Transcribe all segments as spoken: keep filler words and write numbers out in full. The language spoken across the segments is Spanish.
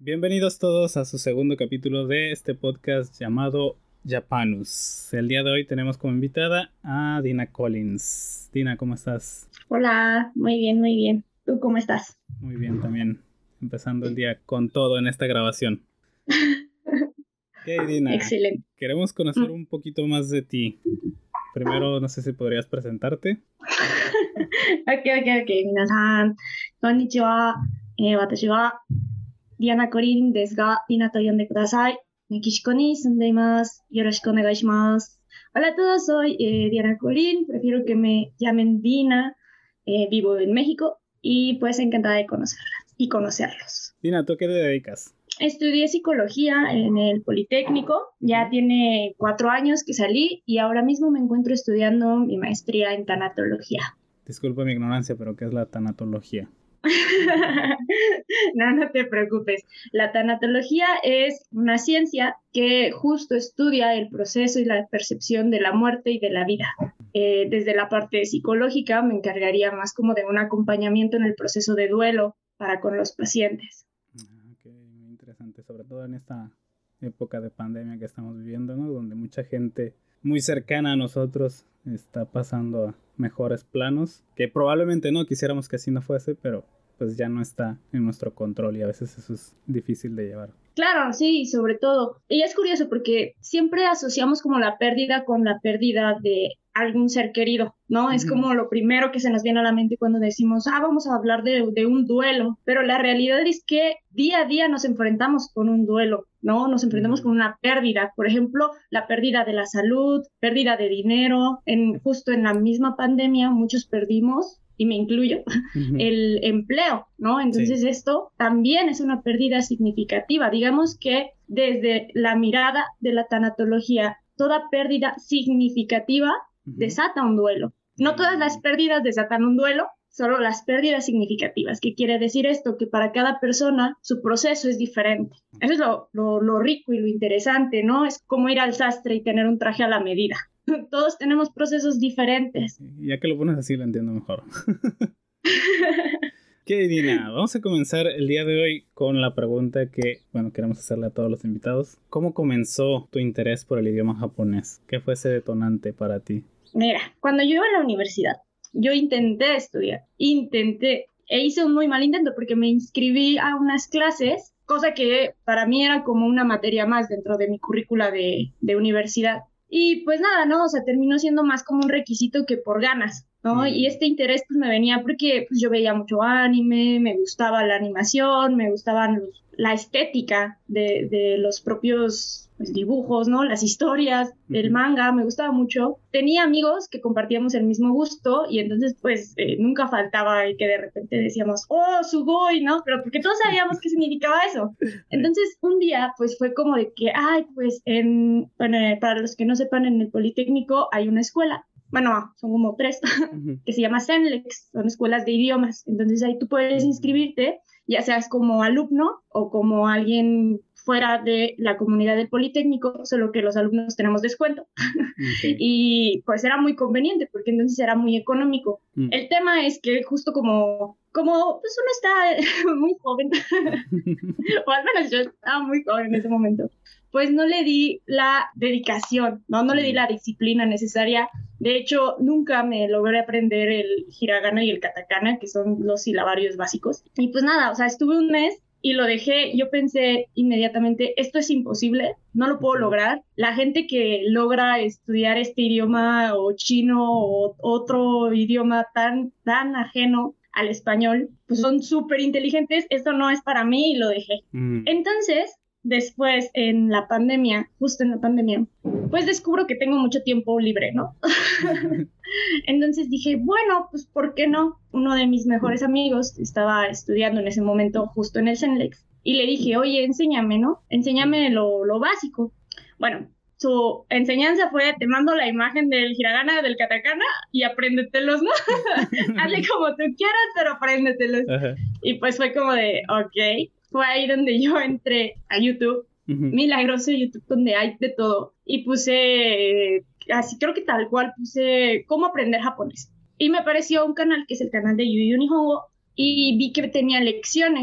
Bienvenidos todos a su segundo capítulo de este podcast llamado Japanus. El día de hoy tenemos como invitada a Dina Collins. Dina, ¿cómo estás? Hola, muy bien, muy bien. ¿Tú cómo estás? Muy bien también. Empezando el día con todo en esta grabación. Ok, Dina. Excelente. Queremos conocer un poquito más de ti. Primero, no sé si podrías presentarte. Ok, ok, ok. 皆さん、こんにちは。えー私はディアナ・コリンですが、ディナと呼んでください。メキシコに住んでいます。よろしくお願いします。Hola a todos, soy eh, Diana Colín. Prefiero que me llamen Dina. Eh, vivo en México y pues encantada de conocerlas y conocerlos. Dina, ¿tú a qué te dedicas? Estudié psicología en el Politécnico, ya tiene cuatro años que salí y ahora mismo me encuentro estudiando mi maestría en tanatología. Disculpa mi ignorancia, pero ¿qué es la tanatología? No, no te preocupes. La tanatología es una ciencia que justo estudia el proceso y la percepción de la muerte y de la vida. Eh, desde la parte psicológica me encargaría más como de un acompañamiento en el proceso de duelo para con los pacientes. Ok, muy interesante, sobre todo en esta época de pandemia que estamos viviendo, ¿no? Donde mucha gente muy cercana a nosotros está pasando a mejores planos, que probablemente no quisiéramos que así no fuese, pero pues ya no está en nuestro control y a veces eso es difícil de llevar. Claro, sí, sobre todo. Y es curioso porque siempre asociamos como la pérdida con la pérdida de algún ser querido, ¿no? Uh-huh. Es como lo primero que se nos viene a la mente cuando decimos, ah, vamos a hablar de, de un duelo, pero la realidad es que día a día nos enfrentamos con un duelo, ¿no? Nos enfrentamos uh-huh. con una pérdida, por ejemplo, la pérdida de la salud, pérdida de dinero, en, justo en la misma pandemia muchos perdimos, y me incluyo, uh-huh. el empleo, ¿no? Entonces sí. Esto también es una pérdida significativa. Digamos que desde la mirada de la tanatología, toda pérdida significativa uh-huh. desata un duelo. No todas las pérdidas desatan un duelo, solo las pérdidas significativas. ¿Qué quiere decir esto? Que para cada persona su proceso es diferente. Eso es lo, lo, lo rico y lo interesante, ¿no? Es como ir al sastre y tener un traje a la medida. Todos tenemos procesos diferentes. Ya que lo pones así lo entiendo mejor. Ok, Dina, vamos a comenzar el día de hoy con la pregunta que, bueno, queremos hacerle a todos los invitados. ¿Cómo comenzó tu interés por el idioma japonés? ¿Qué fue ese detonante para ti? Mira, cuando yo iba a la universidad, yo intenté estudiar, intenté, e hice un muy mal intento porque me inscribí a unas clases, cosa que para mí era como una materia más dentro de mi currícula de, de universidad. Y pues nada, ¿no? O sea, terminó siendo más como un requisito que por ganas, ¿no? Mm. Y este interés pues me venía porque pues yo veía mucho anime, me gustaba la animación, me gustaban los, la estética de, de los propios pues, dibujos, ¿no? Las historias, uh-huh. el manga, me gustaba mucho. Tenía amigos que compartíamos el mismo gusto y entonces pues eh, nunca faltaba el que de repente decíamos, oh, sugoi, ¿no? Pero porque todos sabíamos qué significaba eso. Entonces un día pues fue como de que, ay, pues en, bueno, para los que no sepan, en el Politécnico hay una escuela. Bueno, son como tres, uh-huh. que se llama Senlex, son escuelas de idiomas. Entonces ahí tú puedes inscribirte, ya seas como alumno o como alguien fuera de la comunidad del Politécnico, solo que los alumnos tenemos descuento. Okay. Y pues era muy conveniente, porque entonces era muy económico. Uh-huh. El tema es que justo como, como pues uno está muy joven, o al menos yo estaba muy joven en ese momento, pues no le di la dedicación, ¿no? No le di la disciplina necesaria. De hecho, nunca me logré aprender el hiragana y el katakana, que son los silabarios básicos. Y pues nada, o sea, estuve un mes y lo dejé. Yo pensé inmediatamente, esto es imposible, no lo puedo lograr. La gente que logra estudiar este idioma o chino o otro idioma tan, tan ajeno al español, pues son súper inteligentes, esto no es para mí y lo dejé. Mm. Entonces, después en la pandemia, justo en la pandemia, pues descubro que tengo mucho tiempo libre, ¿no? Entonces dije, bueno, pues ¿por qué no? Uno de mis mejores amigos estaba estudiando en ese momento justo en el Senlex y le dije, oye, enséñame, ¿no? Enséñame lo, lo básico. Bueno, su enseñanza fue, te mando la imagen del hiragana, del katakana y apréndetelos, ¿no? Hazle como tú quieras, pero apréndetelos. Uh-huh. Y pues fue como de, ok. Fue ahí donde yo entré a YouTube, uh-huh. milagroso YouTube, donde hay de todo. Y puse, así creo que tal cual, puse cómo aprender japonés. Y me apareció un canal que es el canal de Yu Yu Nihongo y vi que tenía lecciones.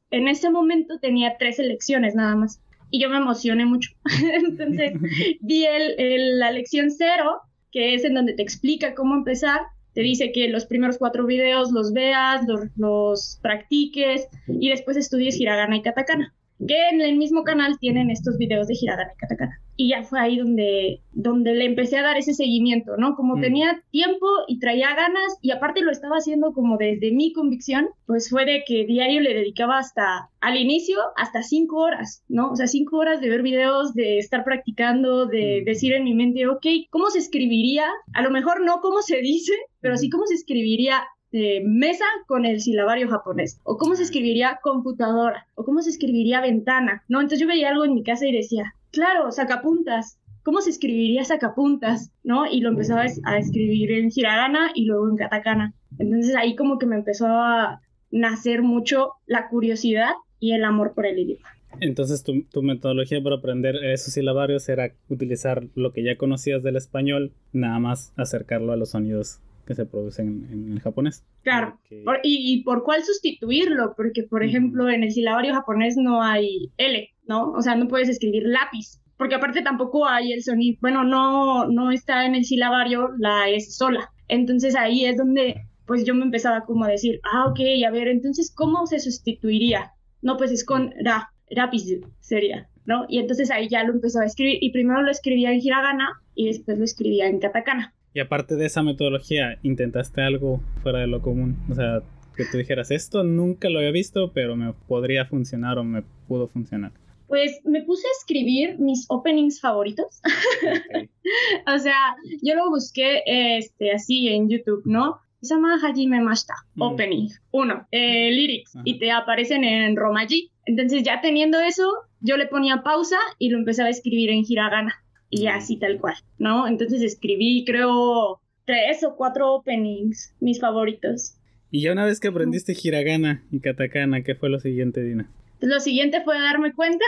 en ese momento tenía tres lecciones nada más. Y yo me emocioné mucho. Entonces vi el, el, la lección cero, que es en donde te explica cómo empezar. Te dice que los primeros cuatro videos los veas, los, los practiques y después estudies hiragana y katakana. Que en el mismo canal tienen estos videos de hiragana y katakana. Y ya fue ahí donde, donde le empecé a dar ese seguimiento, ¿no? Como mm. tenía tiempo y traía ganas, y aparte lo estaba haciendo como desde mi convicción, pues fue de que diario le dedicaba hasta, al inicio, hasta cinco horas, ¿no? O sea, cinco horas de ver videos, de estar practicando, de mm. decir en mi mente, ok, ¿cómo se escribiría? A lo mejor no cómo se dice, pero sí cómo se escribiría Eh, mesa con el silabario japonés, o cómo se escribiría computadora, o cómo se escribiría ventana, ¿no? Entonces yo veía algo en mi casa y decía, claro, sacapuntas, ¿cómo se escribiría sacapuntas? ¿No? Y lo empezaba a escribir en hiragana y luego en katakana. Entonces ahí como que me empezó a nacer mucho la curiosidad y el amor por el idioma. Entonces tu, tu metodología para aprender esos silabarios era utilizar lo que ya conocías del español, nada más acercarlo a los sonidos que se producen en, en el japonés. Claro, porque... por, y, y por cuál sustituirlo, porque por uh-huh. ejemplo en el silabario japonés no hay L, ¿no? O sea, no puedes escribir lápiz, porque aparte tampoco hay el sonido, bueno, no, no está en el silabario la S sola. Entonces ahí es donde pues yo me empezaba como a decir, ah, ok, a ver, entonces ¿cómo se sustituiría? No, pues es con ra, rapiz sería, ¿no? Y entonces ahí ya lo empezaba a escribir, y primero lo escribía en hiragana y después lo escribía en katakana. Y aparte de esa metodología, ¿intentaste algo fuera de lo común? O sea, que tú dijeras, esto nunca lo había visto, pero me podría funcionar o me pudo funcionar. Pues me puse a escribir mis openings favoritos. Okay. O sea, yo lo busqué este, así en YouTube, ¿no? Isama Hajime Mashita, mm. opening, uno, eh, lyrics, Ajá. y te aparecen en romaji. Entonces ya teniendo eso, yo le ponía pausa y lo empezaba a escribir en hiragana. Y así tal cual, ¿no? Entonces escribí, creo, tres o cuatro openings, mis favoritos. Y ya una vez que aprendiste hiragana y katakana, ¿qué fue lo siguiente, Dina? Lo siguiente fue darme cuenta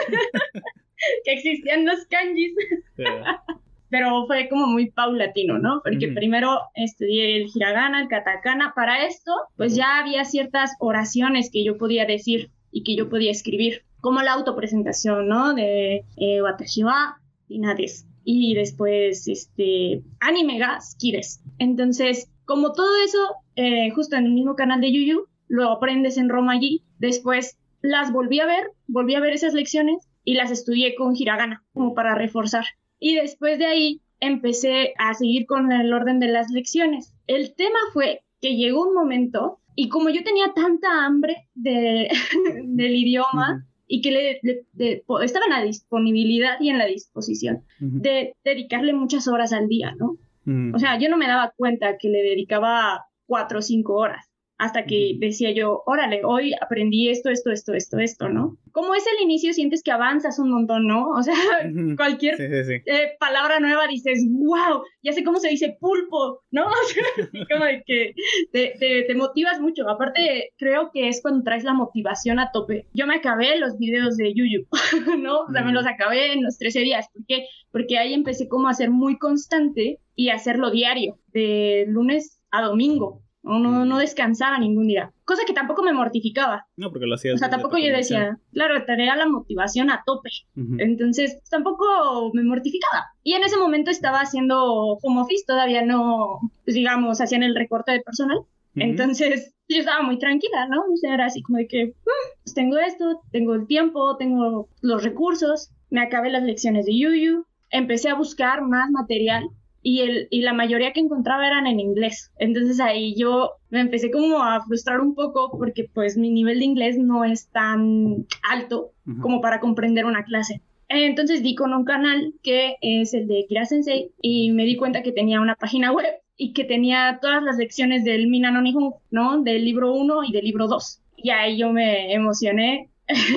que existían los kanjis. Yeah. Pero fue como muy paulatino, ¿no? Porque uh-huh. primero estudié el hiragana, el katakana. Para esto, pues uh-huh. ya había ciertas oraciones que yo podía decir y que yo podía escribir, como la autopresentación, ¿no? De eh, watashi wa Dina desu. Y después, este, anime ga suki desu. Entonces, como todo eso, eh, justo en el mismo canal de Yuyu, lo aprendes en romaji. Después las volví a ver, volví a ver esas lecciones y las estudié con hiragana, como para reforzar. Y después de ahí empecé a seguir con el orden de las lecciones. El tema fue que llegó un momento, y como yo tenía tanta hambre de, del idioma, uh-huh. y que le, le, de, estaba en la disponibilidad y en la disposición uh-huh. de dedicarle muchas horas al día, ¿no? Uh-huh. O sea, yo no me daba cuenta que le dedicaba cuatro o cinco horas, hasta que uh-huh. decía yo, órale, hoy aprendí esto, esto, esto, esto, esto, ¿no? Como es el inicio, sientes que avanzas un montón, ¿no? O sea, uh-huh. cualquier sí, sí, sí. Eh, palabra nueva dices, wow, ya sé cómo se dice pulpo, ¿no? O sea, como de que te, te, te motivas mucho. Aparte, creo que es cuando traes la motivación a tope. Yo me acabé los videos de Yuyu, ¿no? O sea, uh-huh. me los acabé en los trece días. ¿Por qué? Porque ahí empecé como a ser muy constante y a hacerlo diario, de lunes a domingo. No, no, no descansaba ningún día. Cosa que tampoco me mortificaba. No, porque lo hacías. O sea, tampoco yo decía, claro, tenía la motivación a tope. Uh-huh. Entonces, tampoco me mortificaba. Y en ese momento estaba haciendo home office, todavía no, pues, digamos, hacían el recorte de personal. Uh-huh. Entonces, yo estaba muy tranquila, ¿no? O sea, era así como de que, pues tengo esto, tengo el tiempo, tengo los recursos, me acabé las lecciones de Yuyu, empecé a buscar más material. Y, el, y la mayoría que encontraba eran en inglés. Entonces ahí yo me empecé como a frustrar un poco porque pues mi nivel de inglés no es tan alto uh-huh. como para comprender una clase. Entonces di con un canal que es el de Kira Sensei y me di cuenta que tenía una página web y que tenía todas las lecciones del Mina no Nihon, ¿no? Del libro uno y del libro dos. Y ahí yo me emocioné.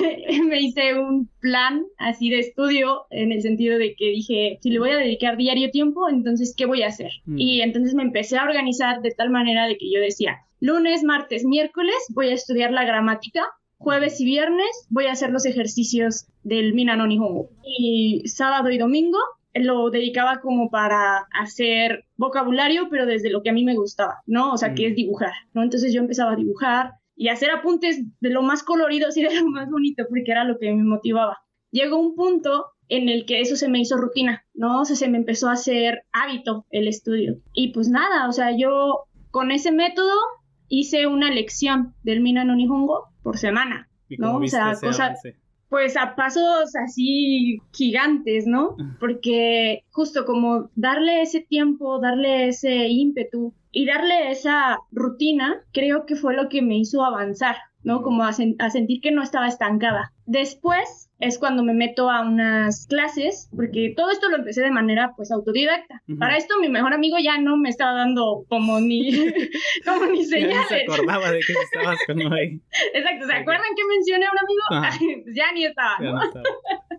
Me hice un plan así de estudio en el sentido de que dije, si le voy a dedicar diario tiempo, entonces ¿qué voy a hacer? Mm. Y entonces me empecé a organizar de tal manera de que yo decía, lunes, martes, miércoles voy a estudiar la gramática, jueves y viernes voy a hacer los ejercicios del Mina no Nihongo, y sábado y domingo lo dedicaba como para hacer vocabulario, pero desde lo que a mí me gustaba, ¿no? O sea, mm. que es dibujar, ¿no? Entonces yo empezaba a dibujar y hacer apuntes de lo más coloridos y de lo más bonito, porque era lo que me motivaba. Llegó un punto en el que eso se me hizo rutina, ¿no? O sea, se me empezó a hacer hábito el estudio. Y pues nada, o sea, yo con ese método hice una lección del Mina no Nihongo por semana, ¿Y cómo ¿no? viste O sea, ese cosa, avance? pues a pasos así gigantes, ¿no? Porque justo como darle ese tiempo, darle ese ímpetu y darle esa rutina, creo que fue lo que me hizo avanzar, ¿no? Como a, sen- a sentir que no estaba estancada. Después es cuando me meto a unas clases, porque todo esto lo empecé de manera pues autodidacta. Ujú. Para esto mi mejor amigo ya no me estaba dando como ni, como ni Ya ni se señales. acordaba de que estabas con uno ahí. Exacto, ¿se Ok. acuerdan que mencioné a un amigo? Ajá. Pues ya ni estaba, Ya ¿no? no estaba.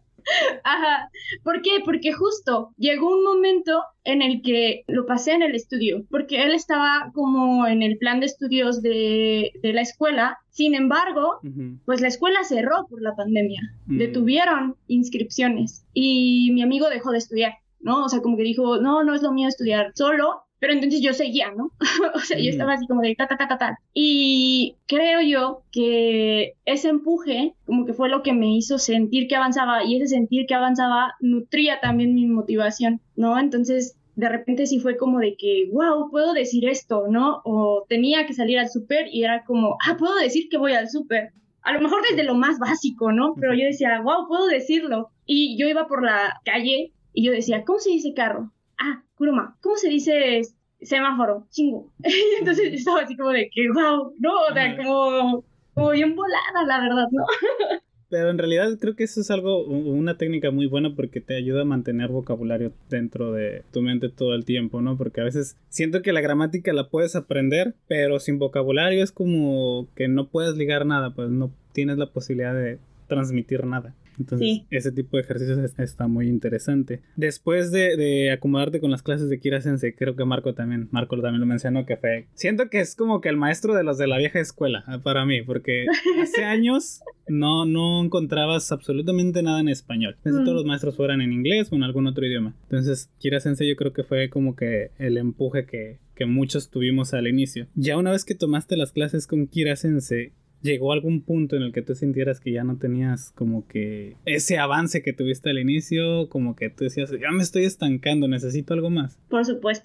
Ajá. ¿Por qué? Porque justo llegó un momento en el que lo pasé en el estudio, porque él estaba como en el plan de estudios de, de la escuela. Sin embargo, Ujú. pues la escuela cerró por la pandemia. Mm. Detuvieron inscripciones y mi amigo dejó de estudiar, ¿no? O sea, como que dijo, no, no es lo mío estudiar solo. Pero entonces yo seguía, ¿no? O sea, yo Ujú. estaba así como de ta, ta, ta, ta, ta. Y creo yo que ese empuje como que fue lo que me hizo sentir que avanzaba, y ese sentir que avanzaba nutría también mi motivación, ¿no? Entonces, de repente sí fue como de que, wow, puedo decir esto, ¿no? O tenía que salir al súper y era como, ah, puedo decir que voy al súper. A lo mejor desde lo más básico, ¿no? Pero yo decía, wow, puedo decirlo. Y yo iba por la calle y yo decía, ¿cómo se dice carro? Ah, kuruma. ¿Cómo se dice semáforo? Chingo. Y entonces yo estaba así como de que, wow, ¿no? O sea, Ajá. como, como bien volada, la verdad, ¿no? Pero en realidad creo que eso es algo, u- una técnica muy buena porque te ayuda a mantener vocabulario dentro de tu mente todo el tiempo, ¿no? Porque a veces siento que la gramática la puedes aprender, pero sin vocabulario es como que no puedes ligar nada, pues no tienes la posibilidad de transmitir nada. Entonces, Sí. ese tipo de ejercicios es- está muy interesante. Después de, de acomodarte con las clases de Kira Sensei, creo que Marco también, Marco también lo mencionó, que fue... Siento que es como que el maestro de los de la vieja escuela, eh, para mí, porque hace años no, no encontrabas absolutamente nada en español. Casi Mm. todos los maestros fueran en inglés o en algún otro idioma. Entonces, Kira Sensei yo creo que fue como que el empuje que, que muchos tuvimos al inicio. Ya una vez que tomaste las clases con Kira Sensei, ¿llegó algún punto en el que tú sintieras que ya no tenías como que ese avance que tuviste al inicio? Como que tú decías, ya me estoy estancando, necesito algo más. Por supuesto.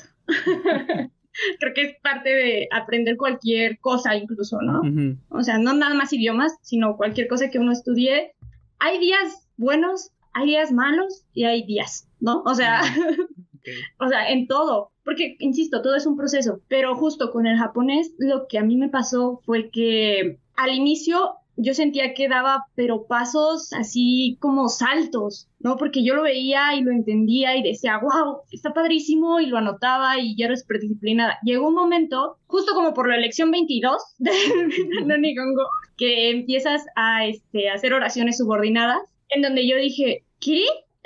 Creo que es parte de aprender cualquier cosa incluso, ¿no? Ujú. O sea, no nada más idiomas, sino cualquier cosa que uno estudie. Hay días buenos, hay días malos y hay días, ¿no? O sea, Ok. o sea, en todo. Porque, insisto, todo es un proceso. Pero justo con el japonés, lo que a mí me pasó fue que al inicio yo sentía que daba, pero pasos así como saltos, ¿no? Porque yo lo veía y lo entendía y decía, wow, está padrísimo, y lo anotaba y ya era súper disciplinada. Llegó un momento, justo como por la lección veintidós de no Nihongo, que empiezas a este, hacer oraciones subordinadas, en donde yo dije, ¿qué?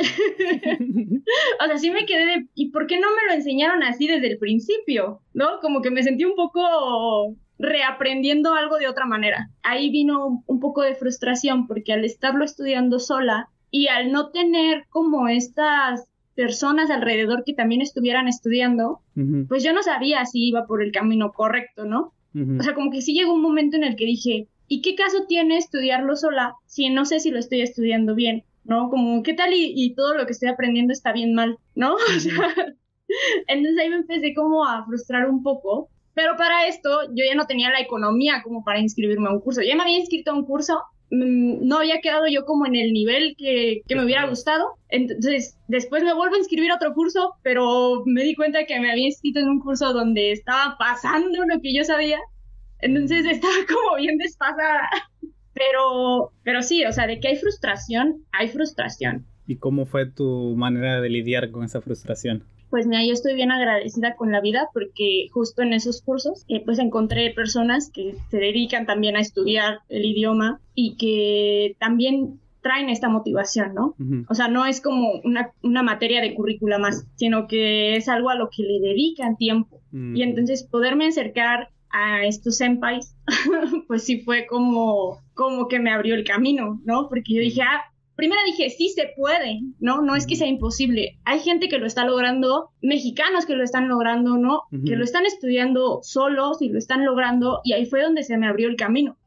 O sea, sí me quedé de, ¿y por qué no me lo enseñaron así desde el principio? ¿No? Como que me sentí un poco reaprendiendo algo de otra manera. Ahí vino un poco de frustración porque al estarlo estudiando sola y al no tener como estas personas alrededor que también estuvieran estudiando, Ujú, pues yo no sabía si iba por el camino correcto, ¿no? ujú. O sea, como que sí llegó un momento en el que dije, ¿y qué caso tiene estudiarlo sola si no sé si lo estoy estudiando bien? ¿No? Como, ¿qué tal y, y todo lo que estoy aprendiendo está bien mal? ¿No? O sea, entonces ahí me empecé como a frustrar un poco, pero para esto yo ya no tenía la economía como para inscribirme a un curso. Ya me había inscrito a un curso, mmm, no había quedado yo como en el nivel que, que me hubiera gustado, entonces después me vuelvo a inscribir a otro curso, pero me di cuenta que me había inscrito en un curso donde estaba pasando lo que yo sabía, entonces estaba como bien desfasada. Pero, pero sí, o sea, de que hay frustración, hay frustración. ¿Y cómo fue tu manera de lidiar con esa frustración? Pues mira, yo estoy bien agradecida con la vida porque justo en esos cursos eh, pues encontré personas que se dedican también a estudiar el idioma y que también traen esta motivación, ¿no? Ujú. O sea, no es como una, una materia de currícula más, sino que es algo a lo que le dedican tiempo. Ujú. Y entonces poderme acercar a estos senpais, pues sí fue como, como que me abrió el camino, ¿no? Porque yo dije, ah, primero dije, sí se puede, ¿no? No es que sea imposible. Hay gente que lo está logrando, mexicanos que lo están logrando, ¿no? Ujú. Que lo están estudiando solos y lo están logrando, y ahí fue donde se me abrió el camino.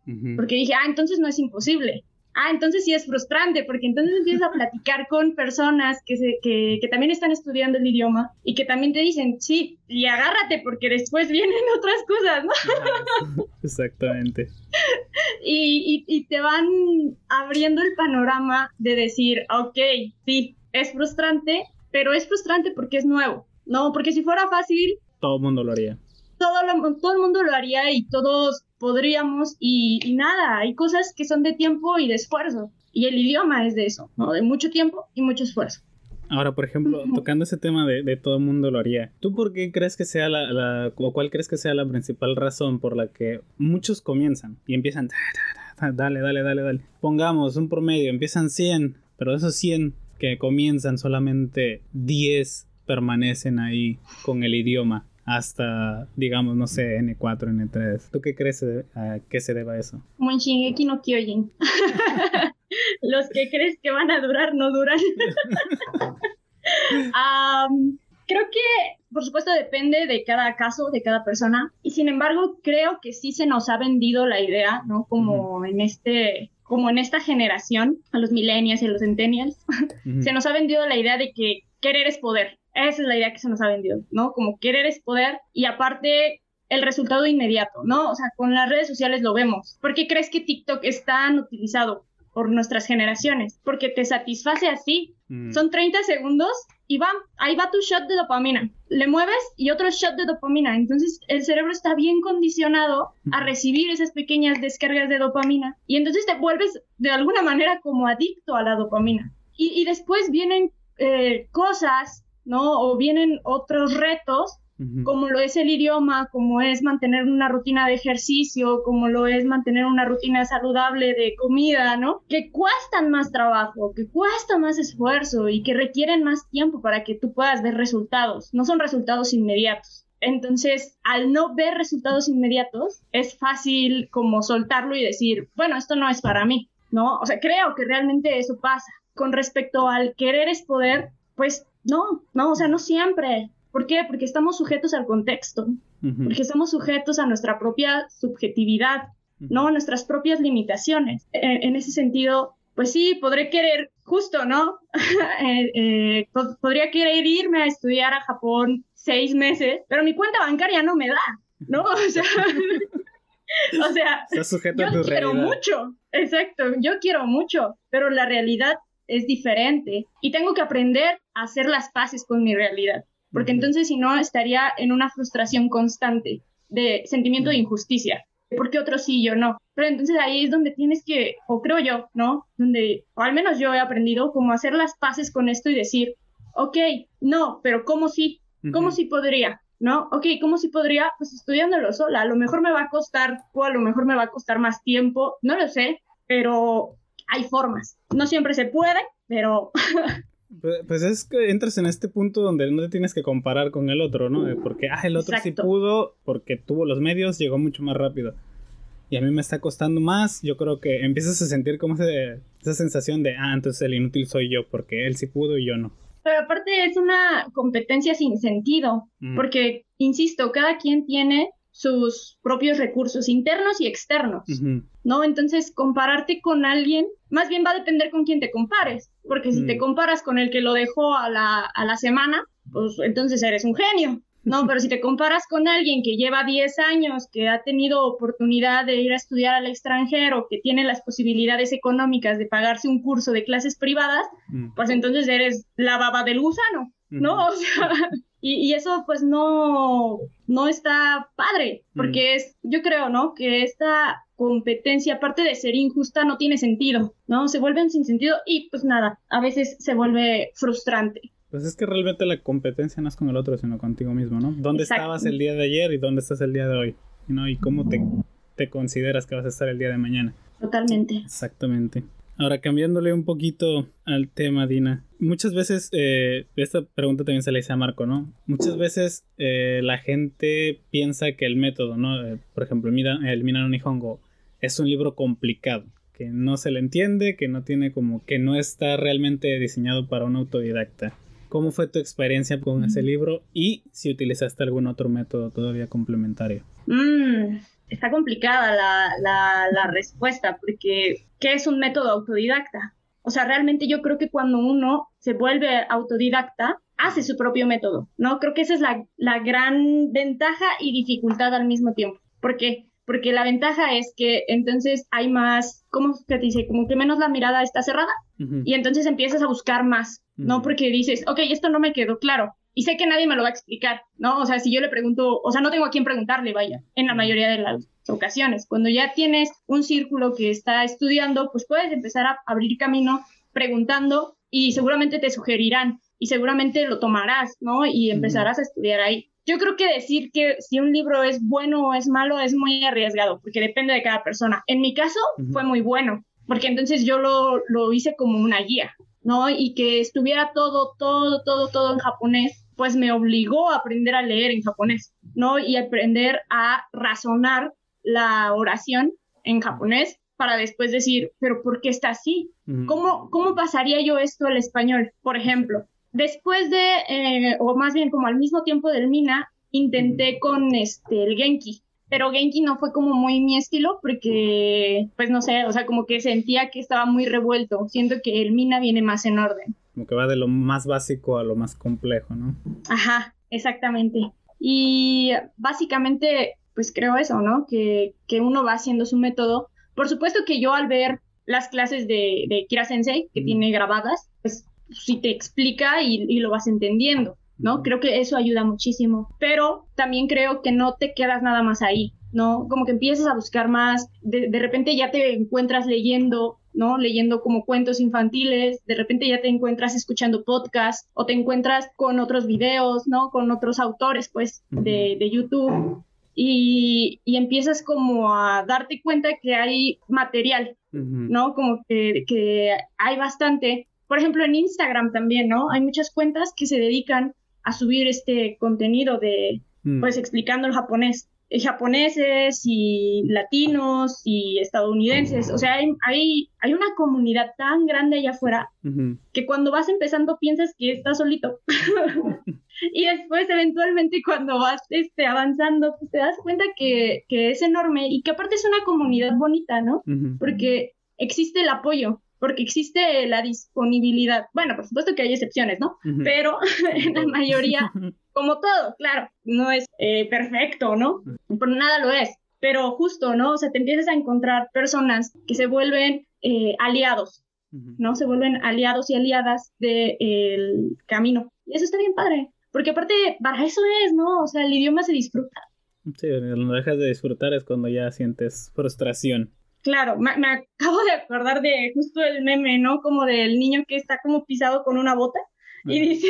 Uh-huh. Porque dije, ah, entonces no es imposible. Ah, entonces sí es frustrante, porque entonces empiezas a platicar con personas que, se, que, que también están estudiando el idioma y que también te dicen, sí, y agárrate porque después vienen otras cosas, ¿no? Exactamente. y, y, y te van abriendo el panorama de decir, ok, sí, es frustrante, pero es frustrante porque es nuevo, ¿no? Porque si fuera fácil... Todo el mundo lo haría. Todo, lo, todo el mundo lo haría y todos podríamos y, y nada, hay cosas que son de tiempo y de esfuerzo y el idioma es de eso, ¿no? De mucho tiempo y mucho esfuerzo. Ahora, por ejemplo, tocando ese tema de, de todo el mundo lo haría, ¿tú por qué crees que sea la, la, o cuál crees que sea la principal razón por la que muchos comienzan y empiezan, dale, dale, dale, dale, pongamos un promedio, empiezan cien, pero de esos cien que comienzan solamente diez permanecen ahí con el idioma? Hasta, digamos, no sé, ene cuatro, ene tres. ¿Tú qué crees a qué se deba eso? Como en Shingeki no Kyojin. Los que crees que van a durar, no duran. um, creo que, por supuesto, depende de cada caso, de cada persona. Y sin embargo, creo que sí se nos ha vendido la idea, ¿no? Como uh-huh. en este... como en esta generación, a los millennials y a los centennials, uh-huh. se nos ha vendido la idea de que querer es poder. Esa es la idea que se nos ha vendido, ¿no? Como querer es poder y aparte el resultado inmediato, ¿no? O sea, con las redes sociales lo vemos. ¿Por qué crees que TikTok es tan utilizado por nuestras generaciones? Porque te satisface así. Mm. Son treinta segundos y va, ahí va tu shot de dopamina. Le mueves y otro shot de dopamina. Entonces el cerebro está bien condicionado a recibir esas pequeñas descargas de dopamina y entonces te vuelves de alguna manera como adicto a la dopamina. Y, y después vienen eh, cosas, ¿no? O vienen otros retos, uh-huh. como lo es el idioma, como es mantener una rutina de ejercicio, como lo es mantener una rutina saludable de comida, ¿no? Que cuestan más trabajo, que cuesta más esfuerzo y que requieren más tiempo para que tú puedas ver resultados. No son resultados inmediatos. Entonces, al no ver resultados inmediatos, es fácil como soltarlo y decir, bueno, esto no es para mí, ¿no? O sea, creo que realmente eso pasa. Con respecto al querer es poder, pues no, no, o sea, no siempre. ¿Por qué? Porque estamos sujetos al contexto, uh-huh. porque estamos sujetos a nuestra propia subjetividad, uh-huh. ¿no? Nuestras propias limitaciones. En, en ese sentido, pues sí, podré querer, justo, ¿no? eh, eh, pod- podría querer irme a estudiar a Japón seis meses, pero mi cuenta bancaria no me da, ¿no? O sea, o sea Estás sujeto yo a tu quiero realidad. mucho, exacto, yo quiero mucho, pero la realidad es diferente y tengo que aprender a hacer las paces con mi realidad, porque uh-huh. entonces si no estaría en una frustración constante de sentimiento uh-huh. de injusticia, porque otros sí, yo no. Pero entonces ahí es donde tienes que, o creo yo, ¿no? Donde, o al menos yo he aprendido como hacer las paces con esto y decir, ok, no, pero ¿cómo sí? ¿Cómo uh-huh. sí podría? ¿No? Ok, ¿cómo sí podría? Pues estudiándolo sola. A lo mejor me va a costar, o a lo mejor me va a costar más tiempo, no lo sé, pero hay formas. No siempre se puede, pero... pues, pues es que entras en este punto donde no te tienes que comparar con el otro, ¿no? Porque, ah, el otro Exacto. sí pudo, porque tuvo los medios, llegó mucho más rápido. Y a mí me está costando más. Yo creo que empiezas a sentir como ese, esa sensación de, ah, entonces el inútil soy yo, porque él sí pudo y yo no. Pero aparte es una competencia sin sentido, mm. porque, insisto, cada quien tiene sus propios recursos internos y externos, uh-huh. ¿no? Entonces, compararte con alguien, más bien va a depender con quién te compares, porque si mm. te comparas con el que lo dejó a la, a la semana, pues entonces eres un genio, ¿no? Pero si te comparas con alguien que lleva diez años, que ha tenido oportunidad de ir a estudiar al extranjero, que tiene las posibilidades económicas de pagarse un curso de clases privadas, mm. pues entonces eres la baba del gusano, ¿no? Mm. O sea, y, y eso pues no, no está padre, porque mm. es, yo creo, ¿no? Que esta competencia, aparte de ser injusta, no tiene sentido, ¿no? Se vuelven sin sentido y pues nada, a veces se vuelve frustrante. Pues es que realmente la competencia no es con el otro, sino contigo mismo, ¿no? ¿Dónde Exacto. estabas el día de ayer y dónde estás el día de hoy? ¿No? Y cómo te, te consideras que vas a estar el día de mañana. Totalmente. Exactamente. Ahora, cambiándole un poquito al tema, Dina. Muchas veces, eh, esta pregunta también se le hice a Marco, ¿no? Muchas veces eh, la gente piensa que el método, ¿no? Eh, por ejemplo, el Mina no Nihongo es un libro complicado, que no se le entiende, que no tiene como, que no está realmente diseñado para un autodidacta. ¿Cómo fue tu experiencia con ese libro y si utilizaste algún otro método todavía complementario? Mm, está complicada la, la, la respuesta, porque ¿qué es un método autodidacta? O sea, realmente yo creo que cuando uno se vuelve autodidacta, hace su propio método, ¿no? Creo que esa es la, la gran ventaja y dificultad al mismo tiempo. ¿Por qué? Porque la ventaja es que entonces hay más, ¿cómo se dice? Como que menos la mirada está cerrada, uh-huh. Y entonces empiezas a buscar más, ¿no? Uh-huh. Porque dices, ok, esto no me quedó claro. Y sé que nadie me lo va a explicar, ¿no? O sea, si yo le pregunto, o sea, no tengo a quién preguntarle, vaya, en la mayoría de las ocasiones. Cuando ya tienes un círculo que está estudiando, pues puedes empezar a abrir camino preguntando y seguramente te sugerirán y seguramente lo tomarás, ¿no? Y empezarás uh-huh. a estudiar ahí. Yo creo que decir que si un libro es bueno o es malo es muy arriesgado, porque depende de cada persona. En mi caso, uh-huh. fue muy bueno, porque entonces yo lo, lo hice como una guía, ¿no? Y que estuviera todo, todo, todo, todo en japonés, pues me obligó a aprender a leer en japonés, ¿no? Y aprender a razonar la oración en japonés para después decir, ¿pero por qué está así? Uh-huh. ¿Cómo, cómo pasaría yo esto al español, por ejemplo? Después de, eh, o más bien como al mismo tiempo del Mina, intenté con este, el Genki, pero Genki no fue como muy mi estilo porque, pues no sé, o sea, como que sentía que estaba muy revuelto. Siento que el Mina viene más en orden. Como que va de lo más básico a lo más complejo, ¿no? Ajá, exactamente. Y básicamente, pues creo eso, ¿no? Que, que uno va haciendo su método. Por supuesto que yo al ver las clases de, de Kira Sensei, que mm. tiene grabadas, pues sí te explica y, y lo vas entendiendo, ¿no? Mm. Creo que eso ayuda muchísimo. Pero también creo que no te quedas nada más ahí, ¿no? Como que empiezas a buscar más, de, de repente ya te encuentras leyendo, ¿no? Leyendo como cuentos infantiles, de repente ya te encuentras escuchando podcasts o te encuentras con otros videos, ¿no? Con otros autores, pues, mm. de, de YouTube. Y, y empiezas como a darte cuenta que hay material, uh-huh. ¿no? Como que, que hay bastante. Por ejemplo, en Instagram también, ¿no? Hay muchas cuentas que se dedican a subir este contenido de, uh-huh. pues, explicando el japonés. Japoneses y latinos y estadounidenses. O sea, hay, hay, hay una comunidad tan grande allá afuera uh-huh. que cuando vas empezando piensas que estás solito. Y después, eventualmente, cuando vas este, avanzando, pues te das cuenta que, que es enorme y que aparte es una comunidad bonita, ¿no? Uh-huh. Porque existe el apoyo, porque existe la disponibilidad. Bueno, por supuesto que hay excepciones, ¿no? Uh-huh. Pero en la mayoría, como todo, claro, no es eh, perfecto, ¿no? Por nada lo es. Pero justo, ¿no? O sea, te empiezas a encontrar personas que se vuelven eh, aliados, uh-huh. ¿no? Se vuelven aliados y aliadas del de, camino. Y eso está bien padre. Porque aparte, para eso es, ¿no? O sea, el idioma se disfruta. Sí, cuando dejas de disfrutar es cuando ya sientes frustración. Claro, me, me acabo de acordar de justo el meme, ¿no? Como del niño que está como pisado con una bota y dice,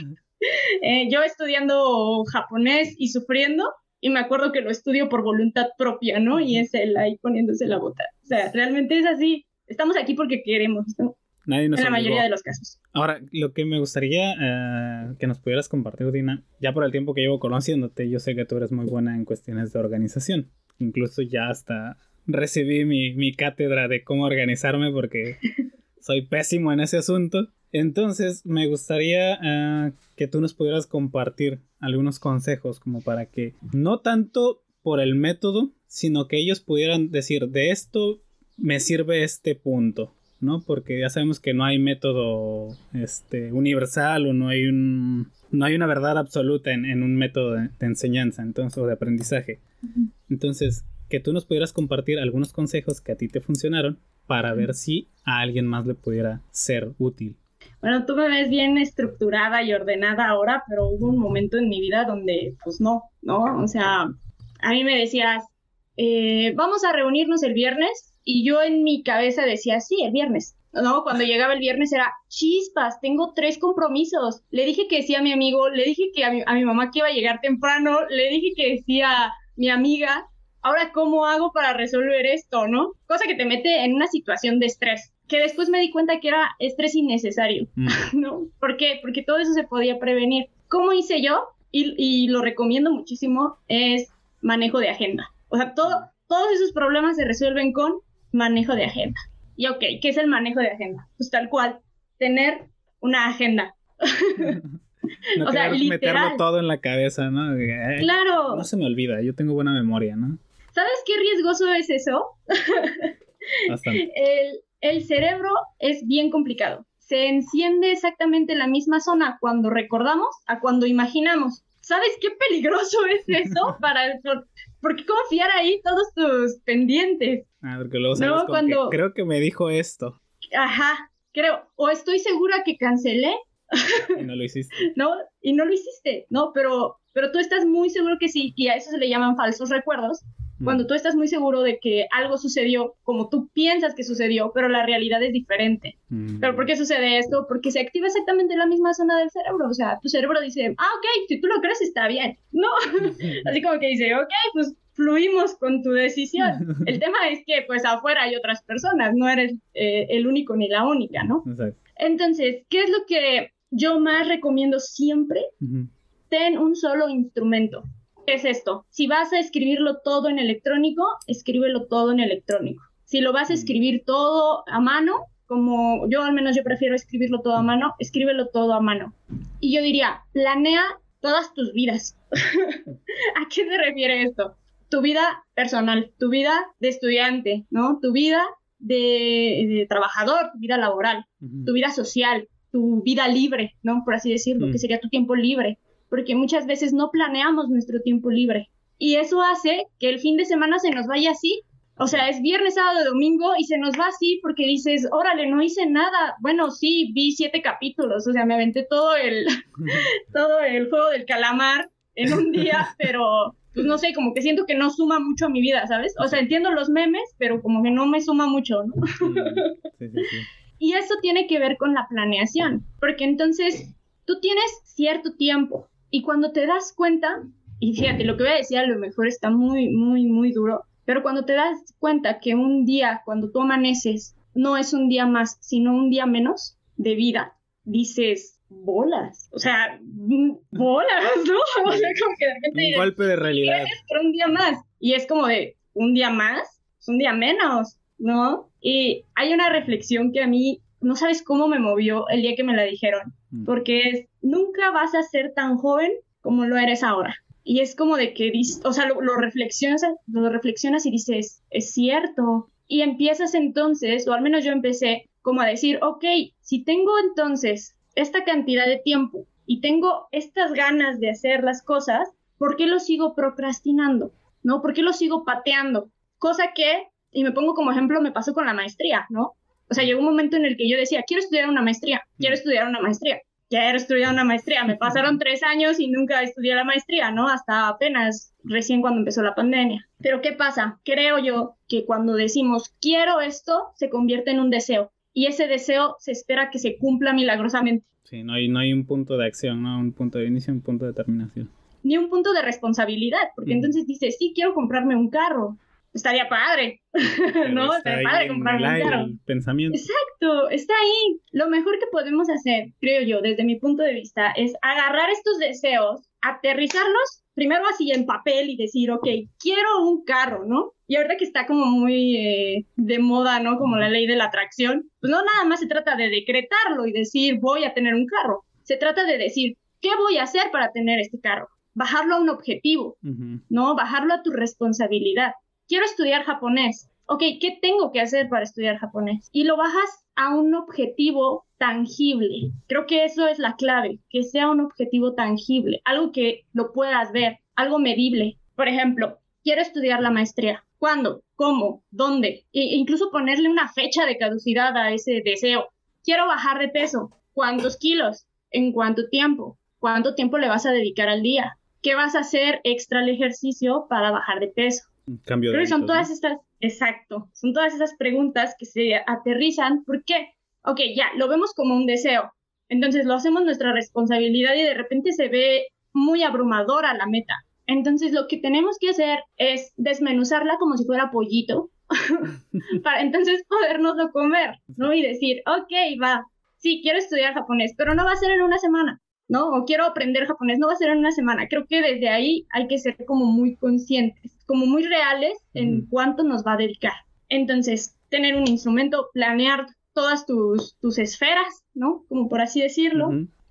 eh, yo estudiando japonés y sufriendo, y me acuerdo que lo estudio por voluntad propia, ¿no? Y es él ahí poniéndose la bota. O sea, realmente es así. Estamos aquí porque queremos, ¿no? Nadie nos en la obligó. Mayoría de los casos. Ahora, lo que me gustaría uh, que nos pudieras compartir, Dina, ya por el tiempo que llevo conociéndote, yo sé que tú eres muy buena en cuestiones de organización. Incluso ya hasta recibí mi, mi cátedra de cómo organizarme porque soy pésimo en ese asunto. Entonces, me gustaría uh, que tú nos pudieras compartir algunos consejos como para que, no tanto por el método, sino que ellos pudieran decir, de esto me sirve este punto, ¿no? Porque ya sabemos que no hay método este, universal o no hay un no hay una verdad absoluta en, en un método de, de enseñanza, entonces, o de aprendizaje. Uh-huh. Entonces, que tú nos pudieras compartir algunos consejos que a ti te funcionaron para uh-huh. ver si a alguien más le pudiera ser útil. Bueno, tú me ves bien estructurada y ordenada ahora, pero hubo un momento en mi vida donde, pues no, ¿no? O sea, a mí me decías, eh, vamos a reunirnos el viernes. Y yo en mi cabeza decía, sí, el viernes, ¿no? Cuando llegaba el viernes era, chispas, tengo tres compromisos. Le dije que sí a mi amigo, le dije que a mi, a mi mamá que iba a llegar temprano, le dije que sí a mi amiga. Ahora, ¿cómo hago para resolver esto, no? Cosa que te mete en una situación de estrés, que después me di cuenta que era estrés innecesario, mm. ¿no? ¿Por qué? Porque todo eso se podía prevenir. ¿Cómo hice yo? Y, y lo recomiendo muchísimo, es manejo de agenda. O sea, todo, todos esos problemas se resuelven con manejo de agenda. Y ok, ¿qué es el manejo de agenda? Pues tal cual, tener una agenda. No, o sea, literal. Meterlo todo en la cabeza, ¿no? Ay, claro. No se me olvida, yo tengo buena memoria, ¿no? ¿Sabes qué riesgoso es eso? Bastante. El, el cerebro es bien complicado. Se enciende exactamente la misma zona cuando recordamos a cuando imaginamos. ¿Sabes qué peligroso es eso? Para, por, ¿por qué confiar ahí todos tus pendientes? Ah, porque luego sales No, con cuando... que creo que me dijo esto. Ajá, creo. O estoy segura que cancelé. Y no lo hiciste. ¿No? Y no lo hiciste, ¿no? Pero, pero tú estás muy seguro que sí, y a eso se le llaman falsos recuerdos. Cuando tú estás muy seguro de que algo sucedió como tú piensas que sucedió, pero la realidad es diferente. Mm. ¿Pero por qué sucede esto? Porque se activa exactamente la misma zona del cerebro. O sea, tu cerebro dice, ah, ok, si tú lo crees está bien. No, así como que dice, ok, pues fluimos con tu decisión. El tema es que pues afuera hay otras personas, no eres eh, el único ni la única, ¿no? Exacto. Entonces, ¿qué es lo que yo más recomiendo siempre? Uh-huh. Ten un solo instrumento. ¿Qué es esto? Si vas a escribirlo todo en electrónico, escríbelo todo en electrónico. Si lo vas a escribir todo a mano, como yo al menos yo prefiero escribirlo todo a mano, escríbelo todo a mano. Y yo diría, planea todas tus vidas. ¿A qué se refiere esto? Tu vida personal, tu vida de estudiante, ¿no? Tu vida de, de trabajador, tu vida laboral, uh-huh. tu vida social, tu vida libre, ¿no? Por así decirlo, uh-huh. que sería tu tiempo libre. Porque muchas veces no planeamos nuestro tiempo libre. Y eso hace que el fin de semana se nos vaya así. O sea, es viernes, sábado, domingo y se nos va así porque dices, órale, no hice nada. Bueno, sí, vi siete capítulos. O sea, me aventé todo el, todo el juego del calamar en un día, pero pues no sé, como que siento que no suma mucho a mi vida, ¿sabes? O sea, entiendo los memes, pero como que no me suma mucho, ¿no? Sí, sí, sí. Y eso tiene que ver con la planeación. Porque entonces tú tienes cierto tiempo. Y cuando te das cuenta, y fíjate, lo que voy a decir a lo mejor está muy, muy, muy duro, pero cuando te das cuenta que un día, cuando tú amaneces, no es un día más, sino un día menos de vida, dices, bolas, o sea, bolas, ¿no? O sea, como que de repente... Un dices, golpe de realidad. Gracias por un día más. Y es como de, un día más, es un día menos, ¿no? Y hay una reflexión que a mí... no sabes cómo me movió el día que me la dijeron, porque es, nunca vas a ser tan joven como lo eres ahora. Y es como de que, o sea, lo, lo, reflexionas, lo reflexionas y dices, es cierto. Y empiezas entonces, o al menos yo empecé, como a decir, ok, si tengo entonces esta cantidad de tiempo y tengo estas ganas de hacer las cosas, ¿por qué lo sigo procrastinando? ¿No? ¿Por qué lo sigo pateando? Cosa que, y me pongo como ejemplo, me pasó con la maestría, ¿no? O sea, llegó un momento en el que yo decía, quiero estudiar una maestría, quiero estudiar una maestría, quiero estudiar una maestría. Me pasaron tres años y nunca estudié la maestría, ¿no? Hasta apenas recién cuando empezó la pandemia. Pero ¿qué pasa? Creo yo que cuando decimos, quiero esto, se convierte en un deseo. Y ese deseo se espera que se cumpla milagrosamente. Sí, no hay, no hay un punto de acción, ¿no? Un punto de inicio, un punto de terminación. Ni un punto de responsabilidad, porque mm. entonces dices, sí, quiero comprarme un carro. Estaría padre, ¿no? Estaría padre comprarme un carro. El pensamiento. Exacto, está ahí. Lo mejor que podemos hacer, creo yo, desde mi punto de vista, es agarrar estos deseos, aterrizarlos, primero así en papel y decir, ok, quiero un carro, ¿no? Y ahorita que está como muy eh, de moda, ¿no? Como la ley de la atracción, pues no nada más se trata de decretarlo y decir, voy a tener un carro. Se trata de decir, ¿qué voy a hacer para tener este carro? Bajarlo a un objetivo, uh-huh. ¿no? Bajarlo a tu responsabilidad. Quiero estudiar japonés. Ok, ¿qué tengo que hacer para estudiar japonés? Y lo bajas a un objetivo tangible. Creo que eso es la clave, que sea un objetivo tangible, algo que lo puedas ver, algo medible. Por ejemplo, quiero estudiar la maestría. ¿Cuándo? ¿Cómo? ¿Dónde? E incluso ponerle una fecha de caducidad a ese deseo. Quiero bajar de peso. ¿Cuántos kilos? ¿En cuánto tiempo? ¿Cuánto tiempo le vas a dedicar al día? ¿Qué vas a hacer extra al ejercicio para bajar de peso? Cambio de Creo que son hábitos, todas ¿no? estas, exacto, son todas esas preguntas que se aterrizan. ¿Por qué? Ok, ya, lo vemos como un deseo. Entonces lo hacemos nuestra responsabilidad y de repente se ve muy abrumadora la meta. Entonces lo que tenemos que hacer es desmenuzarla como si fuera pollito para entonces podernoslo comer, ¿no? Y decir, ok, va, sí, quiero estudiar japonés, pero no va a ser en una semana, ¿no? O quiero aprender japonés, no va a ser en una semana. Creo que desde ahí hay que ser como muy conscientes, como muy reales en uh-huh. cuánto nos va a dedicar. Entonces, tener un instrumento, planear todas tus, tus esferas, ¿no? Como por así decirlo. Uh-huh.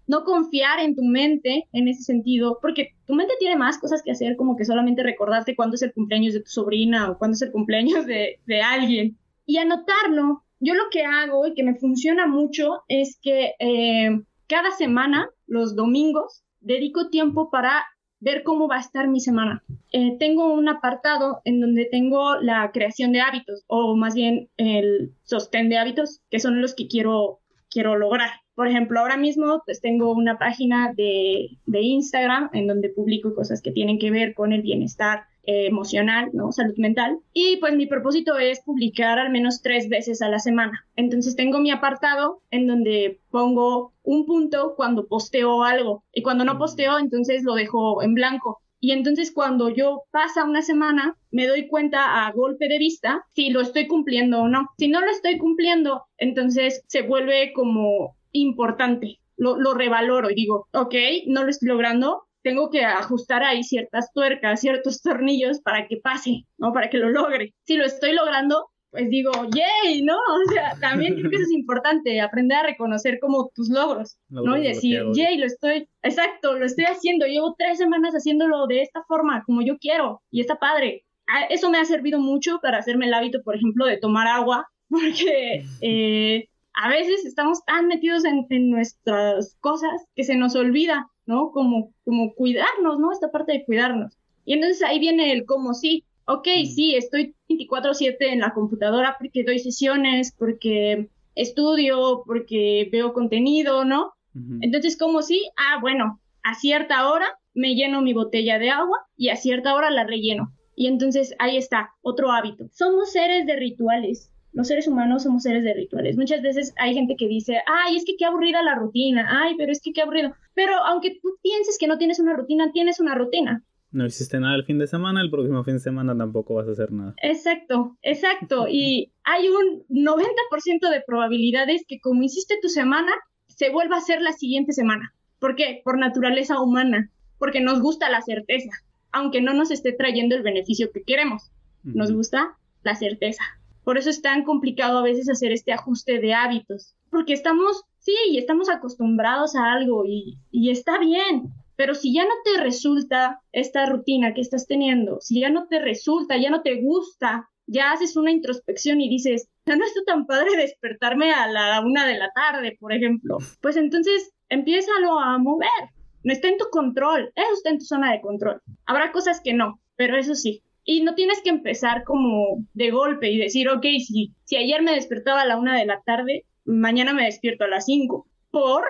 no confiar en tu mente en ese sentido, porque tu mente tiene más cosas que hacer, como que solamente recordarte cuándo es el cumpleaños de tu sobrina o cuándo es el cumpleaños de, de alguien. Y anotarlo. Yo lo que hago y que me funciona mucho es que eh, cada semana, los domingos, dedico tiempo para ver cómo va a estar mi semana. Eh, tengo un apartado en donde tengo la creación de hábitos, o más bien el sostén de hábitos, que son los que quiero, quiero lograr. Por ejemplo, ahora mismo pues tengo una página de, de Instagram en donde publico cosas que tienen que ver con el bienestar eh, emocional, ¿no? Salud mental. Y pues mi propósito es publicar al menos tres veces a la semana. Entonces tengo mi apartado en donde pongo un punto cuando posteo algo. Y cuando no posteo, entonces lo dejo en blanco. Y entonces cuando yo pasa una semana, me doy cuenta a golpe de vista si lo estoy cumpliendo o no. Si no lo estoy cumpliendo, entonces se vuelve como importante. Lo, lo revaloro y digo, ok, no lo estoy logrando, tengo que ajustar ahí ciertas tuercas, ciertos tornillos para que pase, ¿no? Para que lo logre. Si lo estoy logrando, pues digo, yay, ¿no? O sea, también creo que eso es importante, aprender a reconocer como tus logros, ¿no? Y decir, yay, lo estoy, exacto, lo estoy haciendo, llevo tres semanas haciéndolo de esta forma, como yo quiero, y está padre. Eso me ha servido mucho para hacerme el hábito, por ejemplo, de tomar agua, porque eh, a veces estamos tan metidos en, en nuestras cosas que se nos olvida, ¿no? Como, como cuidarnos, ¿no? Esta parte de cuidarnos. Y entonces ahí viene el cómo sí. Ok, sí, estoy veinticuatro siete en la computadora porque doy sesiones, porque estudio, porque veo contenido, ¿no? Uh-huh. Entonces, ¿cómo sí? Ah, bueno, a cierta hora me lleno mi botella de agua y a cierta hora la relleno. Y entonces ahí está, otro hábito. Somos seres de rituales. Los seres humanos somos seres de rituales. Muchas veces hay gente que dice, ay, es que qué aburrida la rutina, ay, pero es que qué aburrido. Pero aunque tú pienses que no tienes una rutina, tienes una rutina. No hiciste nada el fin de semana, el próximo fin de semana tampoco vas a hacer nada. Exacto, exacto. Y hay un noventa por ciento de probabilidades que como hiciste tu semana, se vuelva a hacer la siguiente semana. ¿Por qué? Por naturaleza humana. Porque nos gusta la certeza, aunque no nos esté trayendo el beneficio que queremos. Nos uh-huh. gusta la certeza. Por eso es tan complicado a veces hacer este ajuste de hábitos. Porque estamos, sí, estamos acostumbrados a algo y, y está bien. Pero si ya no te resulta esta rutina que estás teniendo, si ya no te resulta, ya no te gusta, ya haces una introspección y dices, ya no está tan padre despertarme a la una de la tarde, por ejemplo, pues entonces empiézalo a mover. No está en tu control, eso está en tu zona de control. Habrá cosas que no, pero eso sí. Y no tienes que empezar como de golpe y decir, ok, si, si ayer me despertaba a la una de la tarde, mañana me despierto a las cinco. ¿Por?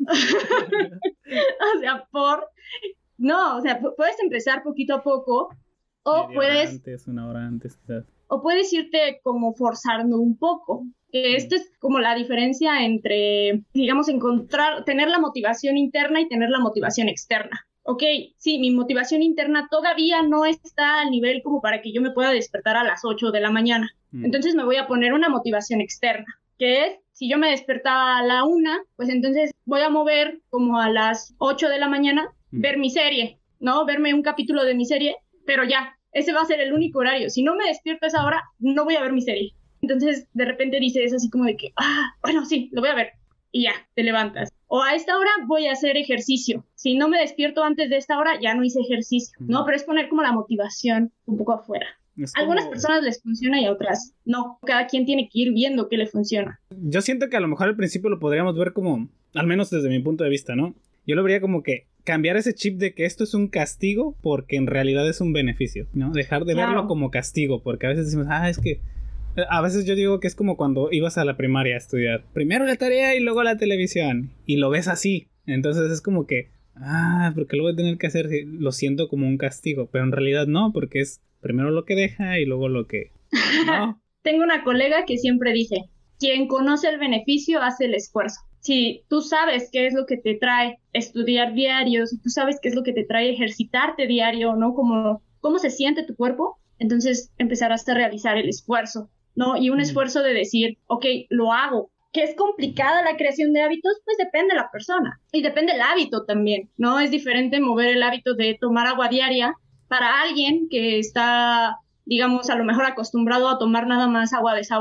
O sea, por... No, o sea, puedes empezar poquito a poco o Media puedes... hora antes, una hora antes, quizás. O puedes irte como forzando un poco. Que esto es como la diferencia entre, digamos, encontrar, tener la motivación interna y tener la motivación externa. Ok, sí, mi motivación interna todavía no está al nivel como para que yo me pueda despertar a las ocho de la mañana. Mm. Entonces me voy a poner una motivación externa, que es, si yo me despertaba a la una, pues entonces voy a mover como a las ocho de la mañana, mm. ver mi serie, ¿no? Verme un capítulo de mi serie, pero ya, ese va a ser el único horario. Si no me despierto a esa hora, no voy a ver mi serie. Entonces, de repente dices así como de que, ah, bueno, sí, lo voy a ver. Y ya, te levantas. O a esta hora voy a hacer ejercicio. Si no me despierto antes de esta hora, ya no hice ejercicio, ¿no? Pero es poner como la motivación un poco afuera. A como... algunas personas les funciona y a otras no. Cada quien tiene que ir viendo qué le funciona. Yo siento que a lo mejor al principio lo podríamos ver como, al menos desde mi punto de vista, ¿no? Yo lo vería como que cambiar ese chip de que esto es un castigo porque en realidad es un beneficio, ¿no? Dejar de claro. verlo como castigo, porque a veces decimos, ah, es que... A veces yo digo que es como cuando ibas a la primaria a estudiar. Primero la tarea y luego la televisión. Y lo ves así. Entonces es como que... Ah, porque lo voy a tener que hacer. Lo siento como un castigo. Pero en realidad no, porque es primero lo que deja y luego lo que... No. Tengo una colega que siempre dice, quien conoce el beneficio hace el esfuerzo. Si tú sabes qué es lo que te trae estudiar diario, si tú sabes qué es lo que te trae ejercitarte diario, ¿no? Como, cómo se siente tu cuerpo, entonces empezarás a realizar el esfuerzo, ¿no? Y un esfuerzo de decir, ok, lo hago. ¿Que es complicada la creación de hábitos? Pues depende de la persona. Y depende del hábito también, ¿no? Es diferente mover el hábito de tomar agua diaria para alguien que está, digamos, a lo mejor acostumbrado a tomar nada más agua de sabor,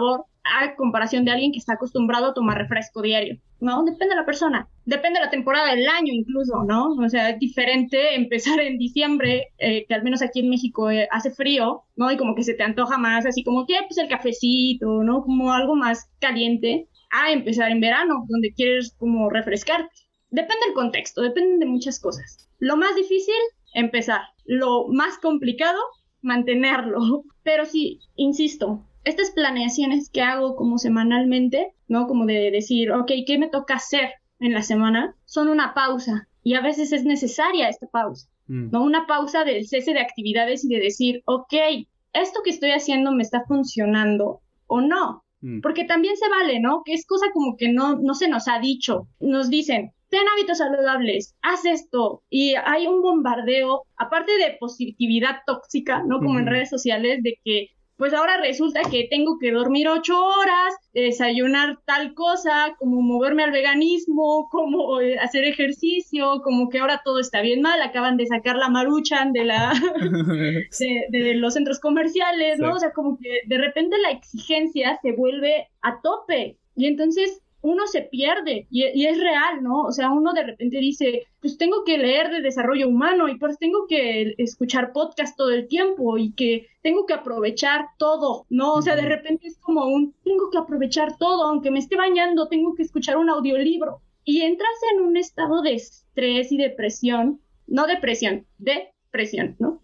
a comparación de alguien que está acostumbrado a tomar refresco diario, ¿no? Depende de la persona, depende de la temporada del año incluso, ¿no? O sea, es diferente empezar en diciembre, eh, que al menos aquí en México eh, hace frío, ¿no? Y como que se te antoja más, así como que, pues el cafecito, ¿no? Como algo más caliente, a empezar en verano, donde quieres como refrescarte. Depende del contexto, depende de muchas cosas. Lo más difícil, empezar. Lo más complicado, mantenerlo. Pero sí, insisto, estas planeaciones que hago como semanalmente, ¿no? Como de decir, ok, ¿qué me toca hacer en la semana? Son una pausa. Y a veces es necesaria esta pausa, mm. ¿no? Una pausa del cese de actividades y de decir, ok, ¿esto que estoy haciendo me está funcionando o no? Mm. Porque también se vale, ¿no? Que es cosa como que no, no se nos ha dicho. Nos dicen, ten hábitos saludables, haz esto, y hay un bombardeo, aparte de positividad tóxica, ¿no? Como uh-huh. en redes sociales, de que pues ahora resulta que tengo que dormir ocho horas, desayunar tal cosa, como moverme al veganismo, como eh, hacer ejercicio, como que ahora todo está bien mal, acaban de sacar la Maruchan de la de, de los centros comerciales, ¿no? Sí. O sea, como que de repente la exigencia se vuelve a tope, y entonces uno se pierde, y, y es real, ¿no? O sea, uno de repente dice, pues tengo que leer de desarrollo humano, y pues tengo que escuchar podcast todo el tiempo, y que tengo que aprovechar todo, ¿no? O sea, de repente es como un, tengo que aprovechar todo, aunque me esté bañando, tengo que escuchar un audiolibro, y entras en un estado de estrés y depresión, no depresión, depresión, ¿no?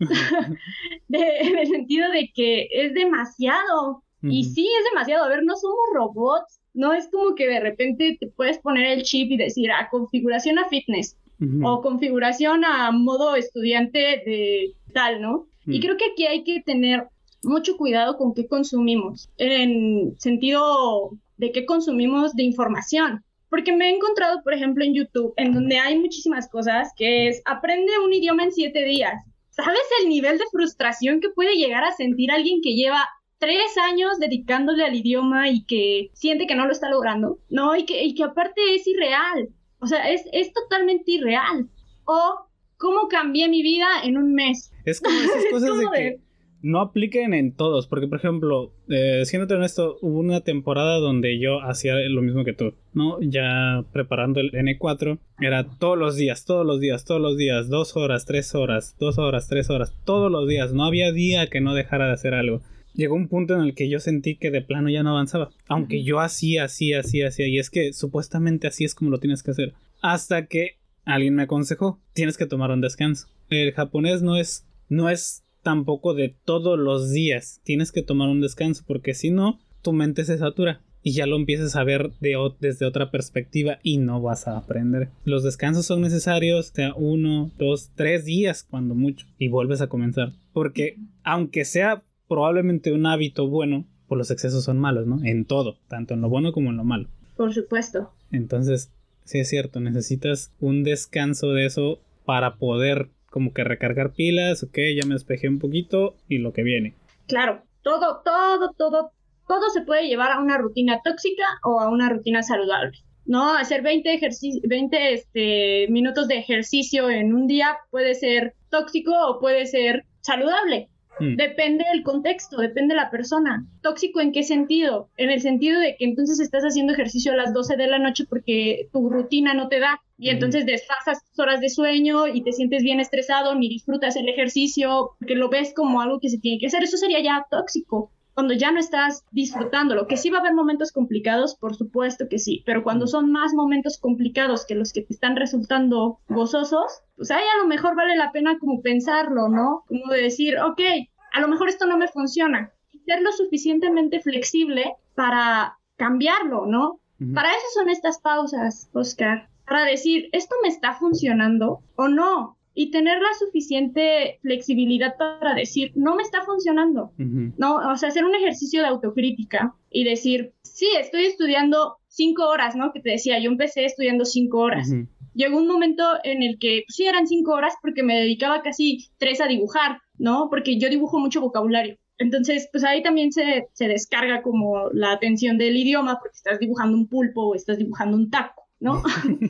de, en el sentido de que es demasiado, uh-huh. y sí, es demasiado, a ver, no somos robots. No es como que de repente te puedes poner el chip y decir, a configuración a fitness, uh-huh. o configuración a modo estudiante de tal, ¿no? Uh-huh. Y creo que aquí hay que tener mucho cuidado con qué consumimos, en sentido de qué consumimos de información. Porque me he encontrado, por ejemplo, en YouTube, en donde hay muchísimas cosas, que es, aprende un idioma en siete días. ¿Sabes el nivel de frustración que puede llegar a sentir alguien que lleva tres años dedicándole al idioma y que siente que no lo está logrando, ¿no? Y que, y que aparte es irreal, o sea, es, es totalmente irreal. O, ¿cómo cambié mi vida en un mes? Es como esas cosas de que no apliquen en todos, porque, por ejemplo, eh, siéndote honesto, hubo una temporada donde yo hacía lo mismo que tú, ¿no? Ya preparando el ene cuatro, era todos los días, todos los días, todos los días, dos horas, tres horas, dos horas, tres horas, todos los días, no había día que no dejara de hacer algo. Llegó un punto en el que yo sentí que de plano ya no avanzaba. Aunque yo hacía, hacía, hacía, hacía. Y es que supuestamente así es como lo tienes que hacer. Hasta que alguien me aconsejó, tienes que tomar un descanso. El japonés no es, no es tampoco de todos los días. Tienes que tomar un descanso, porque si no, tu mente se satura. Y ya lo empiezas a ver de, desde otra perspectiva y no vas a aprender. Los descansos son necesarios, o sea, uno, dos, tres días cuando mucho. Y vuelves a comenzar. Porque aunque sea probablemente un hábito bueno, pues los excesos son malos, ¿no? En todo, tanto en lo bueno como en lo malo. Por supuesto. Entonces, sí es cierto, necesitas un descanso de eso para poder como que recargar pilas, ok, ya me despejé un poquito y lo que viene. Claro, todo, todo, todo, todo se puede llevar a una rutina tóxica o a una rutina saludable, ¿no? Hacer veinte, ejerci- veinte este, minutos de ejercicio en un día puede ser tóxico o puede ser saludable. Mm. Depende del contexto, depende de la persona. ¿Tóxico en qué sentido? En el sentido de que entonces estás haciendo ejercicio a las doce de la noche porque tu rutina no te da y mm. entonces desfasas tus horas de sueño y te sientes bien estresado, ni disfrutas el ejercicio porque lo ves como algo que se tiene que hacer. Eso sería ya tóxico, cuando ya no estás disfrutándolo. Que sí va a haber momentos complicados, por supuesto que sí, pero cuando son más momentos complicados que los que te están resultando gozosos, pues ahí a lo mejor vale la pena como pensarlo, ¿no? Como de decir, ok, a lo mejor esto no me funciona. Y ser lo suficientemente flexible para cambiarlo, ¿no? Uh-huh. Para eso son estas pausas, Oscar. Para decir, ¿esto me está funcionando o no? Y tener la suficiente flexibilidad para decir, no me está funcionando, uh-huh. ¿no? O sea, hacer un ejercicio de autocrítica y decir, sí, estoy estudiando cinco horas, ¿no? Que te decía, yo empecé estudiando cinco horas. Uh-huh. Llegó un momento en el que, pues, sí, eran cinco horas porque me dedicaba casi tres a dibujar, ¿no? Porque yo dibujo mucho vocabulario. Entonces, pues ahí también se, se descarga como la atención del idioma porque estás dibujando un pulpo o estás dibujando un taco, ¿no?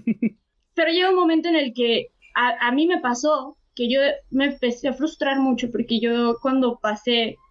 Pero llega un momento en el que A, a mí me pasó que yo me empecé a frustrar mucho porque yo cuando pasé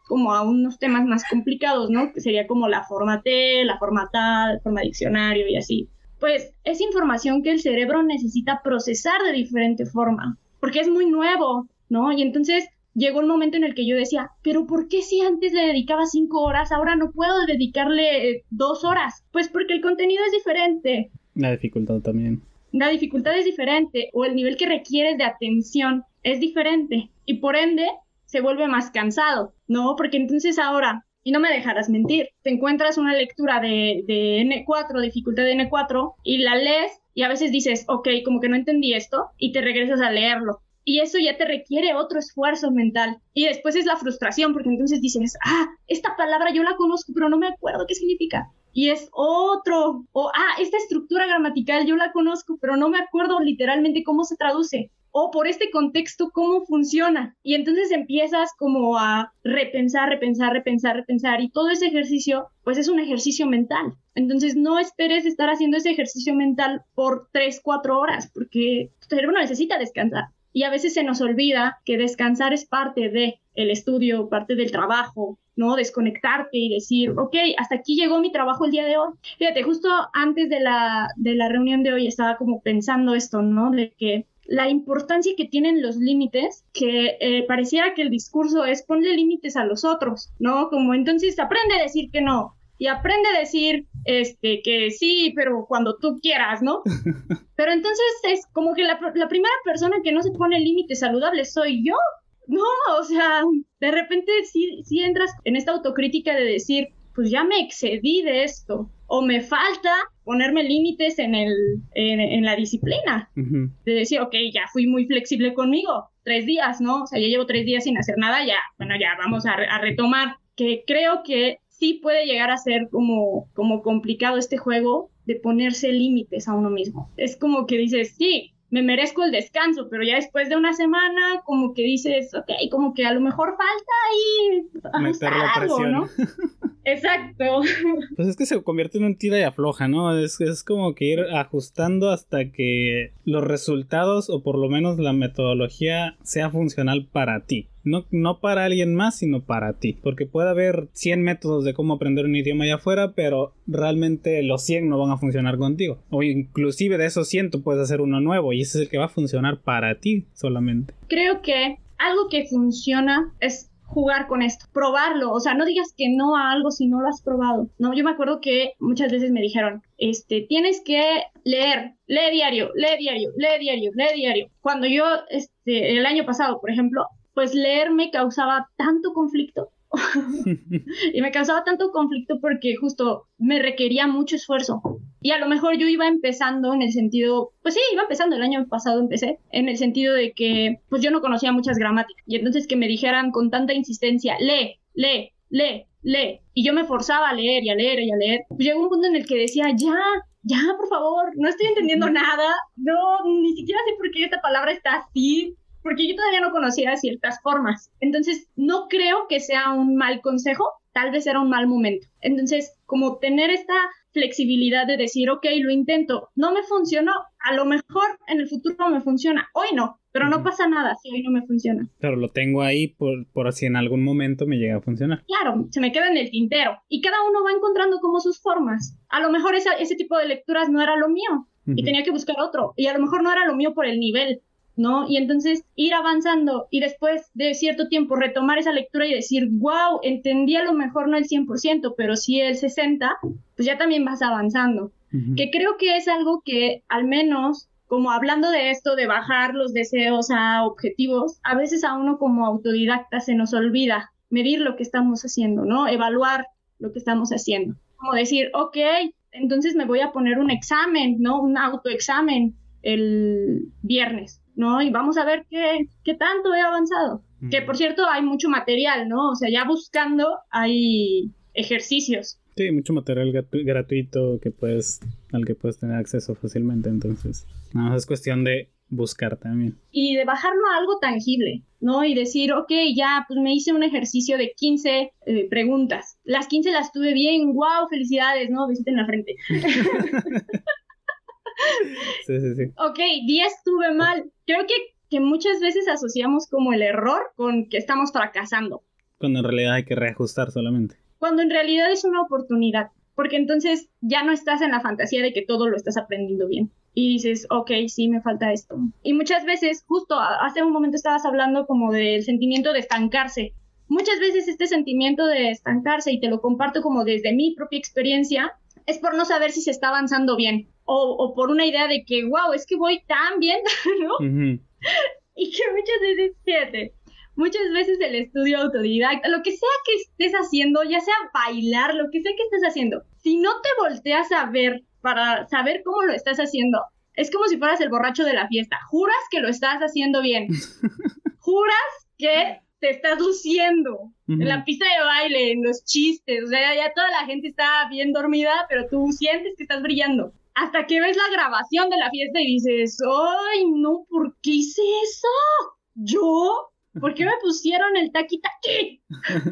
como a unos temas más complicados, ¿no? Que sería como la forma T, la forma T A, la forma diccionario y así. Pues es información que el cerebro necesita procesar de diferente forma, porque es muy nuevo, ¿no? Y entonces llegó un momento en el que yo decía, pero ¿por qué si antes le dedicaba cinco horas, ahora no puedo dedicarle eh, dos horas? Pues porque el contenido es diferente. La dificultad también. La dificultad es diferente, o el nivel que requieres de atención es diferente, y por ende se vuelve más cansado, ¿no? Porque entonces ahora, y no me dejarás mentir, te encuentras una lectura de, de ene cuatro, dificultad de ene cuatro, y la lees, y a veces dices, ok, como que no entendí esto, y te regresas a leerlo. Y eso ya te requiere otro esfuerzo mental. Y después es la frustración, porque entonces dices, ah, esta palabra yo la conozco, pero no me acuerdo qué significa. Y es otro. O, ah, esta estructura gramatical yo la conozco, pero no me acuerdo literalmente cómo se traduce. O por este contexto, cómo funciona. Y entonces empiezas como a repensar, repensar, repensar, repensar. Y todo ese ejercicio, pues es un ejercicio mental. Entonces no esperes estar haciendo ese ejercicio mental por tres, cuatro horas, porque tu cerebro necesita descansar. Y a veces se nos olvida que descansar es parte de el estudio, parte del trabajo, ¿no? Desconectarte y decir, ok, hasta aquí llegó mi trabajo el día de hoy. Fíjate, justo antes de la, de la reunión de hoy estaba como pensando esto, ¿no? De que la importancia que tienen los límites, que eh, pareciera que el discurso es ponle límites a los otros, ¿no? Como entonces aprende a decir que no. Y aprende a decir este, que sí, pero cuando tú quieras, ¿no? Pero entonces es como que la, la primera persona que no se pone límites saludables soy yo. No, o sea, de repente sí, sí entras en esta autocrítica de decir, pues ya me excedí de esto. O me falta ponerme límites en, el, en, en la disciplina. Uh-huh. De decir, ok, ya fui muy flexible conmigo. Tres días, ¿no? O sea, ya llevo tres días sin hacer nada, ya, bueno, ya vamos a, a retomar. Que creo que sí puede llegar a ser como, como complicado este juego de ponerse límites a uno mismo. Es como que dices, sí, me merezco el descanso, pero ya después de una semana como que dices, ok, como que a lo mejor falta ahí meter la presión, ¿no? Exacto. Pues es que se convierte en un tira y afloja, ¿no? Es, es como que ir ajustando hasta que los resultados o por lo menos la metodología sea funcional para ti. No, no para alguien más, sino para ti. Porque puede haber cien métodos de cómo aprender un idioma allá afuera, pero realmente los cien no van a funcionar contigo. O inclusive de esos cien tú puedes hacer uno nuevo y ese es el que va a funcionar para ti solamente. Creo que algo que funciona es jugar con esto, probarlo, o sea, no digas que no a algo si no lo has probado, ¿no? Yo me acuerdo que muchas veces me dijeron, este, tienes que leer, lee diario, lee diario, lee diario, lee diario. Cuando yo, este, el año pasado, por ejemplo, pues leer me causaba tanto conflicto, y me causaba tanto conflicto porque justo me requería mucho esfuerzo. Y a lo mejor yo iba empezando en el sentido, pues sí, iba empezando, el año pasado empecé, en el sentido de que pues yo no conocía muchas gramáticas. Y entonces que me dijeran con tanta insistencia, lee, lee, lee, lee. Y yo me forzaba a leer y a leer y a leer. Pues llegó un punto en el que decía, ya, ya, por favor, no estoy entendiendo nada. No, ni siquiera sé por qué esta palabra está así. Porque yo todavía no conocía ciertas formas. Entonces, no creo que sea un mal consejo, tal vez era un mal momento. Entonces, como tener esta flexibilidad de decir, ok, lo intento, no me funcionó, a lo mejor en el futuro me funciona, hoy no, pero no pasa nada si hoy no me funciona. Pero lo tengo ahí por, por si en algún momento me llega a funcionar. Claro, se me queda en el tintero y cada uno va encontrando como sus formas. A lo mejor esa, ese tipo de lecturas no era lo mío uh-huh. y tenía que buscar otro, y a lo mejor no era lo mío por el nivel, ¿no? Y entonces ir avanzando y después de cierto tiempo retomar esa lectura y decir, wow, entendí a lo mejor no el cien por ciento, pero sí el sesenta por ciento, pues ya también vas avanzando. Uh-huh. Que creo que es algo que al menos, como hablando de esto, de bajar los deseos a objetivos, a veces a uno como autodidacta se nos olvida medir lo que estamos haciendo, ¿no? Evaluar lo que estamos haciendo. Como decir, ok, entonces me voy a poner un examen, ¿no? Un autoexamen el viernes, ¿no? Y vamos a ver qué, qué tanto he avanzado. Mm. Que, por cierto, hay mucho material, ¿no? O sea, ya buscando hay ejercicios. Sí, mucho material gratu- gratuito que puedes, al que puedes tener acceso fácilmente, entonces nada más es cuestión de buscar también. Y de bajarlo a algo tangible, ¿no? Y decir, ok, ya, pues me hice un ejercicio de quince eh, preguntas. Las quince las tuve bien, wow, felicidades, ¿no? Besito en la frente. Sí, sí, sí. Ok, diez tuve mal. Creo que, que muchas veces asociamos como el error con que estamos fracasando. Cuando en realidad hay que reajustar solamente. Cuando en realidad es una oportunidad, porque entonces ya no estás en la fantasía de que todo lo estás aprendiendo bien. Y dices, ok, sí, me falta esto. Y muchas veces, justo hace un momento estabas hablando como del sentimiento de estancarse. Muchas veces este sentimiento de estancarse, y te lo comparto como desde mi propia experiencia, es por no saber si se está avanzando bien. O, o por una idea de que, wow, es que voy tan bien, ¿no? Uh-huh. Y que muchas veces, fíjate, muchas veces el estudio autodidacta, lo que sea que estés haciendo, ya sea bailar, lo que sea que estés haciendo, si no te volteas a ver para saber cómo lo estás haciendo, es como si fueras el borracho de la fiesta. Juras que lo estás haciendo bien. Juras que te estás luciendo uh-huh. en la pista de baile, en los chistes. O sea, ya toda la gente está bien dormida, pero tú sientes que estás brillando. Hasta que ves la grabación de la fiesta y dices, ¡ay, no! ¿Por qué hice eso? ¿Yo? ¿Por qué me pusieron el taqui-taqui?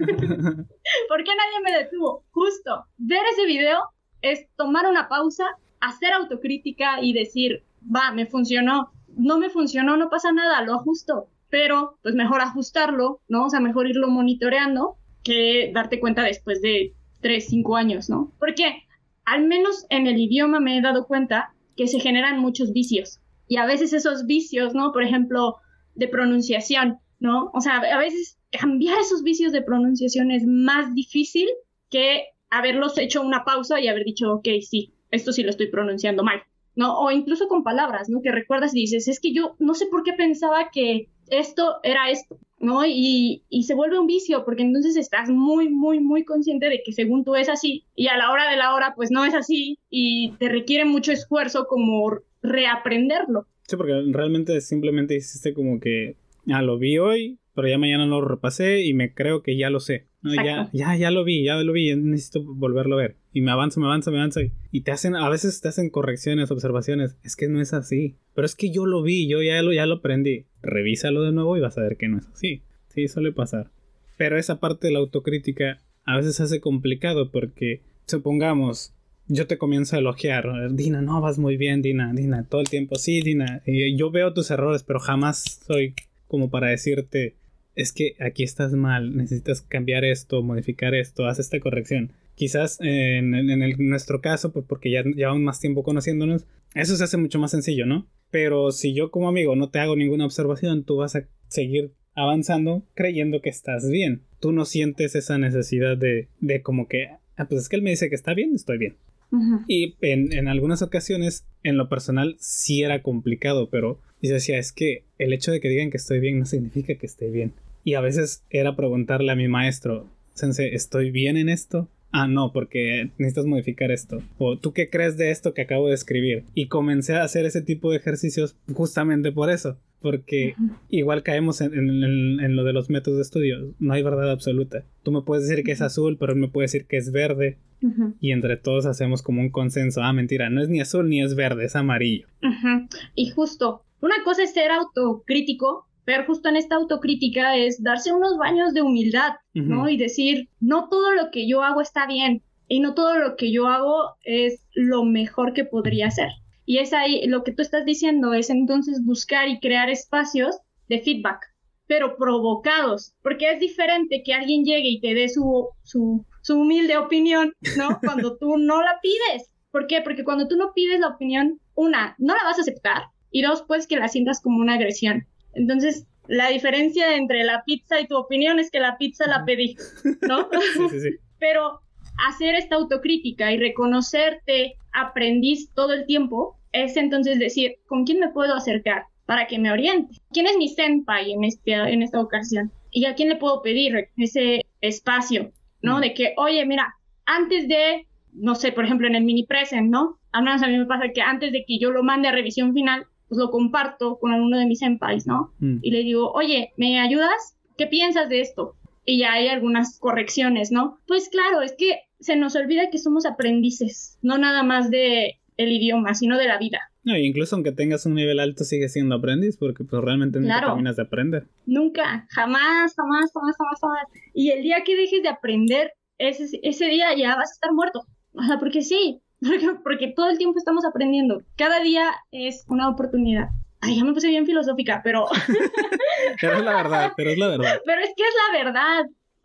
¿Por qué nadie me detuvo? Justo, ver ese video es tomar una pausa, hacer autocrítica y decir, va, me funcionó. No me funcionó, no pasa nada, lo ajusto. Pero, pues mejor ajustarlo, ¿no? O sea, mejor irlo monitoreando que darte cuenta después de tres, cinco años, ¿no? Porque al menos en el idioma me he dado cuenta que se generan muchos vicios. Y a veces esos vicios, ¿no? Por ejemplo, de pronunciación, ¿no? O sea, a veces cambiar esos vicios de pronunciación es más difícil que haberlos hecho una pausa y haber dicho, ok, sí, esto sí lo estoy pronunciando mal, ¿no? O incluso con palabras, ¿no? Que recuerdas y dices, es que yo no sé por qué pensaba que esto era esto, ¿no? Y, y se vuelve un vicio, porque entonces estás muy, muy, muy consciente de que según tú es así, y a la hora de la hora, pues no es así, y te requiere mucho esfuerzo como reaprenderlo. Sí, porque realmente simplemente hiciste como que, ah, lo vi hoy, pero ya mañana lo repasé y me creo que ya lo sé. No, ya, ya, ya lo vi, ya lo vi, necesito volverlo a ver. Y me avanzo, me avanzo, me avanzo. Y te hacen, a veces te hacen correcciones, observaciones. Es que no es así. Pero es que yo lo vi, yo ya lo, ya lo aprendí. Revísalo de nuevo y vas a ver que no es así. Sí, suele pasar. Pero esa parte de la autocrítica a veces se hace complicado porque, supongamos, yo te comienzo a elogiar. Dina, no, vas muy bien, Dina, Dina, todo el tiempo. Sí, Dina, y yo veo tus errores, pero jamás soy como para decirte, es que aquí estás mal, necesitas cambiar esto, modificar esto, haz esta corrección. Quizás eh, en, en, el, en nuestro caso, pues porque ya llevamos más tiempo conociéndonos, eso se hace mucho más sencillo, ¿no? Pero si yo como amigo no te hago ninguna observación, tú vas a seguir avanzando creyendo que estás bien. Tú no sientes esa necesidad de, de como que, ah, pues es que él me dice que está bien, estoy bien. Uh-huh. Y en, en algunas ocasiones, en lo personal, sí era complicado, pero yo decía, es que el hecho de que digan que estoy bien no significa que esté bien. Y a veces era preguntarle a mi maestro, Sensei, ¿estoy bien en esto? Ah, no, porque necesitas modificar esto. O ¿tú qué crees de esto que acabo de escribir? Y comencé a hacer ese tipo de ejercicios justamente por eso. Porque uh-huh. igual caemos en, en, en, en lo de los métodos de estudio. No hay verdad absoluta. Tú me puedes decir que es azul, pero él me puede decir que es verde. Uh-huh. Y entre todos hacemos como un consenso. Ah, mentira, no es ni azul ni es verde, es amarillo. Uh-huh. Y justo, una cosa es ser autocrítico, pero justo en esta autocrítica es darse unos baños de humildad, uh-huh. ¿no? Y decir, no todo lo que yo hago está bien, y no todo lo que yo hago es lo mejor que podría hacer. Y es ahí, lo que tú estás diciendo es entonces buscar y crear espacios de feedback, pero provocados, porque es diferente que alguien llegue y te dé su, su, su humilde opinión, ¿no? Cuando tú no la pides. ¿Por qué? Porque cuando tú no pides la opinión, una, no la vas a aceptar, y dos, pues que la sientas como una agresión. Entonces, la diferencia entre la pizza y tu opinión es que la pizza la pedí, ¿no? Sí, sí, sí. Pero hacer esta autocrítica y reconocerte aprendiz todo el tiempo es entonces decir, ¿con quién me puedo acercar para que me oriente? ¿Quién es mi senpai en, este, en esta ocasión? ¿Y a quién le puedo pedir ese espacio, ¿no? Mm. De que, oye, mira, antes de, no sé, por ejemplo, en el mini present, ¿no? Al menos a mí me pasa que antes de que yo lo mande a revisión final, pues lo comparto con alguno de mis senpais, ¿no? Mm. Y le digo, oye, ¿me ayudas? ¿Qué piensas de esto? Y ya hay algunas correcciones, ¿no? Pues claro, es que se nos olvida que somos aprendices, no nada más de el idioma, sino de la vida. No, incluso aunque tengas un nivel alto, sigues siendo aprendiz, porque pues realmente nunca claro. terminas de aprender. Nunca, jamás, jamás, jamás, jamás, jamás. Y el día que dejes de aprender, ese, ese día ya vas a estar muerto. O sea, porque sí, porque, porque todo el tiempo estamos aprendiendo. Cada día es una oportunidad. Ay, ya me puse bien filosófica, pero... pero es la verdad, pero es la verdad. Pero es que es la verdad.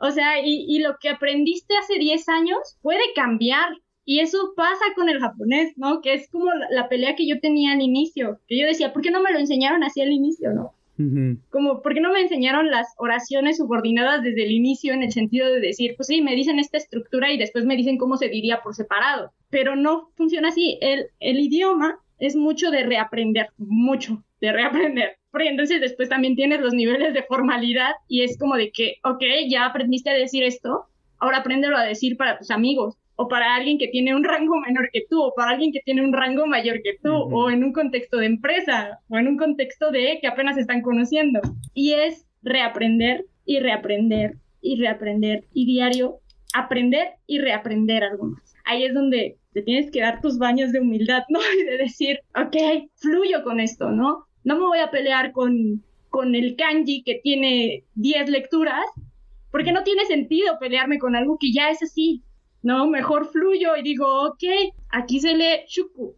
O sea, y, y lo que aprendiste hace diez años puede cambiar. Y eso pasa con el japonés, ¿no? Que es como la, la pelea que yo tenía al inicio. Que yo decía, ¿por qué no me lo enseñaron así al inicio, no? Uh-huh. Como, ¿por qué no me enseñaron las oraciones subordinadas desde el inicio, en el sentido de decir, pues sí, me dicen esta estructura y después me dicen cómo se diría por separado? Pero no funciona así. El, el idioma es mucho de reaprender, mucho de reaprender. Porque entonces después también tienes los niveles de formalidad y es como de que, ok, ya aprendiste a decir esto, ahora apréndelo a decir para tus amigos, o para alguien que tiene un rango menor que tú, o para alguien que tiene un rango mayor que tú, uh-huh. o en un contexto de empresa, o en un contexto de que apenas están conociendo. Y es reaprender y reaprender y reaprender y diario aprender y reaprender algo más. Ahí es donde te tienes que dar tus baños de humildad, ¿no? Y de decir, ok, fluyo con esto, ¿no? No me voy a pelear con, con el kanji que tiene diez lecturas, porque no tiene sentido pelearme con algo que ya es así. No, mejor fluyo y digo, ok, aquí se lee shuku.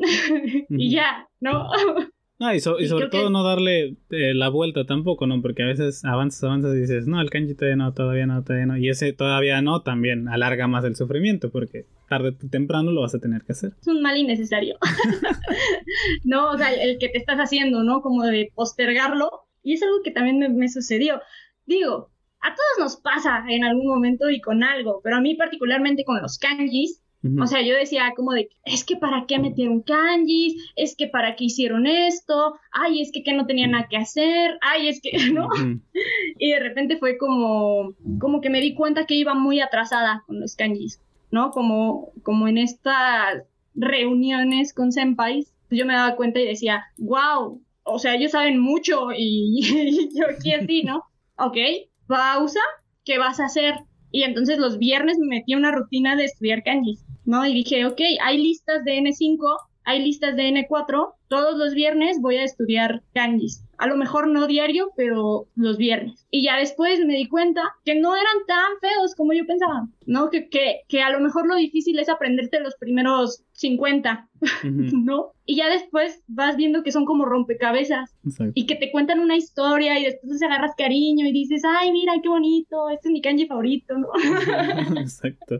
Y ya, ¿no? Ah, y, so, y sobre todo que... no darle eh, la vuelta tampoco, ¿no? Porque a veces avanzas, avanzas y dices, no, el kanji todavía no, todavía no, todavía no. Y ese todavía no también alarga más el sufrimiento, porque tarde o temprano lo vas a tener que hacer. Es un mal innecesario. No, o sea, el que te estás haciendo, ¿no? Como de postergarlo. Y es algo que también me, me sucedió. Digo, a todos nos pasa en algún momento y con algo, pero a mí particularmente con los kanjis, uh-huh. o sea, yo decía como de, es que para qué metieron kanjis, es que para qué hicieron esto, ay, es que, que no tenía nada que hacer, ay, es que, ¿no? Uh-huh. Y de repente fue como, como que me di cuenta que iba muy atrasada con los kanjis, ¿no? Como, como en estas reuniones con senpais, yo me daba cuenta y decía, wow, o sea, ellos saben mucho y, y yo aquí así, ¿no? Ok. Pausa, ¿qué vas a hacer? Y entonces los viernes me metí a una rutina de estudiar kanjis, ¿no? Y dije, ok, hay listas de ene cinco, hay listas de ene cuatro, todos los viernes voy a estudiar kanjis. A lo mejor no diario, pero los viernes. Y ya después me di cuenta que no eran tan feos como yo pensaba, ¿no? Que, que, que a lo mejor lo difícil es aprenderte los primeros cincuenta, uh-huh. ¿no? Y ya después vas viendo que son como rompecabezas. Exacto. Y que te cuentan una historia y después te agarras cariño y dices, ay, mira, qué bonito, este es mi kanji favorito, ¿no? Exacto.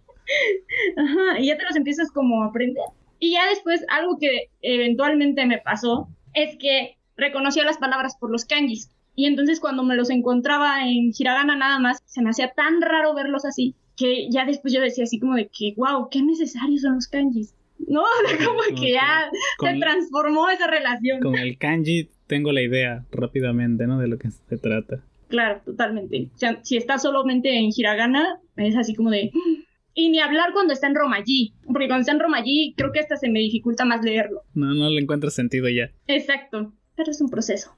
Ajá, y ya te los empiezas como a aprender. Y ya después algo que eventualmente me pasó es que reconocía las palabras por los kanjis. Y entonces cuando me los encontraba en hiragana nada más, se me hacía tan raro verlos así, que ya después yo decía así como de que, wow, qué necesarios son los kanjis. No, como okay. que ya con, se transformó esa relación. Con el kanji tengo la idea rápidamente, ¿no? De lo que se trata. Claro, totalmente. O sea, si está solamente en hiragana, es así como de... Y ni hablar cuando está en romaji, porque cuando está en romaji creo que hasta se me dificulta más leerlo. No, no le encuentro sentido ya. Exacto, pero es un proceso.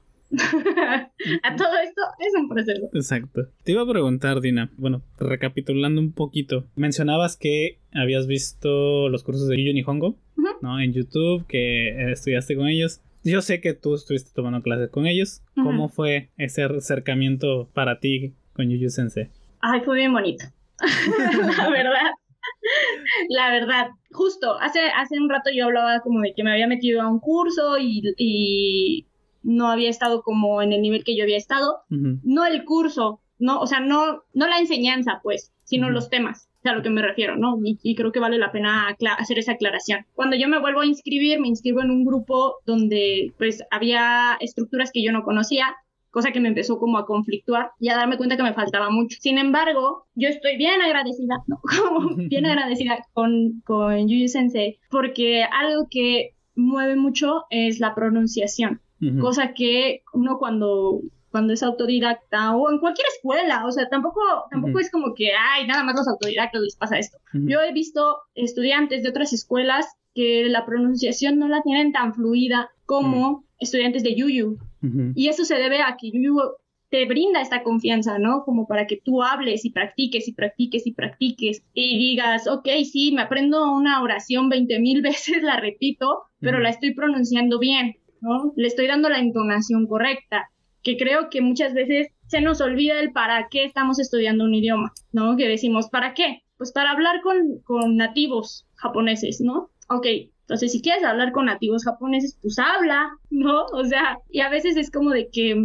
A todo esto es un proceso. Exacto. Te iba a preguntar, Dina, bueno, recapitulando un poquito, mencionabas que habías visto los cursos de Yuyu Nihongo, uh-huh. ¿no? En YouTube, que estudiaste con ellos. Yo sé que tú estuviste tomando clases con ellos. Uh-huh. ¿Cómo fue ese acercamiento para ti con Yuyu Sensei? Ay, fue bien bonito. La verdad. La verdad, justo, hace, hace un rato yo hablaba como de que me había metido a un curso y, y no había estado como en el nivel que yo había estado. Uh-huh. No el curso, no, o sea, no, no la enseñanza, pues, sino uh-huh. los temas, o sea, a lo que me refiero, ¿no? Y, y creo que vale la pena acla- hacer esa aclaración. Cuando yo me vuelvo a inscribir, me inscribo en un grupo donde, pues, había estructuras que yo no conocía, cosa que me empezó como a conflictuar y a darme cuenta que me faltaba mucho. Sin embargo, yo estoy bien agradecida, no, como bien agradecida con, con Yuyu Sensei, porque algo que mueve mucho es la pronunciación, uh-huh. cosa que uno cuando, cuando es autodidacta o en cualquier escuela, o sea, tampoco, tampoco uh-huh. es como que, ay, nada más los autodidactas les pasa esto. Uh-huh. Yo he visto estudiantes de otras escuelas que la pronunciación no la tienen tan fluida como uh-huh. estudiantes de Yuyu. Uh-huh. Y eso se debe a que Yuyu te brinda esta confianza, ¿no? Como para que tú hables y practiques y practiques y practiques y digas, ok, sí, me aprendo una oración veinte mil veces, la repito, pero uh-huh. la estoy pronunciando bien, ¿no? Le estoy dando la entonación correcta, que creo que muchas veces se nos olvida el para qué estamos estudiando un idioma, ¿no? Que decimos, ¿para qué? Pues para hablar con, con nativos japoneses, ¿no? Ok, entonces si quieres hablar con nativos japoneses, pues habla, ¿no? O sea, y a veces es como de que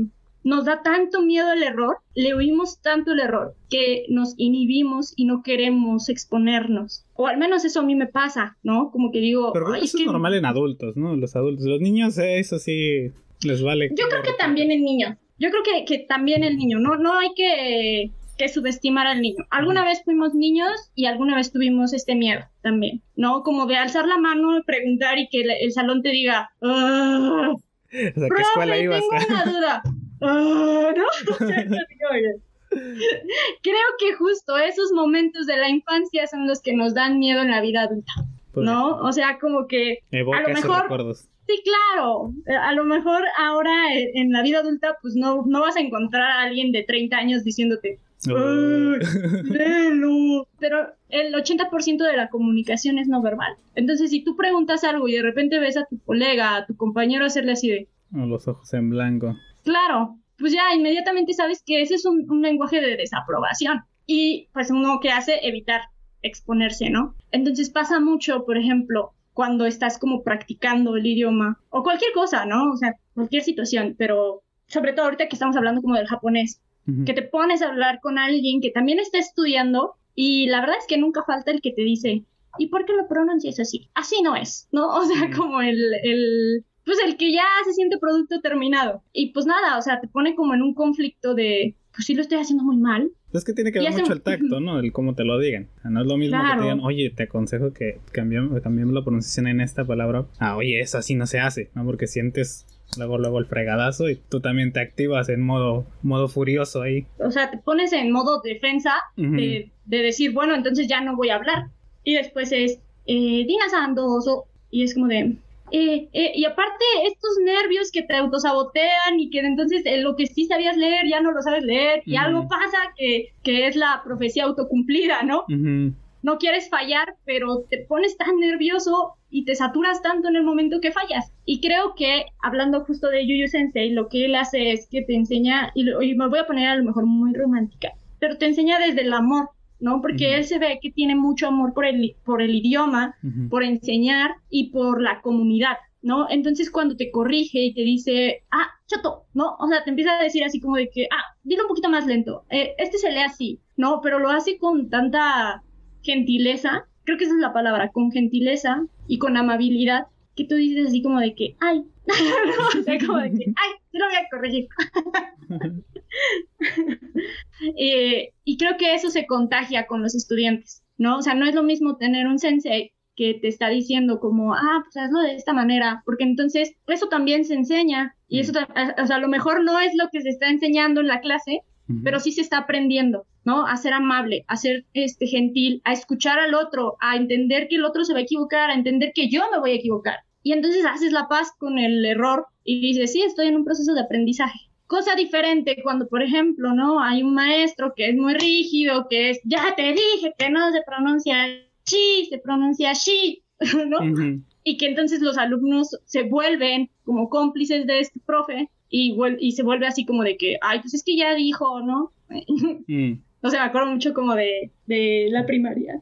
nos da tanto miedo el error, le oímos tanto el error, que nos inhibimos y no queremos exponernos. O al menos eso a mí me pasa, ¿no? Como que digo... Pero Ay, eso es es que... normal en adultos, ¿no? Los adultos. Los niños, eh, eso sí les vale. Yo creo que también en niños. Yo creo que, que también el niño. No, no hay que, que subestimar al niño. Alguna vez fuimos niños y alguna vez tuvimos este miedo también, ¿no? Como de alzar la mano, preguntar y que el, el salón te diga... ¡Ah! O sea, ¿qué escuela ibas? Tengo una duda. Uh, ¿no? Creo que justo esos momentos de la infancia son los que nos dan miedo en la vida adulta, ¿no? O sea, como que evoca a lo esos mejor recuerdos. Sí, claro, a lo mejor ahora en la vida adulta pues no, no vas a encontrar a alguien de treinta años diciéndote Uh. léelo. Pero el ochenta por ciento de la comunicación es no verbal. Entonces, si tú preguntas algo y de repente ves a tu colega, a tu compañero hacerle así de... O los ojos en blanco. Claro, pues ya inmediatamente sabes que ese es un, un lenguaje de desaprobación. Y pues uno que hace, evitar exponerse, ¿no? Entonces pasa mucho, por ejemplo, cuando estás como practicando el idioma o cualquier cosa, ¿no? O sea, cualquier situación, pero sobre todo ahorita que estamos hablando como del japonés. Uh-huh. Que te pones a hablar con alguien que también está estudiando y la verdad es que nunca falta el que te dice, ¿y por qué lo pronuncias así? Así no es, ¿no? O sea, uh-huh. como el, el, pues el que ya se siente producto terminado. Y pues nada, o sea, te pone como en un conflicto de, pues sí lo estoy haciendo muy mal. Es que tiene que ver mucho el tacto, ¿no? El cómo te lo digan. O sea, no es lo mismo claro. que te digan, oye, te aconsejo que cambiemos, cambiemos la pronunciación en esta palabra. Ah, oye, eso así no se hace, ¿no? Porque sientes... Luego, luego el fregadazo y tú también te activas en modo, modo furioso ahí. O sea, te pones en modo defensa uh-huh. de, de decir, bueno, entonces ya no voy a hablar. Y después es, eh, Dina Sandoso. Y es como de, eh, eh, y aparte estos nervios que te autosabotean y que entonces eh, lo que sí sabías leer ya no lo sabes leer. Uh-huh. Y algo pasa que, que es la profecía autocumplida, ¿no? Uh-huh. No quieres fallar, pero te pones tan nervioso y te saturas tanto en el momento que fallas. Y creo que, hablando justo de Yu Yu Sensei, lo que él hace es que te enseña, y, lo, y me voy a poner a lo mejor muy romántica, pero te enseña desde el amor, ¿no? Porque uh-huh. él se ve que tiene mucho amor por el, por el idioma, uh-huh. por enseñar y por la comunidad, ¿no? Entonces cuando te corrige y te dice, ah, chato, ¿no? O sea, te empieza a decir así como de que, ah, dilo un poquito más lento, eh, este se lee así, ¿no? Pero lo hace con tanta... gentileza, creo que esa es la palabra, con gentileza y con amabilidad, que tú dices así como de que, ay, no, o sea, como de que, ay, te lo voy a corregir. eh, y creo que eso se contagia con los estudiantes, ¿no? O sea, no es lo mismo tener un sensei que te está diciendo como, ah, pues hazlo de esta manera, porque entonces eso también se enseña, y eso, o sea, a lo mejor no es lo que se está enseñando en la clase, uh-huh. pero sí se está aprendiendo, ¿no? A ser amable, a ser este, gentil, a escuchar al otro, a entender que el otro se va a equivocar, a entender que yo me voy a equivocar. Y entonces haces la paz con el error y dices, sí, estoy en un proceso de aprendizaje. Cosa diferente cuando, por ejemplo, ¿no? Hay un maestro que es muy rígido, que es, ya te dije que no se pronuncia chi, se pronuncia shi, ¿no? Uh-huh. Y que entonces los alumnos se vuelven como cómplices de este profe y, vuel- y se vuelve así como de que, ay, pues es que ya dijo, ¿no? Mm. O sea, me acuerdo mucho como de, de la primaria.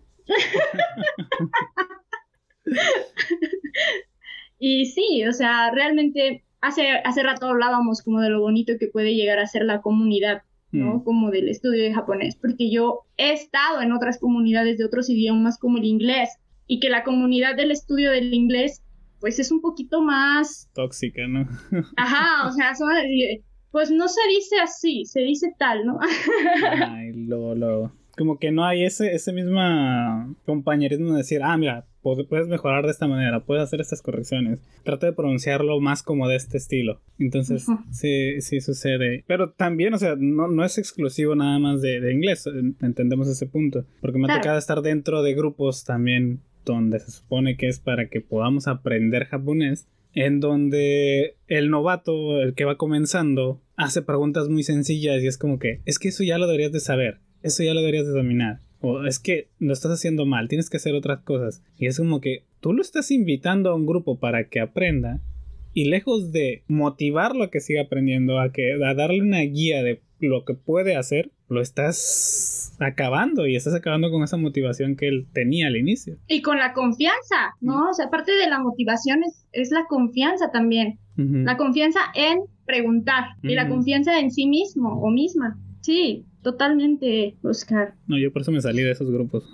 Y sí, o sea, realmente hace, hace rato hablábamos como de lo bonito que puede llegar a ser la comunidad, ¿no? Mm. Como del estudio de japonés, porque yo he estado en otras comunidades de otros idiomas como el inglés, y que la comunidad del estudio del inglés, pues es un poquito más... tóxica, ¿no? Ajá, o sea, son... Pues no se dice así, se dice tal, ¿no? Ay, lo, lo... Como que no hay ese, ese mismo compañerismo de decir, ah, mira, puedes mejorar de esta manera, puedes hacer estas correcciones. Trata de pronunciarlo más como de este estilo. Entonces, uh-huh. sí, sí sucede. Pero también, o sea, no, no es exclusivo nada más de, de inglés, entendemos ese punto. Porque me ha claro. tocado estar dentro de grupos también donde se supone que es para que podamos aprender japonés, en donde el novato, el que va comenzando, hace preguntas muy sencillas y es como que, es que eso ya lo deberías de saber, eso ya lo deberías de dominar, o es que lo estás haciendo mal, tienes que hacer otras cosas. Y es como que tú lo estás invitando a un grupo para que aprenda, y lejos de motivarlo a que siga aprendiendo, a, que, a darle una guía de lo que puede hacer, lo estás acabando y estás acabando con esa motivación que él tenía al inicio. Y con la confianza, ¿no? O sea, aparte de la motivación es, es la confianza también. Uh-huh. La confianza en preguntar Mm. y la confianza en sí mismo o misma. Sí, totalmente, Oscar. No, yo por eso me salí de esos grupos.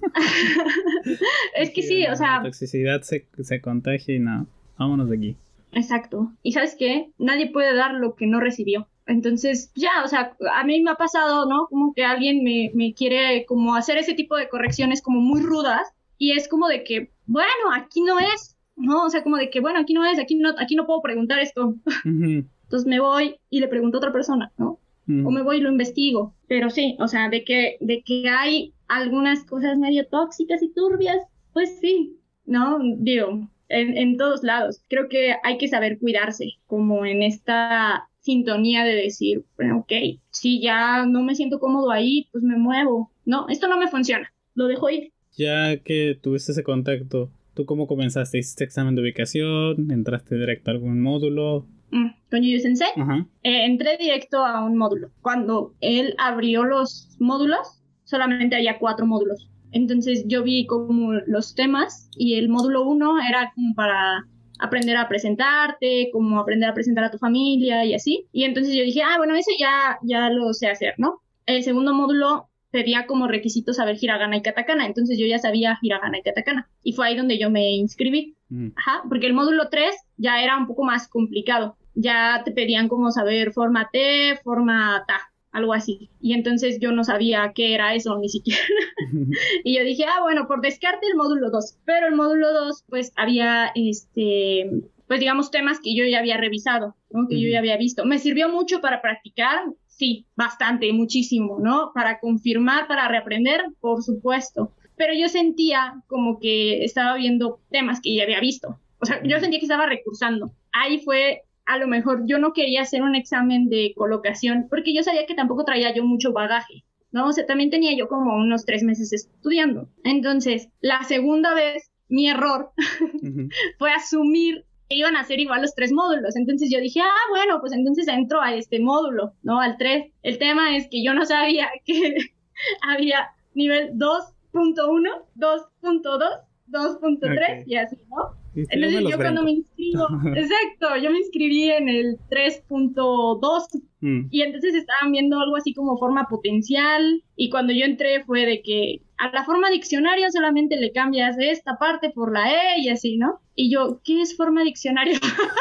Es que sí, o sea... La toxicidad se, se contagia y no, vámonos de aquí. Exacto. Y ¿sabes qué? Nadie puede dar lo que no recibió. Entonces, ya, o sea, a mí me ha pasado, ¿no? Como que alguien me, me quiere como hacer ese tipo de correcciones como muy rudas y es como de que, bueno, aquí no es, ¿no? O sea, como de que, bueno, aquí no es, aquí no, aquí no puedo preguntar esto. Uh-huh. Entonces me voy y le pregunto a otra persona, ¿no? Uh-huh. O me voy y lo investigo. Pero sí, o sea, de que, de que hay algunas cosas medio tóxicas y turbias, pues sí, ¿no? Digo, en, en todos lados. Creo que hay que saber cuidarse, como en esta sintonía de decir, bueno, ok, si ya no me siento cómodo ahí, pues me muevo. No, esto no me funciona, lo dejo ir. Ya que tuviste ese contacto, ¿tú cómo comenzaste? ¿Hiciste examen de ubicación? ¿Entraste directo a algún módulo? Mm, con Yuyu Sensei, uh-huh. eh, entré directo a un módulo. Cuando él abrió los módulos, solamente había cuatro módulos. Entonces yo vi como los temas y el módulo uno era como para aprender a presentarte, como aprender a presentar a tu familia y así. Y entonces yo dije, ah, bueno, eso ya, ya lo sé hacer, ¿no? El segundo módulo pedía como requisito saber hiragana y katakana, entonces yo ya sabía hiragana y katakana. Y fue ahí donde yo me inscribí. Mm. Ajá, porque el módulo tres ya era un poco más complicado. Ya te pedían como saber forma T, forma Ta, algo así. Y entonces yo no sabía qué era eso, ni siquiera. Y yo dije, ah, bueno, por descarte el módulo dos. Pero el módulo dos, pues había, este, pues digamos, temas que yo ya había revisado, ¿no? Que uh-huh. yo ya había visto. Me sirvió mucho para practicar, sí, bastante, muchísimo, ¿no? Para confirmar, para reaprender, por supuesto. Pero yo sentía como que estaba viendo temas que ya había visto. O sea, yo sentía que estaba recursando. Ahí fue, a lo mejor, yo no quería hacer un examen de colocación porque yo sabía que tampoco traía yo mucho bagaje, ¿no? O sea, también tenía yo como unos tres meses estudiando. Entonces, la segunda vez, mi error uh-huh. fue asumir que iban a ser igual los tres módulos. Entonces yo dije, ah, bueno, pues entonces entro a este módulo, ¿no? Al tres. El tema es que yo no sabía que había nivel dos punto uno, dos punto dos, dos punto tres okay. y así, ¿no? Este Entonces yo, yo cuando me inscribo, exacto, yo me inscribí en el tres punto dos mm. y entonces estaban viendo algo así como forma potencial y cuando yo entré fue de que a la forma diccionario solamente le cambias esta parte por la E y así, ¿no? Y yo, ¿qué es forma diccionario?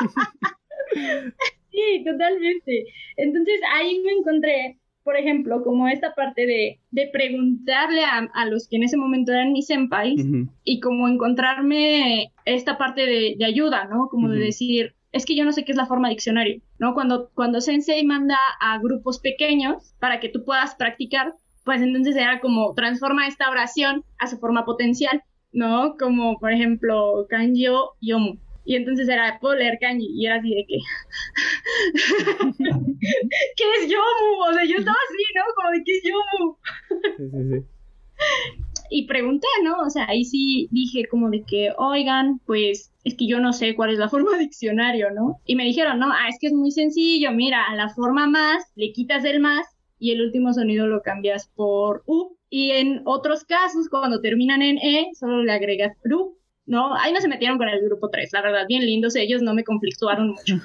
Sí, totalmente. Entonces ahí me encontré, por ejemplo, como esta parte de, de preguntarle a, a los que en ese momento eran mis senpais uh-huh. y como encontrarme esta parte de, de ayuda, ¿no? Como uh-huh. de decir, es que yo no sé qué es la forma diccionario, ¿no? Cuando, cuando Sensei manda a grupos pequeños para que tú puedas practicar, pues entonces era como transforma esta oración a su forma potencial, ¿no? Como, por ejemplo, kanjio yomu. Y entonces era, puedo leer kanji, y era así de que... ¿Qué es yomu? O sea, yo estaba así, ¿no? Como de, ¿qué es yomu? Sí, sí, sí. Y pregunté, ¿no? O sea, ahí sí dije como de que, oigan, pues, es que yo no sé cuál es la forma diccionario, ¿no? Y me dijeron, no, ah, es que es muy sencillo, mira, a la forma más, le quitas el más, y el último sonido lo cambias por U. Y en otros casos, cuando terminan en E, solo le agregas ru. No, ahí no se metieron con el grupo tres, la verdad, bien lindos ellos, no me conflictuaron mucho.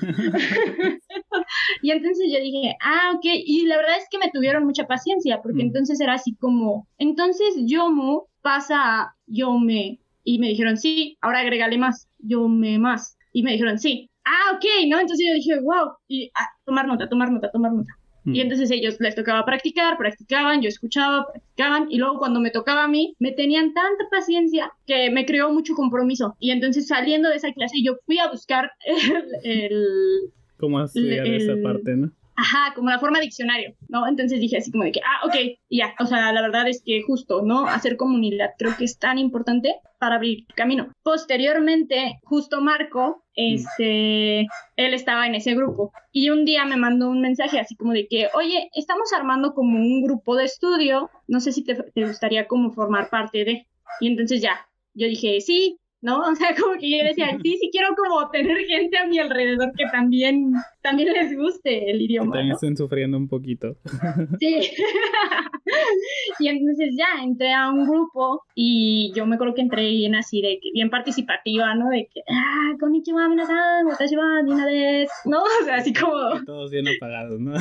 Y entonces yo dije, ah, ok, y la verdad es que me tuvieron mucha paciencia, porque mm. entonces era así como, entonces yomu pasa a yome, y me dijeron, sí, ahora agrégale más, yome más, y me dijeron, sí, ah, ok, ¿no? Entonces yo dije, wow, y ah, tomar nota, tomar nota, tomar nota. Mm. Y entonces ellos les tocaba practicar, practicaban, yo escuchaba, practicaban, y luego cuando me tocaba a mí, me tenían tanta paciencia que me creó mucho compromiso. Y entonces saliendo de esa clase, yo fui a buscar el... el ¿Cómo estudiar el, esa parte, no? Ajá, como la forma diccionario, ¿no? Entonces dije así como de que, ah, ok, y ya. O sea, la verdad es que justo, ¿no? Hacer comunidad creo que es tan importante para abrir camino. Posteriormente, justo Marco, este, mm. él estaba en ese grupo. Y un día me mandó un mensaje así como de que, oye, estamos armando como un grupo de estudio, no sé si te, te gustaría como formar parte de. Y entonces ya, yo dije, sí, ¿no? O sea, como que yo decía, sí, sí quiero como tener gente a mi alrededor que también, también les guste el idioma, que también ¿no? estén sufriendo un poquito. Sí. Y entonces ya entré a un grupo y yo me acuerdo que entré bien así, de que bien participativa, ¿no? De que, ah, konnichiwa, minasan, watashi wa Dina desu, ¿no? O sea, así como... Y todos bien apagados, ¿no?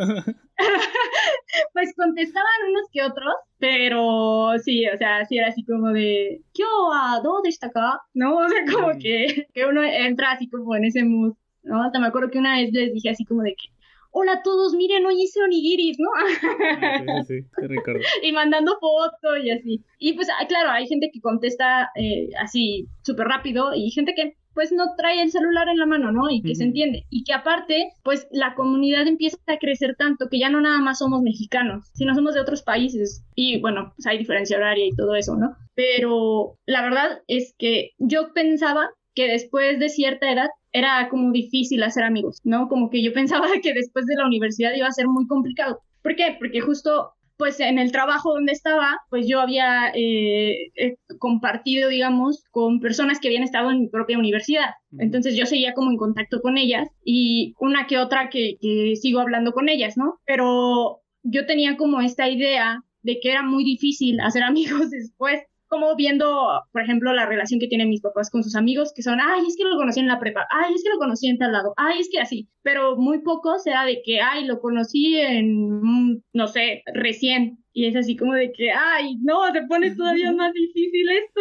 Pues contestaban unos que otros, pero sí, o sea, sí era así como de, ¿Kyo wa dou deshita ka? ¿No? O sea, como Mm. que, que uno entra así como en ese mood, ¿no? Hasta me acuerdo que una vez les dije así como de que, hola a todos, miren, hoy hice onigiris, ¿no? Ah, sí, sí, sí, te recuerdo. Y mandando fotos y así. Y pues, ah, claro, hay gente que contesta eh, así súper rápido y gente que pues no trae el celular en la mano, ¿no? Y que se Ujú. entiende. Y que aparte, pues la comunidad empieza a crecer tanto que ya no nada más somos mexicanos, sino somos de otros países. Y bueno, pues hay diferencia horaria y todo eso, ¿no? Pero la verdad es que yo pensaba que después de cierta edad era como difícil hacer amigos, ¿no? Como que yo pensaba que después de la universidad iba a ser muy complicado. ¿Por qué? Porque justo pues en el trabajo donde estaba, pues yo había eh, eh, compartido, digamos, con personas que habían estado en mi propia universidad. Ujú. Entonces yo seguía como en contacto con ellas y una que otra que, que sigo hablando con ellas, ¿no? Pero yo tenía como esta idea de que era muy difícil hacer amigos después, como viendo, por ejemplo, la relación que tienen mis papás con sus amigos, que son, ay, es que lo conocí en la prepa, ay, es que lo conocí en tal lado, ay, es que así, pero muy poco será de que, ay, lo conocí en, mm, no sé, recién, y es así como de que, ay, no, se pone todavía más difícil esto.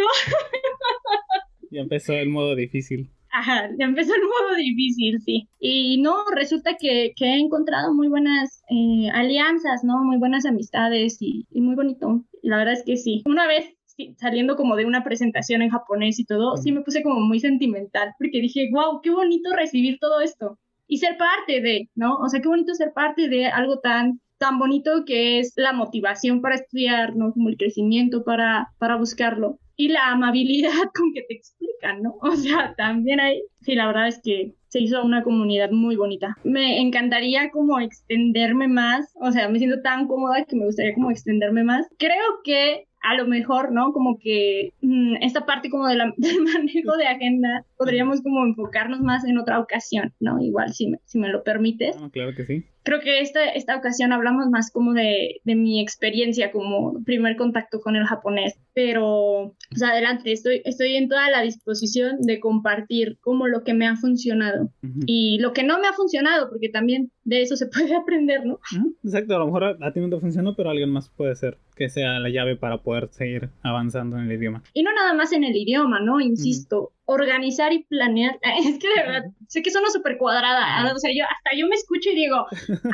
Ya empezó el modo difícil. Ajá, ya empezó el modo difícil, sí. Y no, resulta que, que he encontrado muy buenas eh, alianzas, ¿no? Muy buenas amistades y, y muy bonito. La verdad es que sí. Una vez sí, saliendo como de una presentación en japonés y todo, sí me puse como muy sentimental porque dije, wow, qué bonito recibir todo esto y ser parte de, ¿no? O sea, qué bonito ser parte de algo tan tan bonito que es la motivación para estudiar, ¿no? Como el crecimiento para, para buscarlo. Y la amabilidad con que te explican, ¿no? O sea, también hay, sí, la verdad es que se hizo una comunidad muy bonita. Me encantaría como extenderme más, o sea, me siento tan cómoda que me gustaría como extenderme más. Creo que a lo mejor, ¿no? Como que mmm, esta parte como de la, del manejo de agenda, podríamos como enfocarnos más en otra ocasión, ¿no? Igual, si me, si me lo permites. Ah, claro que sí. Creo que esta, esta ocasión hablamos más como de, de mi experiencia como primer contacto con el japonés, pero pues adelante, estoy, estoy en toda la disposición de compartir como lo que me ha funcionado Ujú. y lo que no me ha funcionado, porque también de eso se puede aprender, ¿no? Ujú. Exacto, a lo mejor a, a ti no te funcionó, pero a alguien más puede ser que sea la llave para poder seguir avanzando en el idioma. Y no nada más en el idioma, ¿no? Insisto, uh-huh. organizar y planear. Es que de verdad, sé que suena súper cuadrada, uh-huh. O sea, yo hasta yo me escucho y digo,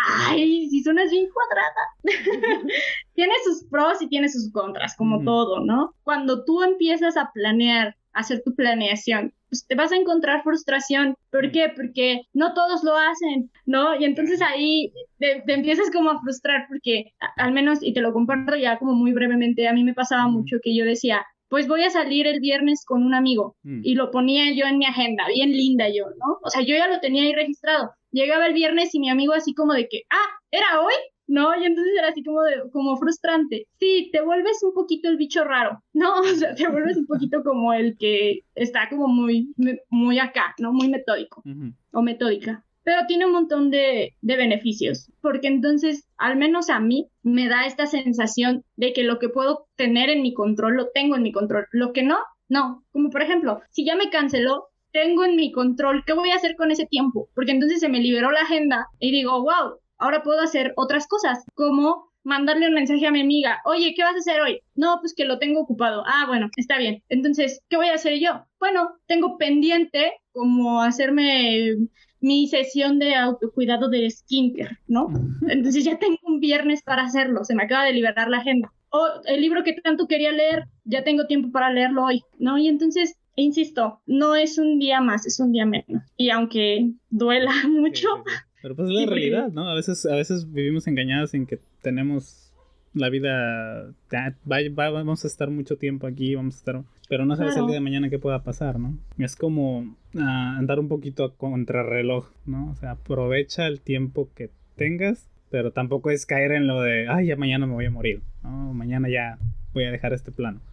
ay, si suenas bien cuadrada. Tiene sus pros y tiene sus contras, como uh-huh. todo, ¿no? Cuando tú empiezas a planear, a hacer tu planeación, pues te vas a encontrar frustración. ¿Por qué? Porque no todos lo hacen, ¿no? Y entonces ahí te, te empiezas como a frustrar porque, a, al menos, y te lo comparto ya como muy brevemente, a mí me pasaba uh-huh. mucho que yo decía, pues voy a salir el viernes con un amigo, uh-huh. y lo ponía yo en mi agenda, bien linda yo, ¿no? O sea, yo ya lo tenía ahí registrado. Llegaba el viernes y mi amigo así como de que, ah, ¿era hoy? ¿No? Y entonces era así como, de, como frustrante. Sí, te vuelves un poquito el bicho raro, ¿no? O sea, te vuelves un poquito como el que está como muy, muy acá, ¿no? Muy metódico uh-huh. o metódica. Pero tiene un montón de, de beneficios, porque entonces, al menos a mí, me da esta sensación de que lo que puedo tener en mi control, lo tengo en mi control. Lo que no, no. Como por ejemplo, si ya me canceló, tengo en mi control, ¿qué voy a hacer con ese tiempo? Porque entonces se me liberó la agenda y digo, wow, ahora puedo hacer otras cosas, como mandarle un mensaje a mi amiga, oye, ¿qué vas a hacer hoy? No, pues que lo tengo ocupado. Ah, bueno, está bien. Entonces, ¿qué voy a hacer yo? Bueno, tengo pendiente como hacerme mi sesión de autocuidado de skincare, ¿no? Entonces ya tengo un viernes para hacerlo, se me acaba de liberar la agenda. O el libro que tanto quería leer, ya tengo tiempo para leerlo hoy, ¿no? Y entonces, insisto, no es un día más, es un día menos. Y aunque duela mucho... Sí, sí, sí. Pero pues es la sí, realidad, ¿no? A veces, a veces vivimos engañados en que tenemos la vida, va, va, vamos a estar mucho tiempo aquí, vamos a estar, pero no sabes claro. el día de mañana qué pueda pasar, ¿no? Es como uh, andar un poquito a contrarreloj, ¿no? O sea, aprovecha el tiempo que tengas, pero tampoco es caer en lo de, ay, ya mañana me voy a morir, ¿no? Mañana ya voy a dejar este plano.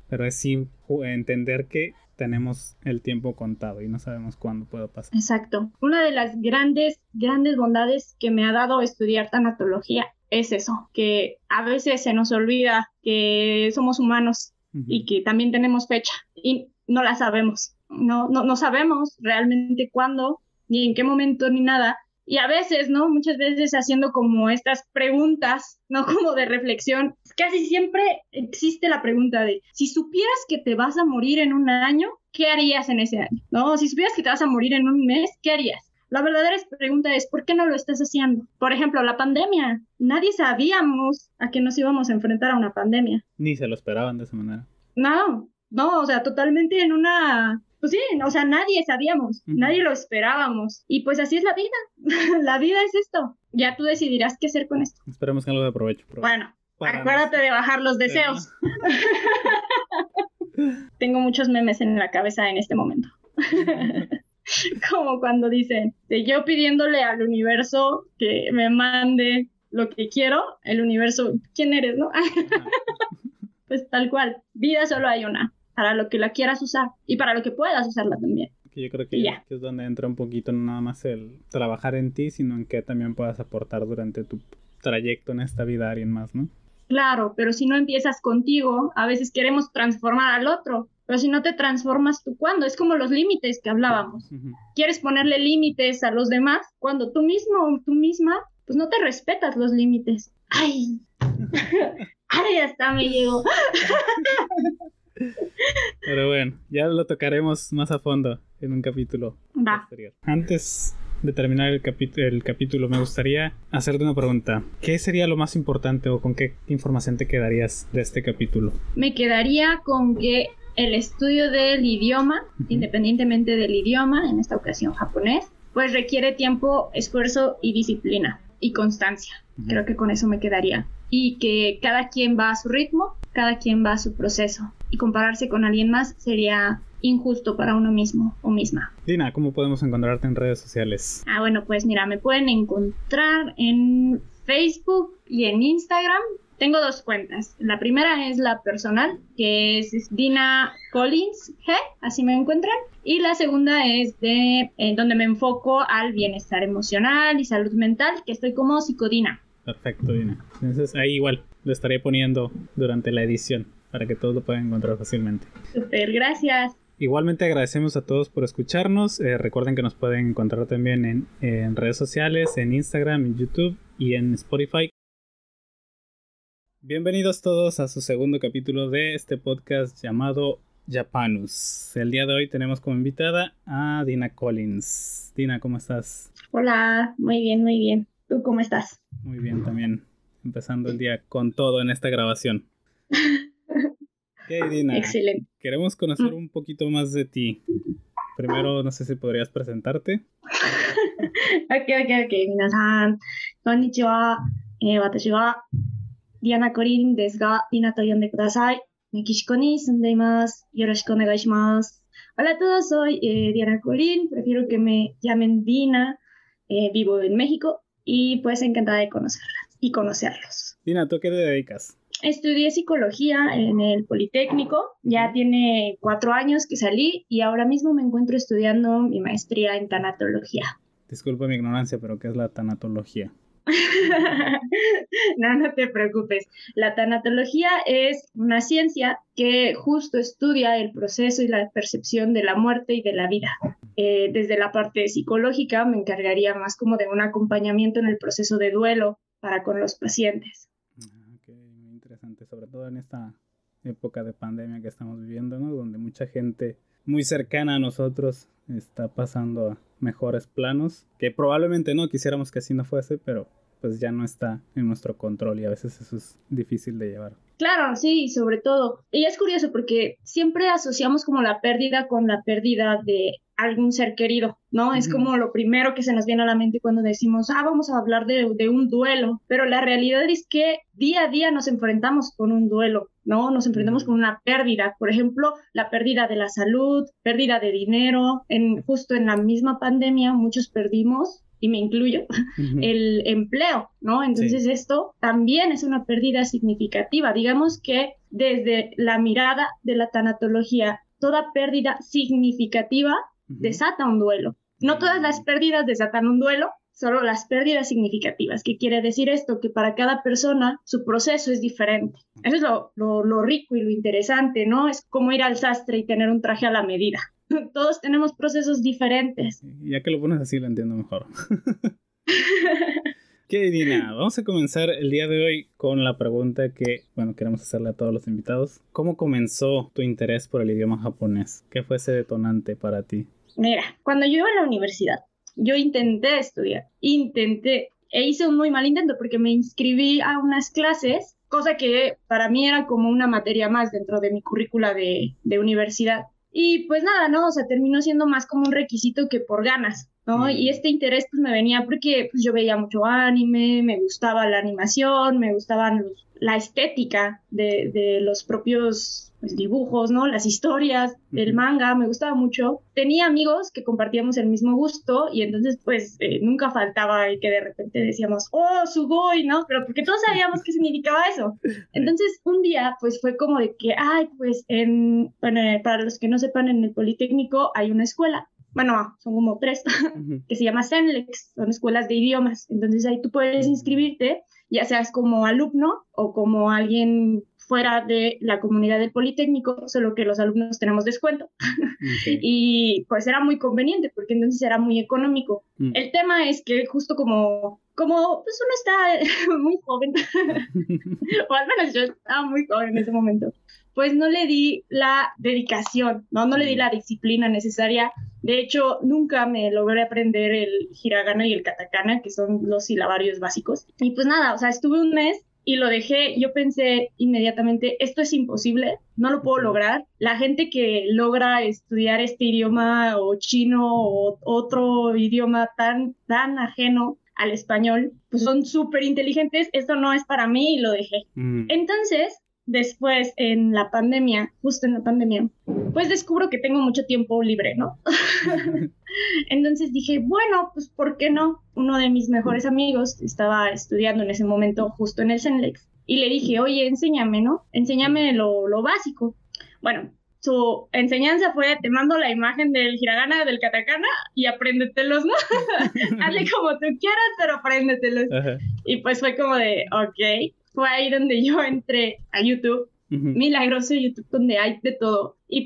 pero es sí entender que tenemos el tiempo contado y no sabemos cuándo puede pasar. Exacto. Una de las grandes, grandes bondades que me ha dado estudiar tanatología es eso, que a veces se nos olvida que somos humanos uh-huh. y que también tenemos fecha y no la sabemos. No, no, no sabemos realmente cuándo, ni en qué momento, ni nada. Y a veces, ¿no? Muchas veces haciendo como estas preguntas, ¿no? Como de reflexión. Casi siempre existe la pregunta de, si supieras que te vas a morir en un año, ¿qué harías en ese año? ¿No? Si supieras que te vas a morir en un mes, ¿qué harías? La verdadera pregunta es, ¿por qué no lo estás haciendo? Por ejemplo, la pandemia. Nadie sabíamos a qué nos íbamos a enfrentar a una pandemia. Ni se lo esperaban de esa manera. No, no, o sea, totalmente en una... Pues sí, o sea, nadie sabíamos, uh-huh. nadie lo esperábamos. Y pues así es la vida. La vida es esto. Ya tú decidirás qué hacer con esto. Esperemos que algo de provecho. provecho. Bueno, Para acuérdate nos... de bajar los deseos. Tengo muchos memes en la cabeza en este momento. Como cuando dicen, de yo pidiéndole al universo que me mande lo que quiero, el universo, ¿quién eres, no? Pues tal cual, vida solo hay una. Para lo que la quieras usar y para lo que puedas usarla también. Que yo creo que, ya. que es donde entra un poquito no nada más el trabajar en ti, sino en que también puedas aportar durante tu trayecto en esta vida a alguien más, ¿no? Claro, pero si no empiezas contigo, a veces queremos transformar al otro, pero si no te transformas tú, ¿cuándo? Es como los límites que hablábamos. Uh-huh. Quieres ponerle límites a los demás cuando tú mismo o tú misma, pues no te respetas los límites. ¡Ay! ¡Ay, hasta me llegó! Pero bueno, ya lo tocaremos más a fondo en un capítulo Va. posterior. Antes de terminar el, capi- el capítulo, me gustaría hacerte una pregunta. ¿Qué sería lo más importante o con qué información te quedarías de este capítulo? Me quedaría con que el estudio del idioma, uh-huh. independientemente del idioma, en esta ocasión japonés, pues requiere tiempo, esfuerzo y disciplina y constancia. Uh-huh. Creo que con eso me quedaría. Y que cada quien va a su ritmo, cada quien va a su proceso. Y compararse con alguien más sería injusto para uno mismo o misma. Dina, ¿cómo podemos encontrarte en redes sociales? Ah, bueno, pues mira, me pueden encontrar en Facebook y en Instagram. Tengo dos cuentas. La primera es la personal, que es Dina Collins G, así me encuentran. Y la segunda es de eh, donde me enfoco al bienestar emocional y salud mental, que estoy como Psicodina. Perfecto, Dina. Entonces ahí igual lo estaré poniendo durante la edición para que todos lo puedan encontrar fácilmente. Súper, gracias. Igualmente agradecemos a todos por escucharnos. Eh, recuerden que nos pueden encontrar también en, en redes sociales, en Instagram, en YouTube y en Spotify. Bienvenidos todos a su segundo capítulo de este podcast llamado Japanus. El día de hoy tenemos como invitada a Dina Collins. Dina, ¿cómo estás? Hola, muy bien, muy bien. ¿Tú cómo estás? Muy bien también. Empezando el día con todo en esta grabación. Ok, Dina. Excelente. Queremos conocer un poquito más de ti. Primero, no sé si podrías presentarte. Ok, ok, ok. Minasan, konnichiwa. Eh, watashi wa Diana Corin desu ga, Dina to yonde kudasai. México ni sundeimasu. Yoroshiku onegai shimasu. Hola a todos, soy eh, Diana Corin. Prefiero que me llamen Dina. Eh, vivo en México y pues encantada de conocerlas y conocerlos. Dina, ¿tú a qué te dedicas? Estudié psicología en el Politécnico, ya tiene cuatro años que salí y ahora mismo me encuentro estudiando mi maestría en tanatología. Disculpa mi ignorancia, pero ¿qué es la tanatología? No, no te preocupes. La tanatología es una ciencia que justo estudia el proceso y la percepción de la muerte y de la vida. Eh, desde la parte psicológica me encargaría más como de un acompañamiento en el proceso de duelo para con los pacientes. Ok, muy interesante, sobre todo en esta época de pandemia que estamos viviendo, ¿no? Donde mucha gente muy cercana a nosotros está pasando a mejores planos, que probablemente no quisiéramos que así no fuese, pero pues ya no está en nuestro control y a veces eso es difícil de llevar. Claro, sí, sobre todo. Y es curioso porque siempre asociamos como la pérdida con la pérdida de algún ser querido, ¿no? Uh-huh. Es como lo primero que se nos viene a la mente cuando decimos, ah, vamos a hablar de, de un duelo, pero la realidad es que día a día nos enfrentamos con un duelo, ¿no? Nos enfrentamos uh-huh. con una pérdida, por ejemplo, la pérdida de la salud, pérdida de dinero, en, justo en la misma pandemia muchos perdimos y me incluyo, uh-huh. el empleo, ¿no? Entonces sí. Esto también es una pérdida significativa. Digamos que desde la mirada de la tanatología, toda pérdida significativa uh-huh. desata un duelo. No todas las pérdidas desatan un duelo, solo las pérdidas significativas. ¿Qué quiere decir esto? Que para cada persona su proceso es diferente. Eso es lo, lo, lo rico y lo interesante, ¿no? Es como ir al sastre y tener un traje a la medida. Todos tenemos procesos diferentes. Ya que lo pones así lo entiendo mejor. ¿Qué, Dina? Vamos a comenzar el día de hoy con la pregunta que, bueno, queremos hacerle a todos los invitados. ¿Cómo comenzó tu interés por el idioma japonés? ¿Qué fue ese detonante para ti? Mira, cuando yo iba a la universidad, yo intenté estudiar, intenté, e hice un muy mal intento porque me inscribí a unas clases, cosa que para mí era como una materia más dentro de mi currícula de, de universidad. Y pues nada, ¿no? O sea, terminó siendo más como un requisito que por ganas, ¿no? Mm. Y este interés pues me venía porque pues, yo veía mucho anime, me gustaba la animación, me gustaban los, la estética de, de los propios pues, dibujos, ¿no? Las historias del manga, me gustaba mucho. Tenía amigos que compartíamos el mismo gusto y entonces pues eh, nunca faltaba el que de repente decíamos, oh, sugoi, ¿no? Pero porque todos sabíamos qué significaba eso. Entonces un día pues fue como de que, ay, pues en, bueno, para los que no sepan, en el Politécnico hay una escuela. Bueno, son como tres, uh-huh. que se llama SENLEX, son escuelas de idiomas. Entonces ahí tú puedes inscribirte, ya seas como alumno o como alguien fuera de la comunidad del Politécnico, solo que los alumnos tenemos descuento. Okay. Y pues era muy conveniente, porque entonces era muy económico. Mm. El tema es que justo como, como pues uno está muy joven, o al menos yo estaba muy joven en ese momento, pues no le di la dedicación, ¿no? No le di la disciplina necesaria. De hecho, nunca me logré aprender el hiragana y el katakana, que son los silabarios básicos. Y pues nada, o sea, estuve un mes y lo dejé. Yo pensé inmediatamente, esto es imposible, no lo puedo lograr. La gente que logra estudiar este idioma o chino o otro idioma tan, tan ajeno al español, pues son súper inteligentes, esto no es para mí y lo dejé. Mm. Entonces, después en la pandemia, justo en la pandemia, pues descubro que tengo mucho tiempo libre, ¿no? Entonces dije, bueno, pues ¿por qué no? Uno de mis mejores amigos estaba estudiando en ese momento justo en el SENLEX y le dije, oye, enséñame, ¿no? Enséñame lo, lo básico. Bueno, su enseñanza fue, te mando la imagen del hiragana, del katakana y apréndetelos, ¿no? Hazle como tú quieras, pero apréndetelos. Uh-huh. Y pues fue como de, ok. Fue ahí donde yo entré a YouTube, uh-huh. milagroso YouTube, donde hay de todo. Y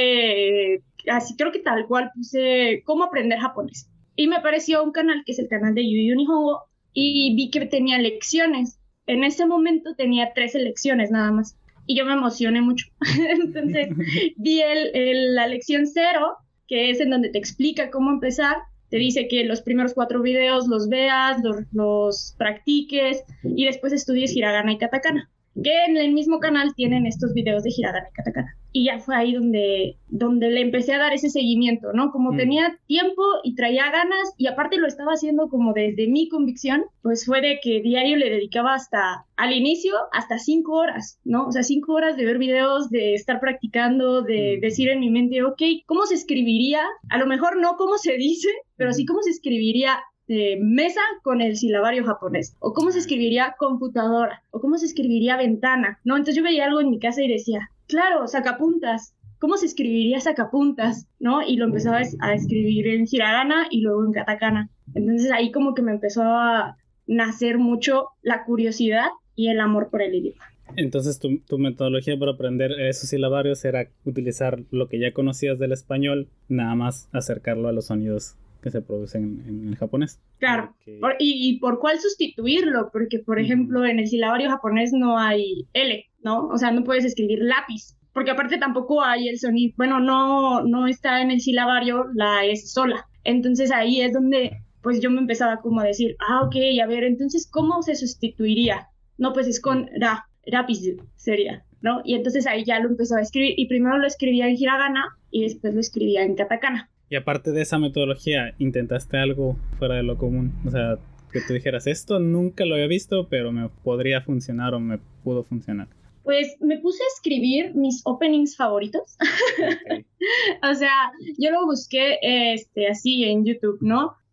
puse, así creo que tal cual, puse cómo aprender japonés. Y me apareció un canal que es el canal de Yu Yu Nihongo y vi que tenía lecciones. En ese momento tenía tres lecciones nada más. Y yo me emocioné mucho. Entonces vi el, el, la lección cero, que es en donde te explica cómo empezar. Te dice que los primeros cuatro videos los veas, los, los practiques y después estudies hiragana y katakana. Que en el mismo canal tienen estos videos de hiragana y katakana. Y ya fue ahí donde, donde le empecé a dar ese seguimiento, ¿no? Como mm. tenía tiempo y traía ganas y aparte lo estaba haciendo como desde mi convicción, pues fue de que diario le dedicaba hasta, al inicio, hasta cinco horas, ¿no? O sea, cinco horas de ver videos, de estar practicando, de mm. decir en mi mente, ok, ¿cómo se escribiría? A lo mejor no cómo se dice, pero sí cómo se escribiría Eh, mesa con el silabario japonés, o cómo se escribiría computadora, o cómo se escribiría ventana, ¿no? Entonces yo veía algo en mi casa y decía, claro, sacapuntas, ¿cómo se escribiría sacapuntas? ¿No? Y lo empezaba a escribir en hiragana y luego en katakana. Entonces ahí como que me empezó a nacer mucho la curiosidad y el amor por el idioma. Entonces tu, tu metodología para aprender esos silabarios era utilizar lo que ya conocías del español, nada más acercarlo a los sonidos que se producen en, en el japonés. Claro, porque... por, y, y por cuál sustituirlo, porque por ejemplo uh-huh. en el silabario japonés no hay L, ¿no? O sea, no puedes escribir lápiz, porque aparte tampoco hay el sonido, bueno, no, no está en el silabario la S sola. Entonces ahí es donde pues yo me empezaba como a decir, ah, ok, a ver, entonces ¿cómo se sustituiría? No, pues es con ra, rapiz sería, ¿no? Y entonces ahí ya lo empezaba a escribir, y primero lo escribía en hiragana y después lo escribía en katakana. Y aparte de esa metodología, ¿intentaste algo fuera de lo común? O sea, que tú dijeras, esto nunca lo había visto, pero me podría funcionar o me pudo funcionar. Pues me puse a escribir mis openings favoritos. Okay. O sea, yo lo busqué este, así en YouTube, ¿no?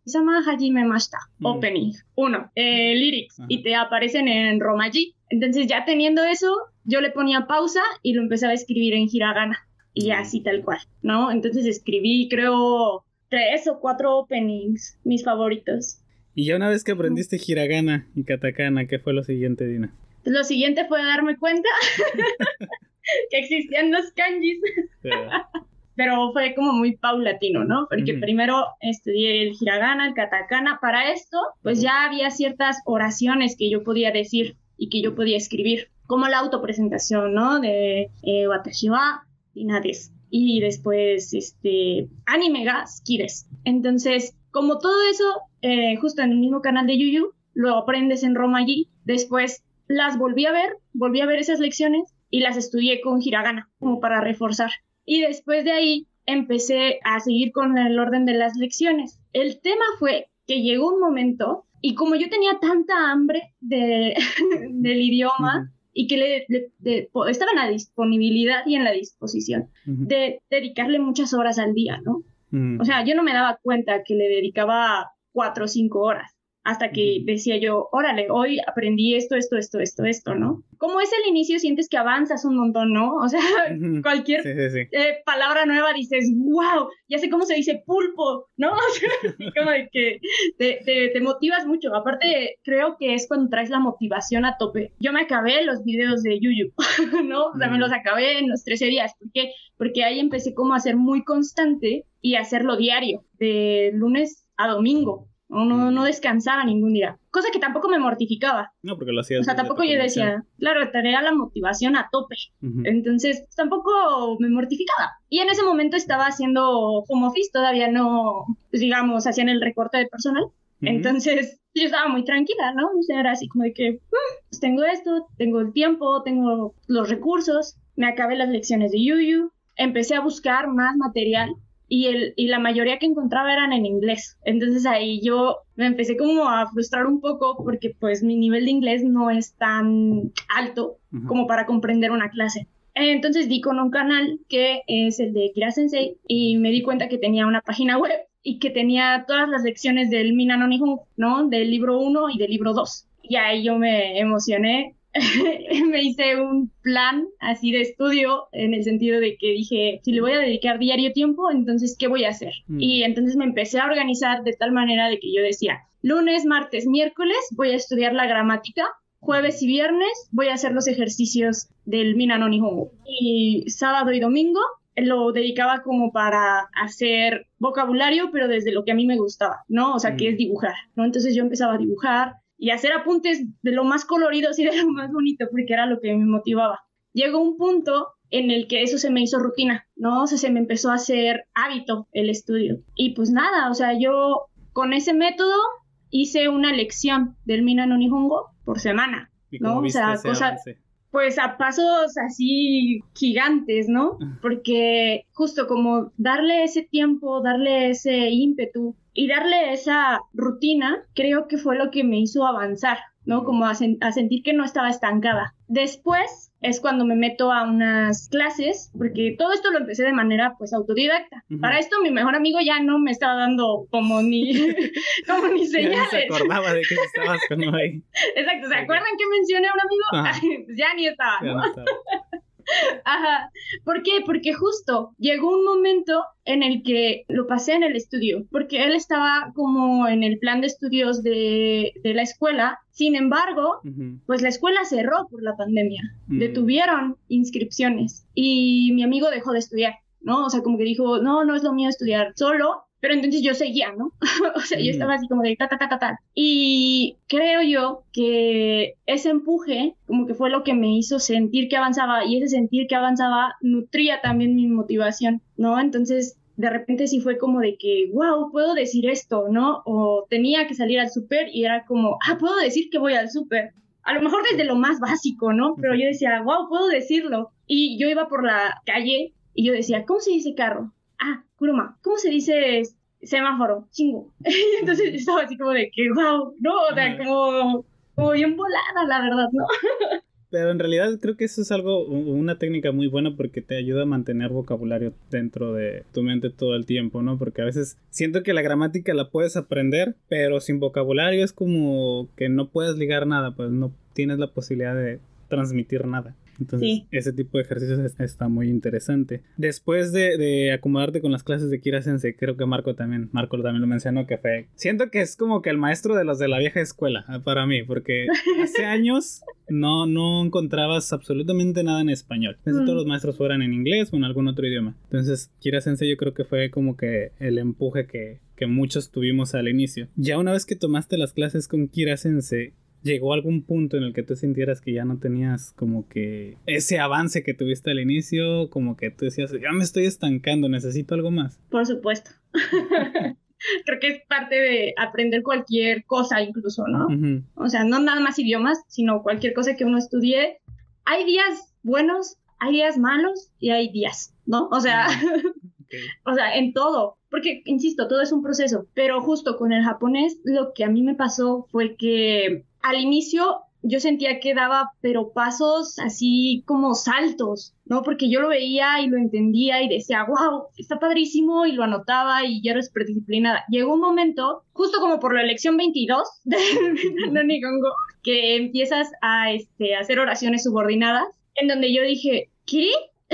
Isama Hajime Mashita, Mm. opening, uno, eh, lyrics, Ajá. y te aparecen en romaji. Entonces ya teniendo eso, yo le ponía pausa y lo empezaba a escribir en hiragana, y Mm. así tal cual, ¿no? Entonces escribí, creo, tres o cuatro openings, mis favoritos. Y ya una vez que aprendiste hiragana y katakana, ¿qué fue lo siguiente, Dina? Pues lo siguiente fue darme cuenta que existían los kanjis. Yeah. Pero fue como muy paulatino, ¿no? Porque Ujú. primero estudié el hiragana, el katakana. Para esto, pues ya había ciertas oraciones que yo podía decir y que yo podía escribir, como la autopresentación, ¿no? De eh, Watashi wa Dina desu. Y después, este, anime ga suki desu. Entonces, como todo eso, eh, justo en el mismo canal de Yuyu, lo aprendes en romaji. Después las volví a ver, volví a ver esas lecciones y las estudié con hiragana, como para reforzar. Y después de ahí empecé a seguir con el orden de las lecciones. El tema fue que llegó un momento, y como yo tenía tanta hambre de, del idioma, Ujú. y que le, le- de- po- estaba en la disponibilidad y en la disposición Ujú. de dedicarle muchas horas al día, ¿no? Ujú. O sea, yo no me daba cuenta que le dedicaba cuatro o cinco horas, hasta que Ujú. decía yo, órale, hoy aprendí esto, esto, esto, esto, esto, ¿no? Como es el inicio, sientes que avanzas un montón, ¿no? O sea, Ujú. cualquier Sí, sí, sí. eh, palabra nueva dices, wow, ya sé cómo se dice pulpo, ¿no? O sea, así como de que te, te, te motivas mucho. Aparte, creo que es cuando traes la motivación a tope. Yo me acabé los videos de Yuyu, ¿no? O sea, me Mm. los acabé en los trece días. ¿Por qué? Porque ahí empecé como a ser muy constante y a hacerlo diario, de lunes a domingo. No, no, Mm. no descansaba ningún día. Cosa que tampoco me mortificaba. No, porque lo O hacías sea, desde tampoco tu yo convicción. decía, claro, tenía la motivación a tope. Ujú. Entonces, pues, tampoco me mortificaba. Y en ese momento estaba haciendo home office, todavía no, pues, digamos, hacían el recorte de personal. Ujú. Entonces, yo estaba muy tranquila, ¿no? O sea, era así como de que, "Mm, pues tengo esto, tengo el tiempo, tengo los recursos, me acabé las lecciones de Yuyu, empecé a buscar más material y, el, y la mayoría que encontraba eran en inglés. Entonces ahí yo me empecé como a frustrar un poco porque pues mi nivel de inglés no es tan alto Ujú. como para comprender una clase. Entonces di con un canal que es el de Kira Sensei y me di cuenta que tenía una página web y que tenía todas las lecciones del Mina no Nihon, ¿no? Del libro uno y del libro dos. Y ahí yo me emocioné. Me hice un plan así de estudio en el sentido de que dije, si le voy a dedicar diario tiempo, entonces, ¿qué voy a hacer? Mm. Y entonces me empecé a organizar de tal manera de que yo decía, lunes, martes, miércoles voy a estudiar la gramática, jueves y viernes voy a hacer los ejercicios del Mina no Nihongo. Y sábado y domingo lo dedicaba como para hacer vocabulario, pero desde lo que a mí me gustaba, ¿no? O sea, que Mm. es dibujar, ¿no? Entonces yo empezaba a dibujar y hacer apuntes de lo más coloridos y de lo más bonito, porque era lo que me motivaba. Llegó un punto en el que eso se me hizo rutina, ¿no? O sea, se me empezó a hacer hábito el estudio. Y pues nada, o sea, yo con ese método hice una lección del Mina no Nihongo por semana, ¿Y cómo ¿no? O viste sea, ese cosa, avance? pues a pasos así gigantes, ¿no? Porque justo como darle ese tiempo, darle ese ímpetu y darle esa rutina, creo que fue lo que me hizo avanzar, ¿no? Como a, sen- a sentir que no estaba estancada. Después es cuando me meto a unas clases, porque todo esto lo empecé de manera pues autodidacta. Ujú. Para esto mi mejor amigo ya no me estaba dando como ni, como ni Ya ni se señales. acordaba de que estabas con uno ahí. Exacto, ¿se Ok. acuerdan que mencioné a un amigo? Ajá. Pues ya ni estaba, Ya ¿no? no estaba. Ajá. ¿Por qué? Porque justo llegó un momento en el que lo pasé en el estudio, porque él estaba como en el plan de estudios de, de la escuela. Sin embargo, Ujú. pues la escuela cerró por la pandemia. Mm. Detuvieron inscripciones y mi amigo dejó de estudiar, ¿no? O sea, como que dijo, no, no es lo mío estudiar solo. Pero entonces yo seguía, ¿no? O sea, yo Ujú. estaba así como de ta, ta, ta, ta, ta. Y creo yo que ese empuje como que fue lo que me hizo sentir que avanzaba y ese sentir que avanzaba nutría también mi motivación, ¿no? Entonces, de repente sí fue como de que, wow, puedo decir esto, ¿no? O tenía que salir al súper y era como, ah, puedo decir que voy al súper. A lo mejor desde lo más básico, ¿no? Pero yo decía, wow, puedo decirlo. Y yo iba por la calle y yo decía, ¿cómo se dice carro? Ah, kuruma. ¿Cómo se dice semáforo? Chingo. Y entonces yo estaba así como de que, wow, no, o sea, Ajá. como, como bien volada, la verdad, ¿no? Pero en realidad creo que eso es algo, una técnica muy buena porque te ayuda a mantener vocabulario dentro de tu mente todo el tiempo, ¿no? Porque a veces siento que la gramática la puedes aprender, pero sin vocabulario es como que no puedes ligar nada, pues no tienes la posibilidad de transmitir nada. Entonces, sí. Ese tipo de ejercicios es, está muy interesante. Después de, de acomodarte con las clases de Kira Sensei, creo que Marco también, Marco también lo mencionó, que fue... Siento que es como que el maestro de los de la vieja escuela, para mí, porque hace años no, no encontrabas absolutamente nada en español. Casi mm. todos los maestros fueran en inglés o en algún otro idioma. Entonces, Kira Sensei yo creo que fue como que el empuje que, que muchos tuvimos al inicio. Ya una vez que tomaste las clases con Kira Sensei, ¿llegó algún punto en el que tú sintieras que ya no tenías como que ese avance que tuviste al inicio? Como que tú decías, ya me estoy estancando, necesito algo más. Por supuesto. Creo que es parte de aprender cualquier cosa incluso, ¿no? Uh-huh. O sea, no nada más idiomas, sino cualquier cosa que uno estudie. Hay días buenos, hay días malos y hay días, ¿no? O sea, okay. O sea, en todo. Porque, insisto, todo es un proceso. Pero justo con el japonés, lo que a mí me pasó fue que al inicio yo sentía que daba, pero pasos así como saltos, ¿no? Porque yo lo veía y lo entendía y decía, wow, está padrísimo, y lo anotaba y ya era súper disciplinada. Llegó un momento, justo como por la lección veintidós de no Nihongo, que empiezas a este, hacer oraciones subordinadas, en donde yo dije, ¿qué?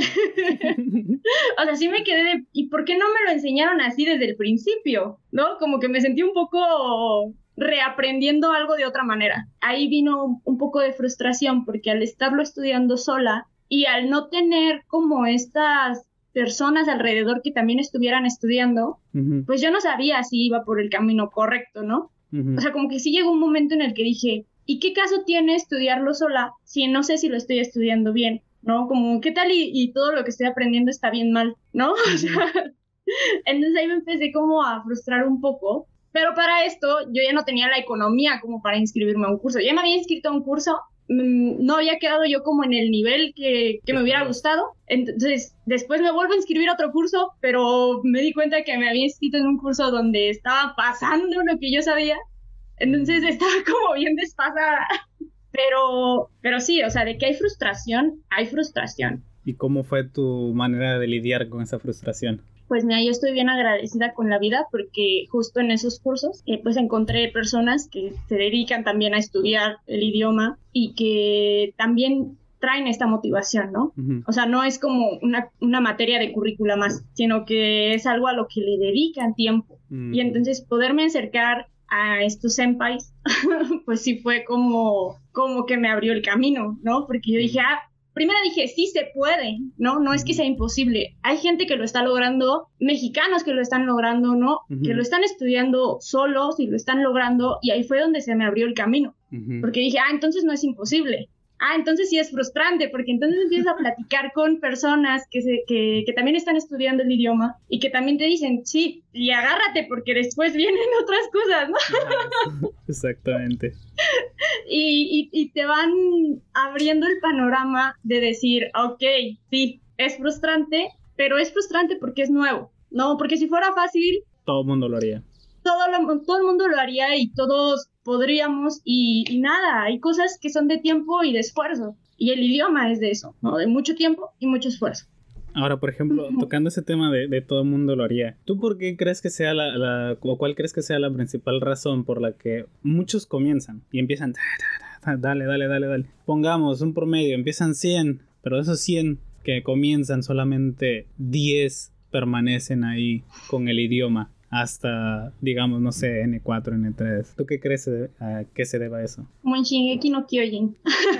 O sea, sí me quedé de, ¿y por qué no me lo enseñaron así desde el principio? ¿No? Como que me sentí un poco reaprendiendo algo de otra manera. Ahí vino un poco de frustración porque al estarlo estudiando sola y al no tener como estas personas alrededor que también estuvieran estudiando, uh-huh. pues yo no sabía si iba por el camino correcto, ¿no? Uh-huh. O sea, como que sí llegó un momento en el que dije, ¿y qué caso tiene estudiarlo sola si no sé si lo estoy estudiando bien? ¿No? Como, ¿qué tal y, y todo lo que estoy aprendiendo está bien mal? ¿No? Uh-huh. O sea, entonces ahí me empecé como a frustrar un poco. Pero para esto yo ya no tenía la economía como para inscribirme a un curso. Ya me había inscrito a un curso, mmm, no había quedado yo como en el nivel que, que me hubiera gustado. Entonces después me vuelvo a inscribir a otro curso, pero me di cuenta que me había inscrito en un curso donde estaba pasando lo que yo sabía. Entonces estaba como bien desfasada. Pero, pero sí, o sea, de que hay frustración, hay frustración. ¿Y cómo fue tu manera de lidiar con esa frustración? Pues mira, yo estoy bien agradecida con la vida porque justo en esos cursos eh, pues encontré personas que se dedican también a estudiar el idioma y que también traen esta motivación, ¿no? Uh-huh. O sea, no es como una, una materia de currícula más, sino que es algo a lo que le dedican tiempo. Uh-huh. Y entonces poderme acercar a estos senpais, pues sí fue como, como que me abrió el camino, ¿no? Porque yo dije, ah, primero dije, sí se puede, ¿no? No es que sea imposible. Hay gente que lo está logrando, mexicanos que lo están logrando, ¿no? Uh-huh. Que lo están estudiando solos y lo están logrando, y ahí fue donde se me abrió el camino. Uh-huh. Porque dije, ah, entonces no es imposible. Ah, entonces sí es frustrante, porque entonces empiezas a platicar con personas que, se, que, que también están estudiando el idioma y que también te dicen, sí, y agárrate porque después vienen otras cosas, ¿no? Exactamente. y, y, y te van abriendo el panorama de decir, ok, sí, es frustrante, pero es frustrante porque es nuevo, ¿no? Porque si fuera fácil... Todo el mundo lo haría. Todo, lo, todo el mundo lo haría y todos podríamos y, y nada, hay cosas que son de tiempo y de esfuerzo y el idioma es de eso, ¿no? De mucho tiempo y mucho esfuerzo. Ahora, por ejemplo, uh-huh. tocando ese tema de, de todo el mundo lo haría, ¿tú por qué crees que sea la, la, o cuál crees que sea la principal razón por la que muchos comienzan y empiezan, dale, dale, dale, dale, pongamos un promedio, empiezan cien, pero de esos cien que comienzan solamente diez permanecen ahí con el idioma? Hasta, digamos, no sé, ene cuatro, ene tres. ¿Tú qué crees a qué se deba eso? Como en Shingeki no Kyojin.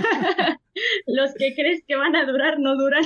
Los que crees que van a durar, no duran.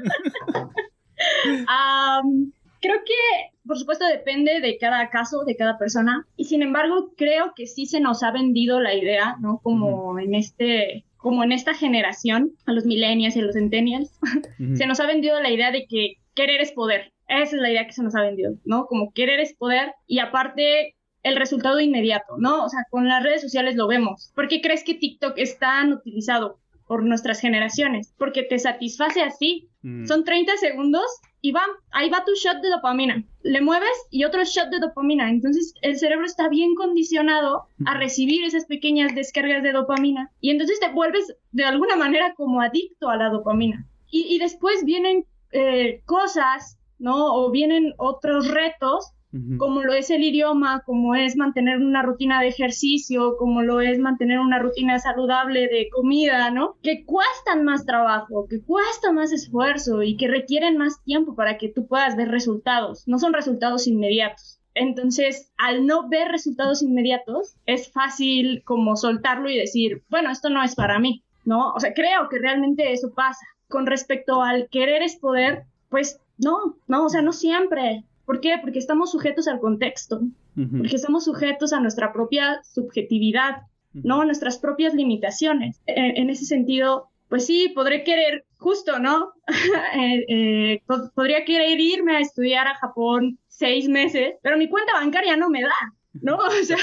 um, creo que, por supuesto, depende de cada caso, de cada persona. Y sin embargo, creo que sí se nos ha vendido la idea, ¿no? Como uh-huh. en este... como en esta generación, a los millennials y a los centennials, uh-huh. se nos ha vendido la idea de que querer es poder. Esa es la idea que se nos ha vendido, ¿no? Como querer es poder y aparte el resultado inmediato, ¿no? O sea, con las redes sociales lo vemos. ¿Por qué crees que TikTok es tan utilizado por nuestras generaciones? Porque te satisface así. Mm. Son treinta segundos y va, ahí va tu shot de dopamina. Le mueves y otro shot de dopamina. Entonces el cerebro está bien condicionado a recibir esas pequeñas descargas de dopamina y entonces te vuelves de alguna manera como adicto a la dopamina. Y, y después vienen eh, cosas, ¿no? O vienen otros retos, uh-huh. como lo es el idioma, como es mantener una rutina de ejercicio, como lo es mantener una rutina saludable de comida, ¿no? Que cuestan más trabajo, que cuesta más esfuerzo y que requieren más tiempo para que tú puedas ver resultados. No son resultados inmediatos. Entonces, al no ver resultados inmediatos, es fácil como soltarlo y decir, bueno, esto no es para mí, ¿no? O sea, creo que realmente eso pasa. Con respecto al querer es poder, pues no, no, o sea, no siempre. ¿Por qué? Porque estamos sujetos al contexto, uh-huh. porque estamos sujetos a nuestra propia subjetividad, uh-huh. ¿no? A nuestras propias limitaciones. En, en ese sentido, pues sí, podré querer, justo, ¿no? eh, eh, pod- podría querer irme a estudiar a Japón seis meses, pero mi cuenta bancaria no me da, ¿no? O sea...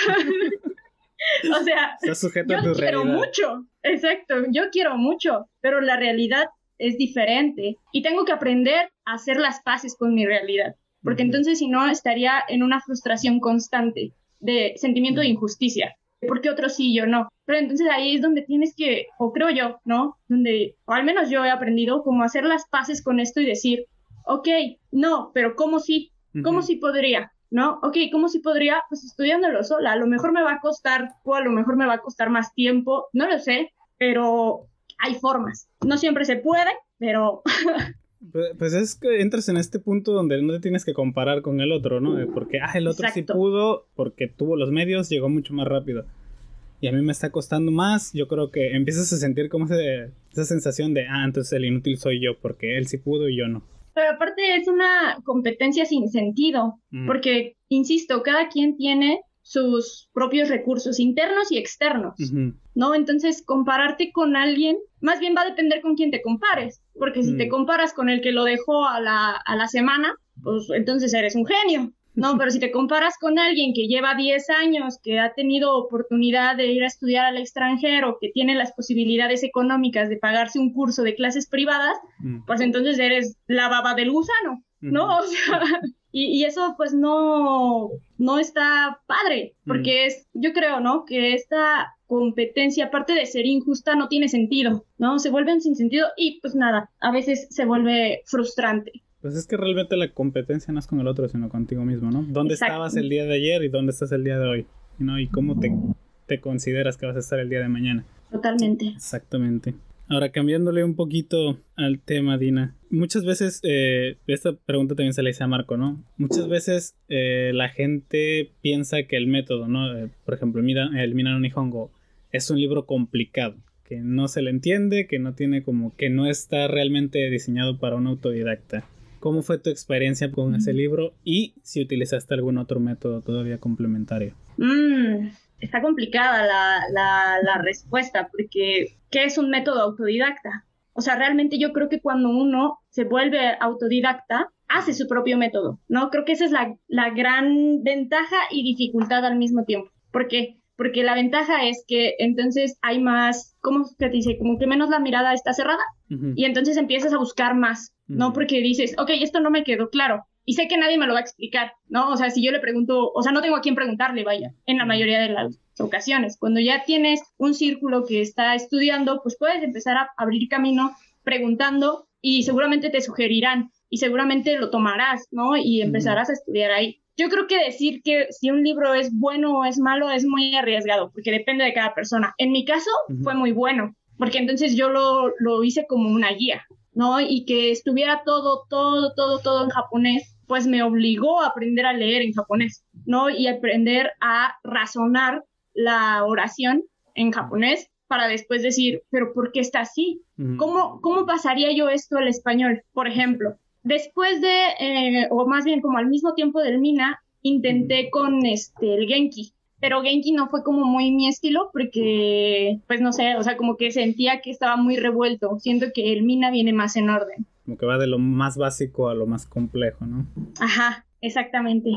O sea, yo quiero realidad. mucho, exacto, yo quiero mucho, pero la realidad es diferente y tengo que aprender a hacer las paces con mi realidad, porque uh-huh. entonces si no estaría en una frustración constante de sentimiento uh-huh. de injusticia, porque otros sí, yo no. Pero entonces ahí es donde tienes que, o creo yo, ¿no? Donde, o al menos yo he aprendido como hacer las paces con esto y decir, ok, no, pero ¿cómo sí? ¿Cómo uh-huh. sí podría? ¿No? Ok, ¿cómo sí podría? Pues estudiándolo sola. A lo mejor me va a costar, o a lo mejor me va a costar más tiempo, no lo sé, pero hay formas. No siempre se puede, pero... pues, pues es que entras en este punto donde no te tienes que comparar con el otro, ¿no? Porque, ah, el otro Exacto. sí pudo, porque tuvo los medios, llegó mucho más rápido. Y a mí me está costando más. Yo creo que empiezas a sentir como ese, esa sensación de, ah, entonces el inútil soy yo, porque él sí pudo y yo no. Pero aparte es una competencia sin sentido, mm. porque, insisto, cada quien tiene sus propios recursos internos y externos, uh-huh. ¿no? Entonces, compararte con alguien, más bien va a depender con quién te compares, porque si mm. te comparas con el que lo dejó a la, a la semana, pues entonces eres un genio, ¿no? Pero si te comparas con alguien que lleva diez años, que ha tenido oportunidad de ir a estudiar al extranjero, que tiene las posibilidades económicas de pagarse un curso de clases privadas, mm. pues entonces eres la baba del gusano, ¿no? Mm. O sea, y, y eso pues no, no está padre, porque mm. es, yo creo, ¿no? Que esta competencia, aparte de ser injusta, no tiene sentido, ¿no? Se vuelve un sinsentido y pues nada, a veces se vuelve frustrante. Pues es que realmente la competencia no es con el otro, sino contigo mismo, ¿no? ¿Dónde Exacto. estabas el día de ayer y dónde estás el día de hoy? ¿No? Y cómo te, te consideras que vas a estar el día de mañana. Totalmente. Exactamente. Ahora, cambiándole un poquito al tema, Dina. Muchas veces, eh, esta pregunta también se la hice a Marco, ¿no? Muchas veces eh, la gente piensa que el método, ¿no? Eh, por ejemplo, el, el Mina no Nihongo es un libro complicado, que no se le entiende, que no tiene como, que no está realmente diseñado para un autodidacta. ¿Cómo fue tu experiencia con ese libro y si utilizaste algún otro método todavía complementario? Mm, está complicada la, la, la respuesta, porque ¿qué es un método autodidacta? O sea, realmente yo creo que cuando uno se vuelve autodidacta, hace su propio método, ¿no? Creo que esa es la, la gran ventaja y dificultad al mismo tiempo. ¿Por qué? Porque la ventaja es que entonces hay más, ¿cómo se dice? Como que menos la mirada está cerrada uh-huh. y entonces empiezas a buscar más, ¿no? Uh-huh. Porque dices, ok, esto no me quedó claro y sé que nadie me lo va a explicar, ¿no? O sea, si yo le pregunto, o sea, no tengo a quién preguntarle, vaya, en la mayoría de las ocasiones. Cuando ya tienes un círculo que está estudiando, pues puedes empezar a abrir camino preguntando y seguramente te sugerirán y seguramente lo tomarás, ¿no? Y empezarás uh-huh. a estudiar ahí. Yo creo que decir que si un libro es bueno o es malo es muy arriesgado, porque depende de cada persona. En mi caso, uh-huh. fue muy bueno, porque entonces yo lo, lo hice como una guía, ¿no? Y que estuviera todo, todo, todo, todo en japonés, pues me obligó a aprender a leer en japonés, ¿no? Y aprender a razonar la oración en japonés para después decir, ¿pero por qué está así? Uh-huh. ¿Cómo, cómo pasaría yo esto al español, por ejemplo? Después de, eh, o más bien como al mismo tiempo del Mina, intenté con este, el Genki, pero Genki no fue como muy mi estilo porque, pues no sé, o sea, como que sentía que estaba muy revuelto. Siento que el Mina viene más en orden. Como que va de lo más básico a lo más complejo, ¿no? Ajá, exactamente.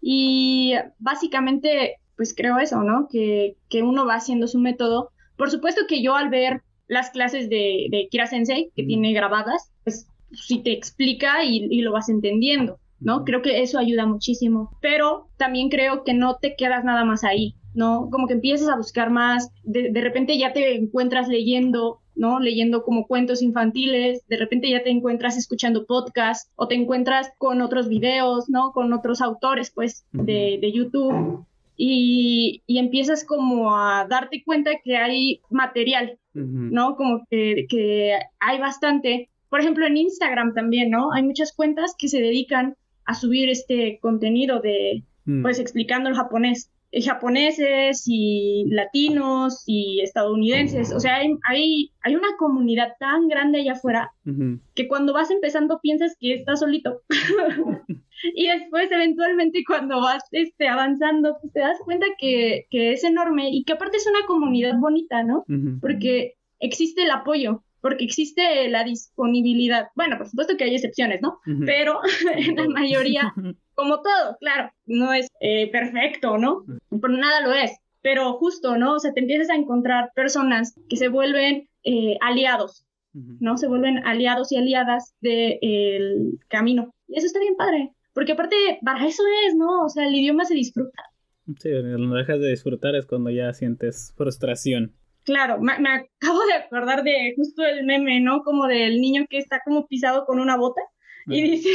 Y básicamente, pues creo eso, ¿no? Que, que uno va haciendo su método. Por supuesto que yo al ver las clases de, de Kira Sensei, que mm. tiene grabadas, pues sí te explica y, y lo vas entendiendo, ¿no? Creo que eso ayuda muchísimo, pero también creo que no te quedas nada más ahí, ¿no? Como que empiezas a buscar más, de, de repente ya te encuentras leyendo, ¿no? Leyendo como cuentos infantiles, de repente ya te encuentras escuchando podcasts o te encuentras con otros videos, ¿no? Con otros autores, pues, de, de YouTube y, y empiezas como a darte cuenta que hay material, ¿no? Como que, que hay bastante. Por ejemplo, en Instagram también, ¿no? Hay muchas cuentas que se dedican a subir este contenido de, mm. pues, explicando el japonés. Japoneses y latinos y estadounidenses, o sea, hay, hay, hay una comunidad tan grande allá afuera uh-huh. que cuando vas empezando piensas que estás solito y después eventualmente cuando vas este, avanzando pues te das cuenta que, que es enorme y que aparte es una comunidad bonita, ¿no? Uh-huh. Porque existe el apoyo, porque existe la disponibilidad, bueno, por supuesto que hay excepciones, ¿no? Uh-huh. Pero en la mayoría, como todo, claro, no es eh, perfecto, ¿no? Pero nada lo es, pero justo, ¿no? O sea, te empiezas a encontrar personas que se vuelven eh, aliados, uh-huh. ¿no? Se vuelven aliados y aliadas del de, camino. Y eso está bien padre, porque aparte, para eso es, ¿no? O sea, el idioma se disfruta. Sí, cuando dejas de disfrutar es cuando ya sientes frustración. Claro, me, me acabo de acordar de justo el meme, ¿no? Como del niño que está como pisado con una bota y dice,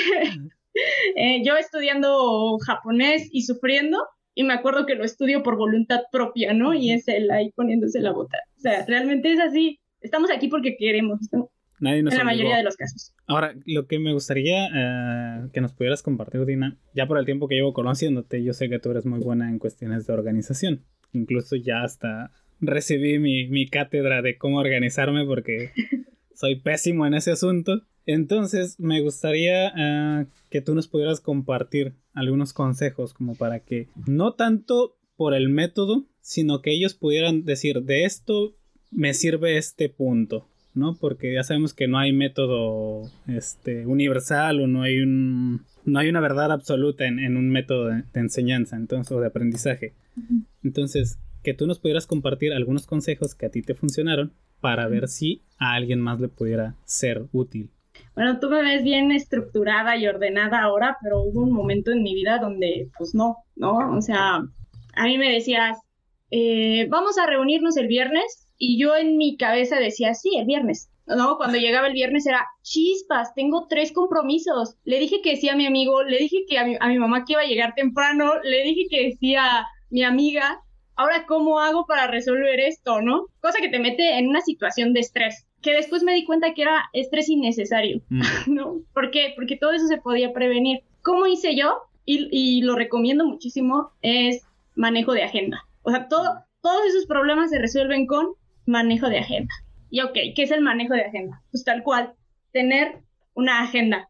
eh, yo estudiando japonés y sufriendo, y me acuerdo que lo estudio por voluntad propia, ¿no? Y es él ahí poniéndose la bota. O sea, realmente es así. Estamos aquí porque queremos, ¿no? Nadie nos en la obligó. Mayoría de los casos. Ahora, lo que me gustaría uh, que nos pudieras compartir, Dina, ya por el tiempo que llevo conociéndote, yo sé que tú eres muy buena en cuestiones de organización. Incluso ya hasta recibí mi, mi cátedra de cómo organizarme porque soy pésimo en ese asunto. Entonces, me gustaría uh, que tú nos pudieras compartir algunos consejos como para que, no tanto por el método, sino que ellos pudieran decir, de esto me sirve este punto, ¿no? Porque ya sabemos que no hay método este, universal o no hay un no hay una verdad absoluta en, en un método de, de enseñanza, entonces, o de aprendizaje. Entonces, que tú nos pudieras compartir algunos consejos que a ti te funcionaron para ver si a alguien más le pudiera ser útil. Bueno, tú me ves bien estructurada y ordenada ahora, pero hubo un momento en mi vida donde, pues no, ¿no? O sea, a mí me decías, eh, vamos a reunirnos el viernes, y yo en mi cabeza decía, sí, el viernes, ¿no? Cuando llegaba el viernes era, chispas, tengo tres compromisos. Le dije que sí a mi amigo, le dije que a mi, a mi mamá que iba a llegar temprano, le dije que sí a mi amiga. Ahora, ¿cómo hago para resolver esto, no? Cosa que te mete en una situación de estrés, que después me di cuenta que era estrés innecesario, mm. ¿no? ¿Por qué? Porque todo eso se podía prevenir. ¿Cómo hice yo? Y, y lo recomiendo muchísimo, es manejo de agenda. O sea, todo, todos esos problemas se resuelven con manejo de agenda. Y ok, ¿qué es el manejo de agenda? Pues tal cual, tener una agenda.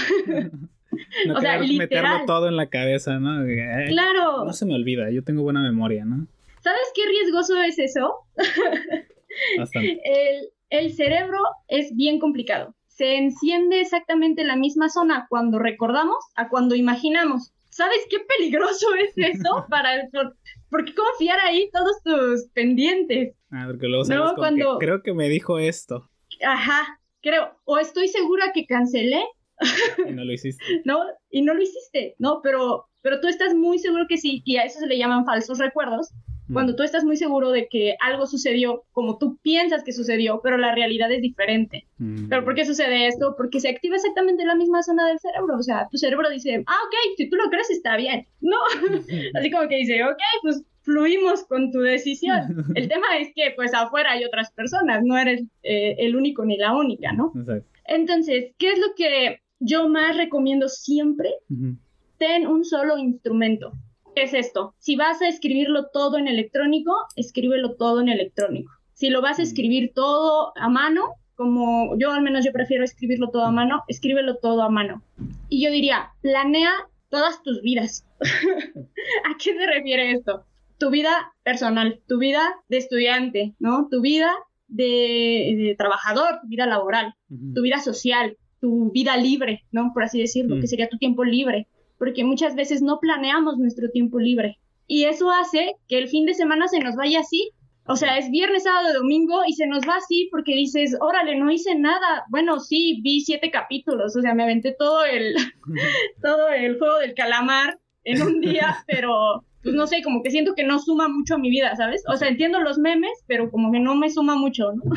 No, o sea, literal. Meterlo todo en la cabeza, ¿no? Eh, claro. No se me olvida, yo tengo buena memoria, ¿no? ¿Sabes qué riesgoso es eso? Bastante. El, el cerebro es bien complicado. Se enciende exactamente la misma zona cuando recordamos a cuando imaginamos. ¿Sabes qué peligroso es eso? Para, por, ¿por qué confiar ahí todos tus pendientes? Ah, porque luego sabes no, cuando... que creo que me dijo esto. Ajá, creo. O estoy segura que cancelé. Y no lo hiciste. No, y no lo hiciste, ¿no? Pero, pero tú estás muy seguro que sí, y a eso se le llaman falsos recuerdos. Cuando tú estás muy seguro de que algo sucedió como tú piensas que sucedió, pero la realidad es diferente. Mm. ¿Pero por qué sucede esto? Porque se activa exactamente la misma zona del cerebro. O sea, tu cerebro dice, ah, ok, si tú lo crees está bien. No, así como que dice, ok, pues fluimos con tu decisión. El tema es que pues afuera hay otras personas, no eres eh, el único ni la única, ¿no? Exacto. Entonces, ¿qué es lo que yo más recomiendo siempre? Uh-huh. Ten un solo instrumento. ¿Qué es esto? Si vas a escribirlo todo en electrónico, escríbelo todo en electrónico. Si lo vas a escribir todo a mano, como yo al menos yo prefiero escribirlo todo a mano, escríbelo todo a mano. Y yo diría, planea todas tus vidas. ¿A qué se refiere esto? Tu vida personal, tu vida de estudiante, ¿no? Tu vida de, de trabajador, tu vida laboral, uh-huh. tu vida social, tu vida libre, ¿no? Por así decirlo, uh-huh. que sería tu tiempo libre. Porque muchas veces no planeamos nuestro tiempo libre. Y eso hace que el fin de semana se nos vaya así, O sea, es viernes, sábado, domingo y se nos va así porque dices, órale, no hice nada. Bueno, sí, vi siete capítulos, o sea, me aventé todo el, todo el juego del calamar en un día, pero pues no sé, como que siento que no suma mucho a mi vida, ¿sabes? O sea, entiendo los memes, pero como que no me suma mucho, ¿no?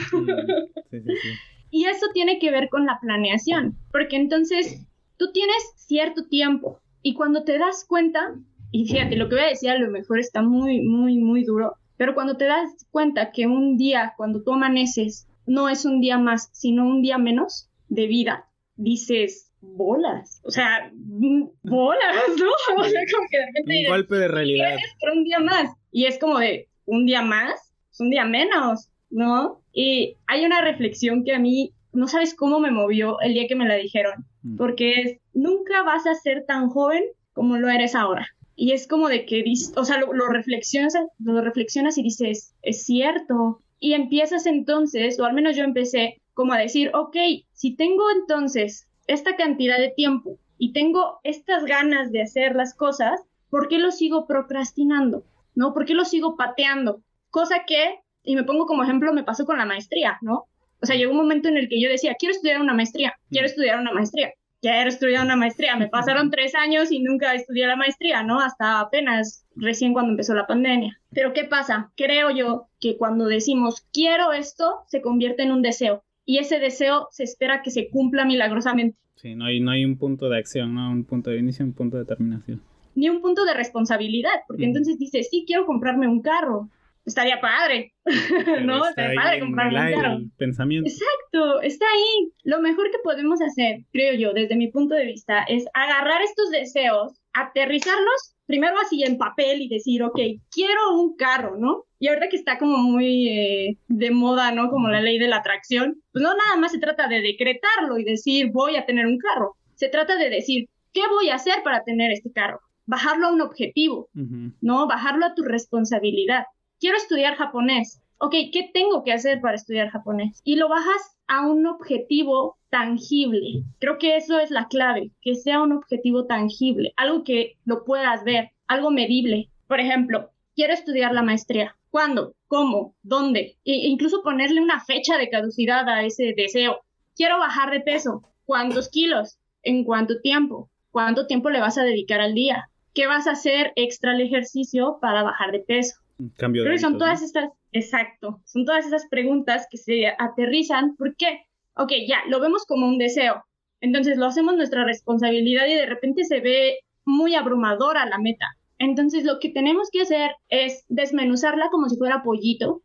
Sí, sí, sí. Y eso tiene que ver con la planeación, porque entonces tú tienes cierto tiempo y cuando te das cuenta, y fíjate, lo que voy a decir a lo mejor está muy, muy, muy duro, pero cuando te das cuenta que un día, cuando tú amaneces, no es un día más, sino un día menos de vida, dices, bolas, o sea, bolas, ¿no? O sea, como que de repente un dices, golpe de realidad. gracias por un día más. Y es como de, un día más, es un día menos, ¿no? Y hay una reflexión que a mí, no sabes cómo me movió el día que me la dijeron, porque es, nunca vas a ser tan joven como lo eres ahora. Y es como de que, o sea, lo, lo, reflexionas, lo reflexionas y dices, es cierto. Y empiezas entonces, o al menos yo empecé, como a decir, ok, si tengo entonces esta cantidad de tiempo y tengo estas ganas de hacer las cosas, ¿por qué lo sigo procrastinando? ¿No? ¿Por qué lo sigo pateando? Cosa que, y me pongo como ejemplo, me pasó con la maestría, ¿no? O sea, llegó un momento en el que yo decía, quiero estudiar una maestría, quiero estudiar una maestría, quiero estudiar una maestría. Me pasaron tres años y nunca estudié la maestría, ¿no? Hasta apenas recién cuando empezó la pandemia. Pero ¿qué pasa? Creo yo que cuando decimos, quiero esto, se convierte en un deseo. Y ese deseo se espera que se cumpla milagrosamente. Sí, no hay, no hay un punto de acción, ¿no? Un punto de inicio, un punto de terminación. Ni un punto de responsabilidad, porque mm. entonces dices, sí, quiero comprarme un carro. Estaría padre, ¿no? Estaría padre comprarme un carro. El pensamiento. Exacto, está ahí. Lo mejor que podemos hacer, creo yo, desde mi punto de vista, es agarrar estos deseos, aterrizarlos, primero así en papel y decir, ok, quiero un carro, ¿no? Y ahorita que está como muy eh, de moda, ¿no? Como la ley de la atracción, pues no nada más se trata de decretarlo y decir, voy a tener un carro. Se trata de decir, ¿qué voy a hacer para tener este carro? Bajarlo a un objetivo, uh-huh. ¿no? Bajarlo a tu responsabilidad. Quiero estudiar japonés. Ok, ¿qué tengo que hacer para estudiar japonés? Y lo bajas a un objetivo tangible. Creo que eso es la clave, que sea un objetivo tangible, algo que lo puedas ver, algo medible. Por ejemplo, quiero estudiar la maestría. ¿Cuándo? ¿Cómo? ¿Dónde? E incluso ponerle una fecha de caducidad a ese deseo. Quiero bajar de peso. ¿Cuántos kilos? ¿En cuánto tiempo? ¿Cuánto tiempo le vas a dedicar al día? ¿Qué vas a hacer extra al ejercicio para bajar de peso? Cambio de Creo que son hábitos, todas ¿no? estas, exacto, son todas esas preguntas que se aterrizan. ¿Por qué? Ok, ya, lo vemos como un deseo. Entonces lo hacemos nuestra responsabilidad y de repente se ve muy abrumadora la meta. Entonces lo que tenemos que hacer es desmenuzarla como si fuera pollito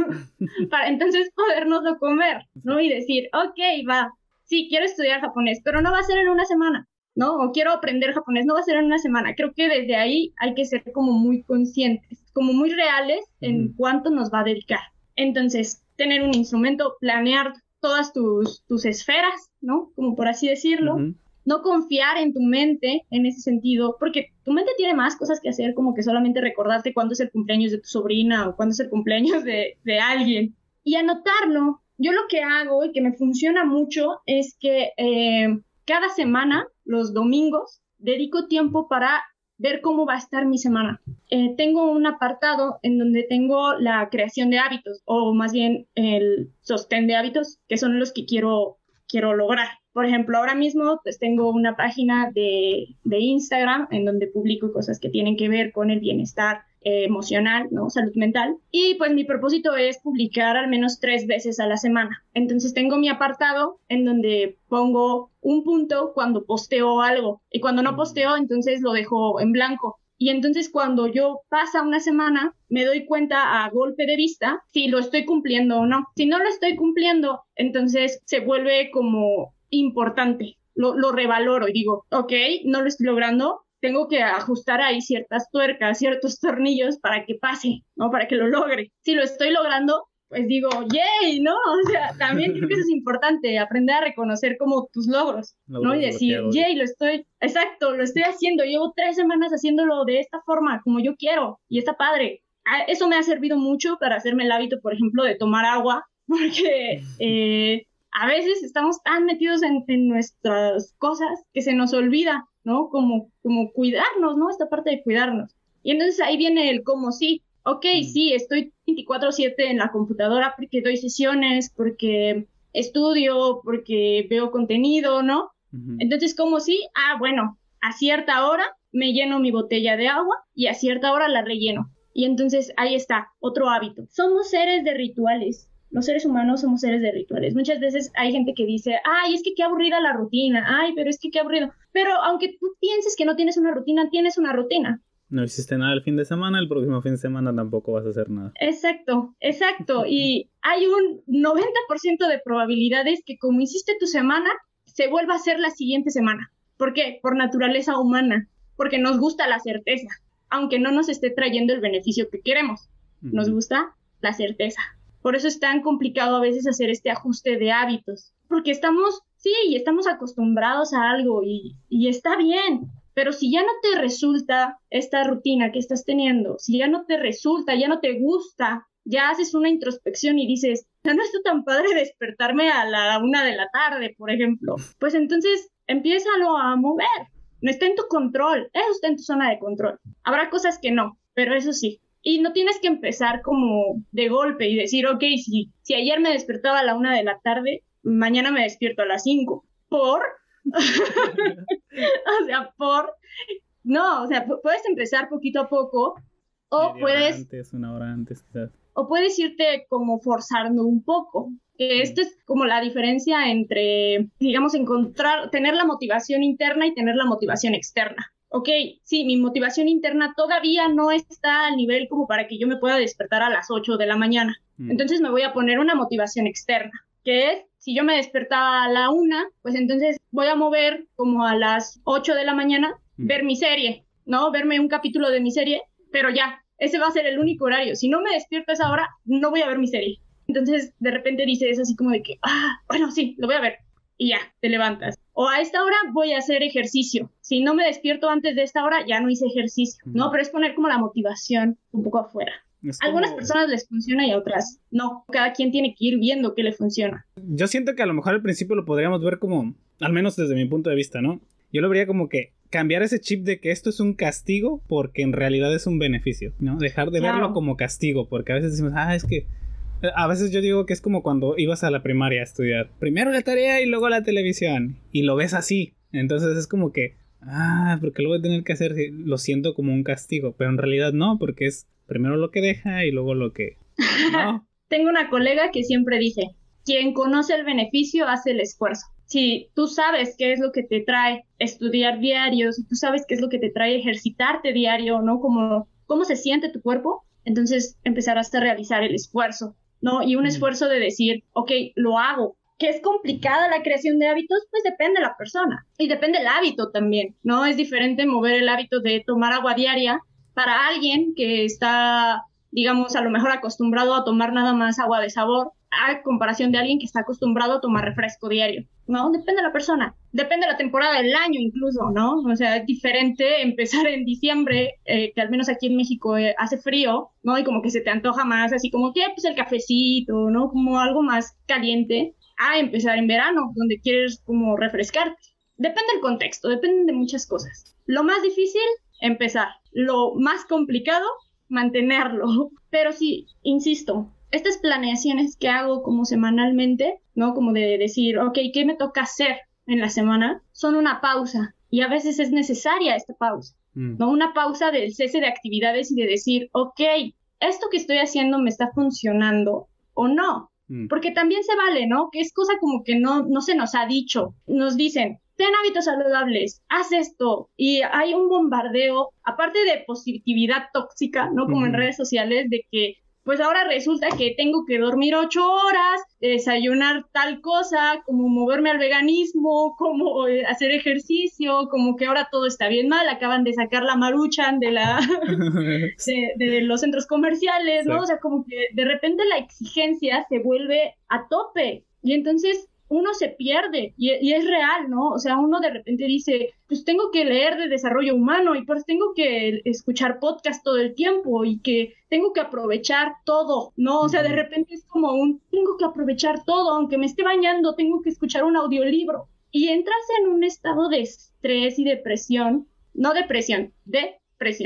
para entonces podernoslo comer, ¿no? Y decir, ok, va, sí, quiero estudiar japonés, pero no va a ser en una semana, ¿no? O quiero aprender japonés, no va a ser en una semana. Creo que desde ahí hay que ser como muy conscientes, como muy reales en uh-huh. cuánto nos va a dedicar. Entonces, tener un instrumento, planear todas tus, tus esferas, ¿no? Como por así decirlo. Uh-huh. No confiar en tu mente en ese sentido, porque tu mente tiene más cosas que hacer, como que solamente recordarte cuándo es el cumpleaños de tu sobrina o cuándo es el cumpleaños de, de alguien. Y anotarlo. Yo lo que hago y que me funciona mucho es que eh, cada semana, los domingos, dedico tiempo para ver cómo va a estar mi semana. Eh, tengo un apartado en donde tengo la creación de hábitos, o más bien el sostén de hábitos, que son los que quiero, quiero lograr. Por ejemplo, ahora mismo pues tengo una página de, de Instagram en donde publico cosas que tienen que ver con el bienestar eh, emocional, ¿no? Salud mental. Y pues mi propósito es publicar al menos tres veces a la semana. Entonces tengo mi apartado en donde pongo un punto cuando posteo algo. Y cuando no posteo, entonces lo dejo en blanco. Y entonces cuando yo pasa una semana, me doy cuenta a golpe de vista si lo estoy cumpliendo o no. Si no lo estoy cumpliendo, entonces se vuelve como importante. Lo, lo revaloro y digo, ok, no lo estoy logrando, tengo que ajustar ahí ciertas tuercas, ciertos tornillos para que pase, ¿no? Para que lo logre. Si lo estoy logrando, pues digo, ¡yay! ¿No? O sea, también creo que eso es importante, aprender a reconocer como tus logros, logros, ¿no? Y decir, ¡yay! Lo estoy, exacto, lo estoy haciendo, llevo tres semanas haciéndolo de esta forma, como yo quiero, y está padre. Eso me ha servido mucho para hacerme el hábito, por ejemplo, de tomar agua, porque eh, a veces estamos tan metidos en, en nuestras cosas que se nos olvida, ¿no? Como, como cuidarnos, ¿no? Esta parte de cuidarnos. Y entonces ahí viene el cómo sí. Ok, mm. sí, estoy veinticuatro siete en la computadora porque doy sesiones, porque estudio, porque veo contenido, ¿no? Uh-huh. Entonces, como si, ah, bueno, a cierta hora me lleno mi botella de agua y a cierta hora la relleno. Y entonces ahí está, otro hábito. Somos seres de rituales. Los seres humanos somos seres de rituales. Muchas veces hay gente que dice, ay, es que qué aburrida la rutina, ay, pero es que qué aburrido. Pero aunque tú pienses que no tienes una rutina, tienes una rutina. No hiciste nada el fin de semana, el próximo fin de semana tampoco vas a hacer nada. Exacto, exacto. Y hay un noventa por ciento de probabilidades que como hiciste tu semana, se vuelva a hacer la siguiente semana. ¿Por qué? Por naturaleza humana, porque nos gusta la certeza, aunque no nos esté trayendo el beneficio que queremos. Nos uh-huh. gusta la certeza. Por eso es tan complicado a veces hacer este ajuste de hábitos, porque estamos, sí, estamos acostumbrados a algo y, y está bien, pero si ya no te resulta esta rutina que estás teniendo, si ya no te resulta, ya no te gusta, ya haces una introspección y dices, no, no está tan padre despertarme a la una de la tarde, por ejemplo, pues entonces empiézalo a mover. No está en tu control, eso está en tu zona de control. Habrá cosas que no, pero eso sí. Y no tienes que empezar como de golpe y decir, ok, si, si ayer me despertaba a la una de la tarde, mañana me despierto a las cinco. ¿Por? O sea, por... No, o sea, puedes empezar poquito a poco o Media puedes... hora antes, una hora antes, quizás. O puedes irte como forzando un poco. Que esta es como la diferencia entre, digamos, encontrar, tener la motivación interna y tener la motivación externa. Ok, sí, mi motivación interna todavía no está al nivel como para que yo me pueda despertar a las ocho de la mañana. Mm. Entonces me voy a poner una motivación externa, que es, si yo me despertaba a la una, pues entonces voy a mover como a las ocho de la mañana, mm. ver mi serie, ¿no? Verme un capítulo de mi serie, pero ya, ese va a ser el único horario. Si no me despierto a esa hora, no voy a ver mi serie. Entonces, de repente dices así como de que, ah, bueno, sí, lo voy a ver. Y ya, te levantas. O a esta hora voy a hacer ejercicio. Si no me despierto antes de esta hora, ya no hice ejercicio, ¿no? Pero es poner como la motivación un poco afuera. A como... algunas personas les funciona y a otras no. Cada quien tiene que ir viendo qué le funciona. Yo siento que a lo mejor al principio lo podríamos ver como, al menos desde mi punto de vista, ¿no? Yo lo vería como que cambiar ese chip de que esto es un castigo porque en realidad es un beneficio, ¿no? Dejar de claro. verlo como castigo, porque a veces decimos, ah, es que... A veces yo digo que es como cuando ibas a la primaria a estudiar. Primero la tarea y luego la televisión. Y lo ves así. Entonces es como que... Ah, porque lo voy a tener que hacer. Lo siento como un castigo. Pero en realidad no, porque es primero lo que deja y luego lo que... No. Tengo una colega que siempre dice, quien conoce el beneficio hace el esfuerzo. Si tú sabes qué es lo que te trae estudiar diario, si tú sabes qué es lo que te trae ejercitarte diario, ¿no? Como, cómo se siente tu cuerpo, entonces empezarás a realizar el esfuerzo, ¿no? Y un esfuerzo de decir, ok, lo hago. ¿Que es complicada la creación de hábitos? Pues depende de la persona. Y depende del hábito también, ¿no? Es diferente mover el hábito de tomar agua diaria para alguien que está, digamos, a lo mejor acostumbrado a tomar nada más agua de sabor, a comparación de alguien que está acostumbrado a tomar refresco diario, ¿no? Depende de la persona. Depende de la temporada del año incluso, ¿no? O sea, es diferente empezar en diciembre, eh, que al menos aquí en México eh, hace frío, ¿no? Y como que se te antoja más, así como que, pues el cafecito, ¿no? Como algo más caliente, a empezar en verano, donde quieres como refrescarte. Depende del contexto, depende de muchas cosas. Lo más difícil, empezar. Lo más complicado, mantenerlo. Pero sí, insisto, estas planeaciones que hago como semanalmente, ¿no? Como de decir, ok, ¿qué me toca hacer en la semana? Son una pausa. Y a veces es necesaria esta pausa, mm. ¿no? Una pausa del cese de actividades y de decir, ok, ¿esto que estoy haciendo me está funcionando o no? Mm. Porque también se vale, ¿no? Que es cosa como que no, no se nos ha dicho. Nos dicen, ten hábitos saludables, haz esto. Y hay un bombardeo, aparte de positividad tóxica, ¿no? Como mm. en redes sociales, de que pues ahora resulta que tengo que dormir ocho horas, desayunar tal cosa, como moverme al veganismo, como eh, hacer ejercicio, como que ahora todo está bien mal, acaban de sacar la Maruchan de la de, de los centros comerciales, ¿no? Sí. O sea, como que de repente la exigencia se vuelve a tope y entonces uno se pierde y, y es real, ¿no? O sea, uno de repente dice, pues tengo que leer de desarrollo humano y pues tengo que escuchar podcast todo el tiempo y que tengo que aprovechar todo, ¿no? O sea, de repente es como un, tengo que aprovechar todo, aunque me esté bañando, tengo que escuchar un audiolibro. Y entras en un estado de estrés y depresión, no depresión, depresión, ¿no?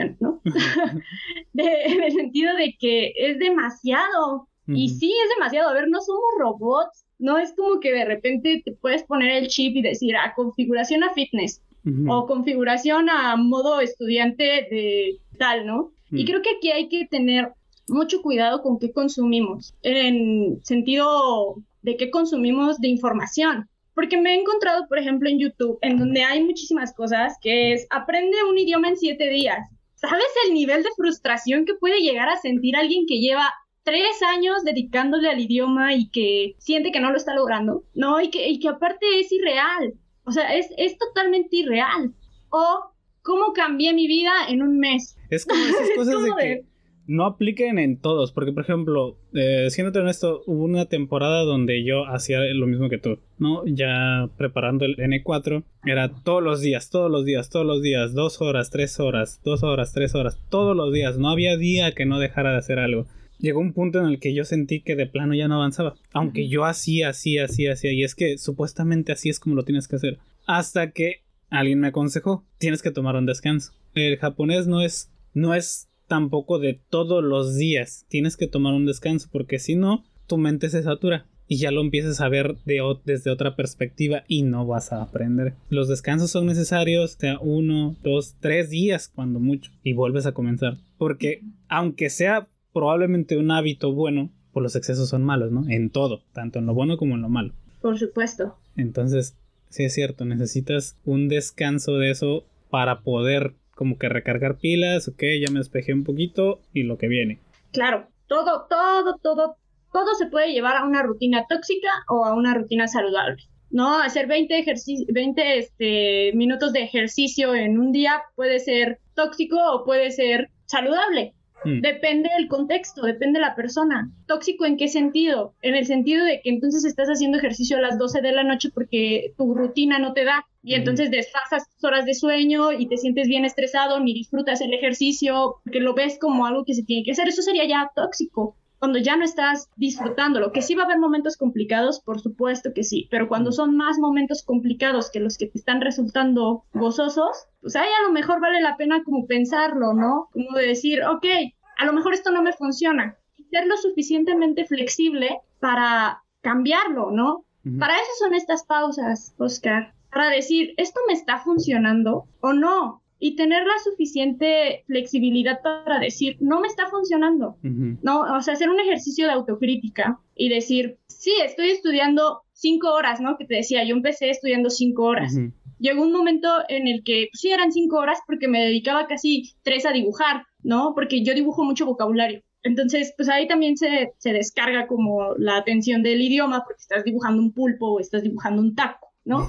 de, en el sentido de que es demasiado. Uh-huh. Y sí, es demasiado. A ver, no somos robots. No es como que de repente te puedes poner el chip y decir, ah, configuración a fitness. Uh-huh. O configuración a modo estudiante de tal, ¿no? Uh-huh. Y creo que aquí hay que tener mucho cuidado con qué consumimos. En sentido de qué consumimos de información. Porque me he encontrado, por ejemplo, en YouTube, en donde hay muchísimas cosas, que es, aprende un idioma en siete días. ¿Sabes el nivel de frustración que puede llegar a sentir alguien que lleva tres años dedicándole al idioma y que siente que no lo está logrando? No, y que, y que aparte es irreal. O sea, es, es totalmente irreal. O, ¿cómo cambié mi vida en un mes? Es como esas cosas de que no apliquen en todos, porque por ejemplo, eh, siéndote honesto, hubo una temporada donde yo hacía lo mismo que tú, ¿no? Ya preparando el ene cuatro, era todos los días, todos los días, todos los días, dos horas, tres horas, dos horas, tres horas, todos los días, no había día que no dejara de hacer algo. Llegó un punto en el que yo sentí que de plano ya no avanzaba, aunque yo hacía, hacía, hacía, hacía, y es que supuestamente así es como lo tienes que hacer, hasta que alguien me aconsejó, tienes que tomar un descanso. El japonés no es, no es tampoco de todos los días, tienes que tomar un descanso porque si no, tu mente se satura y ya lo empiezas a ver de o- desde otra perspectiva y no vas a aprender. Los descansos son necesarios, o sea, uno, dos, tres días cuando mucho y vuelves a comenzar, porque aunque sea probablemente un hábito bueno, pues los excesos son malos, ¿no? En todo, tanto en lo bueno como en lo malo. Por supuesto. Entonces, sí es cierto, necesitas un descanso de eso para poder como que recargar pilas, ok, ya me despejé un poquito y lo que viene. Claro, todo, todo, todo, todo se puede llevar a una rutina tóxica o a una rutina saludable, ¿no? Hacer veinte, ejerci- veinte este, minutos de ejercicio en un día puede ser tóxico o puede ser saludable. Mm. Depende del contexto, depende de la persona. ¿Tóxico en qué sentido? En el sentido de que entonces estás haciendo ejercicio a las doce de la noche porque tu rutina no te da y entonces desfasas tus horas de sueño y te sientes bien estresado, ni disfrutas el ejercicio porque lo ves como algo que se tiene que hacer. Eso sería ya tóxico, cuando ya no estás disfrutándolo. Que sí va a haber momentos complicados, por supuesto que sí, pero cuando son más momentos complicados que los que te están resultando gozosos, pues ahí a lo mejor vale la pena como pensarlo, ¿no? Como de decir, ok, a lo mejor esto no me funciona. Y ser lo suficientemente flexible para cambiarlo, ¿no? Uh-huh. Para eso son estas pausas, Oscar. Para decir, ¿esto me está funcionando o no? Y tener la suficiente flexibilidad para decir, no me está funcionando. Uh-huh. No, o sea, hacer un ejercicio de autocrítica y decir, sí, estoy estudiando cinco horas, ¿no? Que te decía, yo empecé estudiando cinco horas. Uh-huh. Llegó un momento en el que, pues, sí, eran cinco horas porque me dedicaba casi tres a dibujar, ¿no? Porque yo dibujo mucho vocabulario. Entonces, pues ahí también se, se descarga como la atención del idioma porque estás dibujando un pulpo o estás dibujando un taco, ¿no?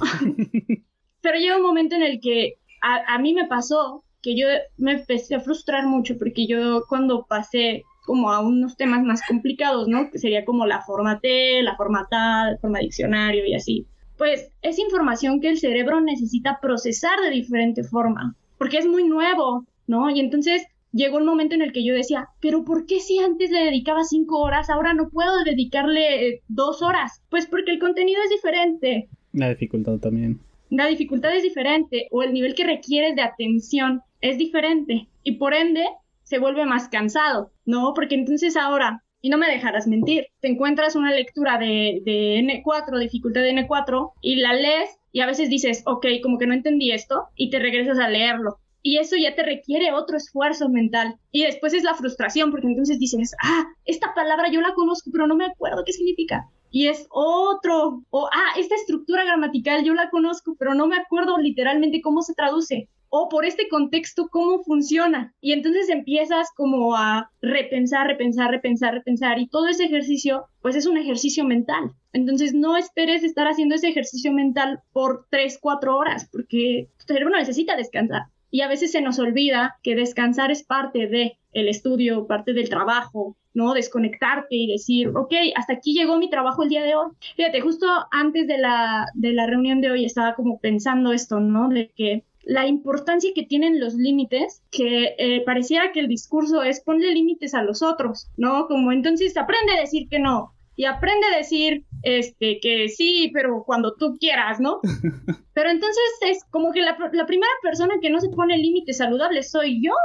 Pero llega un momento en el que a, a mí me pasó que yo me empecé a frustrar mucho porque yo cuando pasé como a unos temas más complicados, ¿no? Que sería como la forma T, la forma tal, la forma diccionario y así. Pues es información que el cerebro necesita procesar de diferente forma, porque es muy nuevo, ¿no? Y entonces llegó un momento en el que yo decía, pero ¿por qué si antes le dedicaba cinco horas, ahora no puedo dedicarle eh, dos horas? Pues porque el contenido es diferente. La dificultad también. La dificultad es diferente, o el nivel que requieres de atención es diferente, y por ende se vuelve más cansado, ¿no? Porque entonces ahora, y no me dejarás mentir, te encuentras una lectura de, de ene cuatro, dificultad de ene cuatro, y la lees, y a veces dices, ok, como que no entendí esto, y te regresas a leerlo. Y eso ya te requiere otro esfuerzo mental. Y después es la frustración, porque entonces dices, ah, esta palabra yo la conozco, pero no me acuerdo qué significa. Y es otro. O, ah, esta estructura gramatical yo la conozco, pero no me acuerdo literalmente cómo se traduce. O por este contexto, cómo funciona. Y entonces empiezas como a repensar, repensar, repensar, repensar. Y todo ese ejercicio, pues es un ejercicio mental. Entonces no esperes estar haciendo ese ejercicio mental por tres, cuatro horas, porque tu cerebro necesita descansar. Y a veces se nos olvida que descansar es parte de el estudio, parte del trabajo, ¿no? Desconectarte y decir, ok, hasta aquí llegó mi trabajo el día de hoy. Fíjate, justo antes de la, de la reunión de hoy estaba como pensando esto, ¿no? De que la importancia que tienen los límites, que eh, pareciera que el discurso es ponle límites a los otros, ¿no? Como entonces aprende a decir que no. Y aprende a decir este, que sí, pero cuando tú quieras, ¿no? Pero entonces es como que la, la primera persona que no se pone límites saludables soy yo,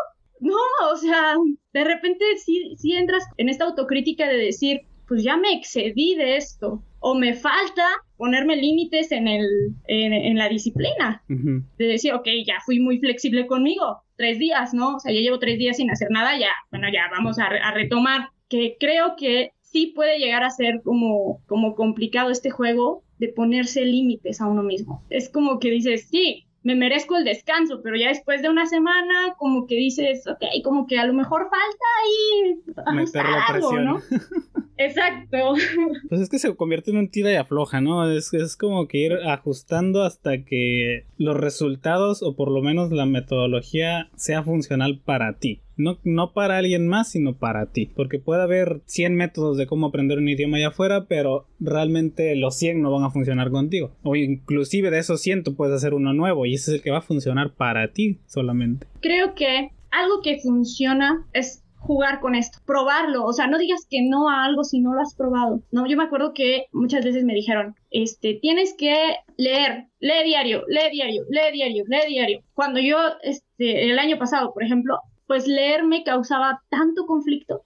no, o sea, de repente sí, sí entras en esta autocrítica de decir, pues ya me excedí de esto, o me falta ponerme límites en, el, en, en la disciplina, uh-huh. de decir, ok, ya fui muy flexible conmigo, tres días, ¿no? O sea, ya llevo tres días sin hacer nada, ya, bueno, ya vamos a, a retomar, que creo que sí puede llegar a ser como, como complicado este juego de ponerse límites a uno mismo. Es como que dices, sí, me merezco el descanso, pero ya después de una semana como que dices, ok, como que a lo mejor falta ahí ajustar algo, ¿no? Exacto. Pues es que se convierte en un tira y afloja, ¿no? Es, es como que ir ajustando hasta que los resultados o por lo menos la metodología sea funcional para ti. No, no para alguien más, sino para ti. Porque puede haber cien métodos de cómo aprender un idioma allá afuera, pero realmente los cien no van a funcionar contigo. O inclusive de esos cien tú puedes hacer uno nuevo y ese es el que va a funcionar para ti solamente. Creo que algo que funciona es jugar con esto, probarlo, o sea, no digas que no a algo si no lo has probado, ¿no? Yo me acuerdo que muchas veces me dijeron, este, tienes que leer, lee diario, lee diario, lee diario, lee diario. Cuando yo, este, el año pasado, por ejemplo, pues leer me causaba tanto conflicto,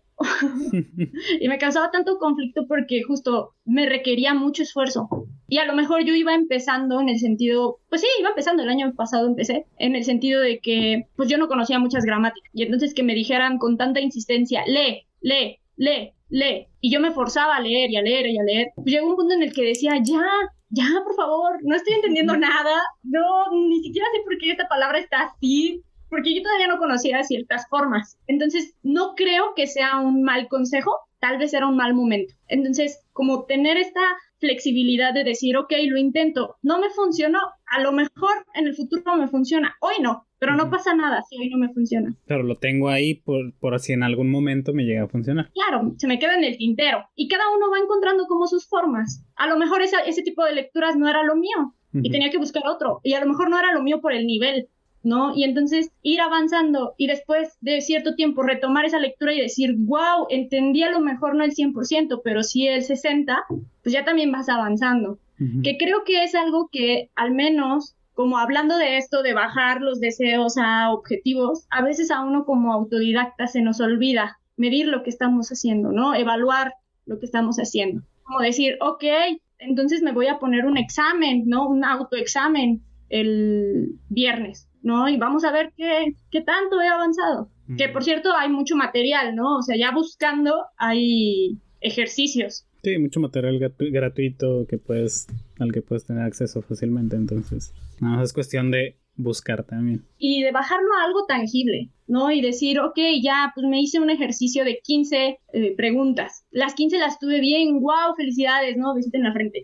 y me causaba tanto conflicto porque justo me requería mucho esfuerzo. Y a lo mejor yo iba empezando en el sentido, pues sí, iba empezando, el año pasado empecé, en el sentido de que pues yo no conocía muchas gramáticas. Y entonces que me dijeran con tanta insistencia, lee, lee, lee, lee. Y yo me forzaba a leer y a leer y a leer. Pues llegó un punto en el que decía, ya, ya, por favor, no estoy entendiendo nada. No, ni siquiera sé por qué esta palabra está así. Porque yo todavía no conocía ciertas formas. Entonces, no creo que sea un mal consejo, tal vez era un mal momento. Entonces, como tener esta flexibilidad de decir, ok, lo intento, no me funcionó, a lo mejor en el futuro me funciona, hoy no, pero no pasa nada si hoy no me funciona. Pero lo tengo ahí por, por si en algún momento me llega a funcionar. Claro, se me queda en el tintero y cada uno va encontrando como sus formas. A lo mejor esa, ese tipo de lecturas no era lo mío uh-huh. y tenía que buscar otro, y a lo mejor no era lo mío por el nivel, ¿no? Y entonces ir avanzando y después de cierto tiempo retomar esa lectura y decir, wow, entendí a lo mejor no el cien por ciento, pero sí el sesenta por ciento, pues ya también vas avanzando. Uh-huh. Que creo que es algo que al menos, como hablando de esto, de bajar los deseos a objetivos, a veces a uno como autodidacta se nos olvida medir lo que estamos haciendo, ¿no? Evaluar lo que estamos haciendo. Como decir, ok, entonces me voy a poner un examen, ¿no? Un autoexamen el viernes, ¿no? Y vamos a ver qué, qué tanto he avanzado. Mm. Que, por cierto, hay mucho material, ¿no? O sea, ya buscando hay ejercicios. Sí, mucho material gratu- gratuito que puedes, al que puedes tener acceso fácilmente, entonces, nada más es cuestión de buscar también. Y de bajarlo a algo tangible, ¿no? Y decir, ok, ya, pues me hice un ejercicio de quince eh, preguntas. Las quince las tuve bien, wow, felicidades, ¿no? Besito en la frente.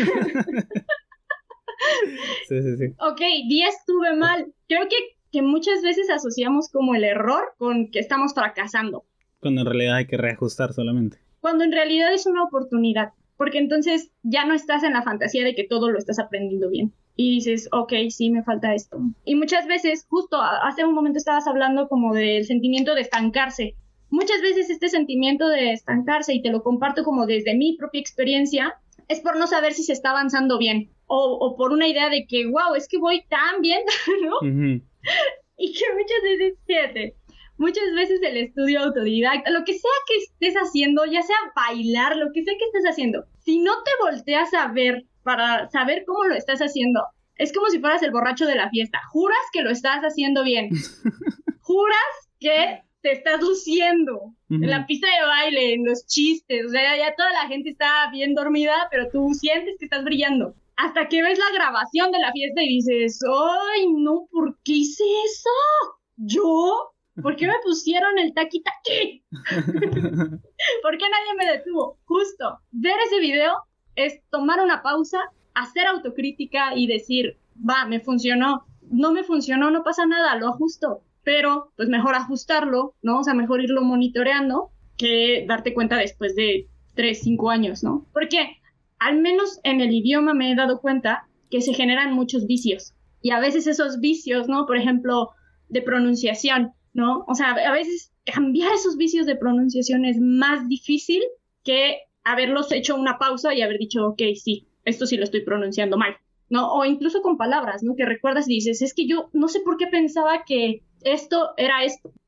Sí, sí, sí. Ok, diez tuve mal. Creo que, que muchas veces asociamos como el error con que estamos fracasando. Cuando en realidad hay que reajustar solamente. Cuando en realidad es una oportunidad. Porque entonces ya no estás en la fantasía de que todo lo estás aprendiendo bien. Y dices, ok, sí, me falta esto. Y muchas veces, justo hace un momento estabas hablando como del sentimiento de estancarse. Muchas veces este sentimiento de estancarse, y te lo comparto como desde mi propia experiencia, es por no saber si se está avanzando bien. O, o por una idea de que, wow, es que voy tan bien, ¿no? Uh-huh. Y que muchas veces, fíjate, muchas veces el estudio autodidacta, lo que sea que estés haciendo, ya sea bailar, lo que sea que estés haciendo, si no te volteas a ver para saber cómo lo estás haciendo, es como si fueras el borracho de la fiesta. Juras que lo estás haciendo bien. Juras que te estás luciendo uh-huh. en la pista de baile, en los chistes, o sea, ya toda la gente está bien dormida, pero tú sientes que estás brillando. Hasta que ves la grabación de la fiesta y dices, ¡ay, no! ¿Por qué hice eso? ¿Yo? ¿Por qué me pusieron el taqui-taqui? ¿Por qué nadie me detuvo? Justo, ver ese video es tomar una pausa, hacer autocrítica y decir, va, me funcionó. No me funcionó, no pasa nada, lo ajusto. Pero, pues mejor ajustarlo, ¿no? O sea, mejor irlo monitoreando que darte cuenta después de tres, cinco años, ¿no? Porque al menos en el idioma me he dado cuenta que se generan muchos vicios. Y a veces esos vicios, ¿no? Por ejemplo, de pronunciación, ¿no? O sea, a veces cambiar esos vicios de pronunciación es más difícil que haberlos hecho una pausa y haber dicho, ok, sí, esto sí lo estoy pronunciando mal, ¿no? O incluso con palabras, ¿no? Que recuerdas y dices, es que yo no sé por qué pensaba que esto era esto.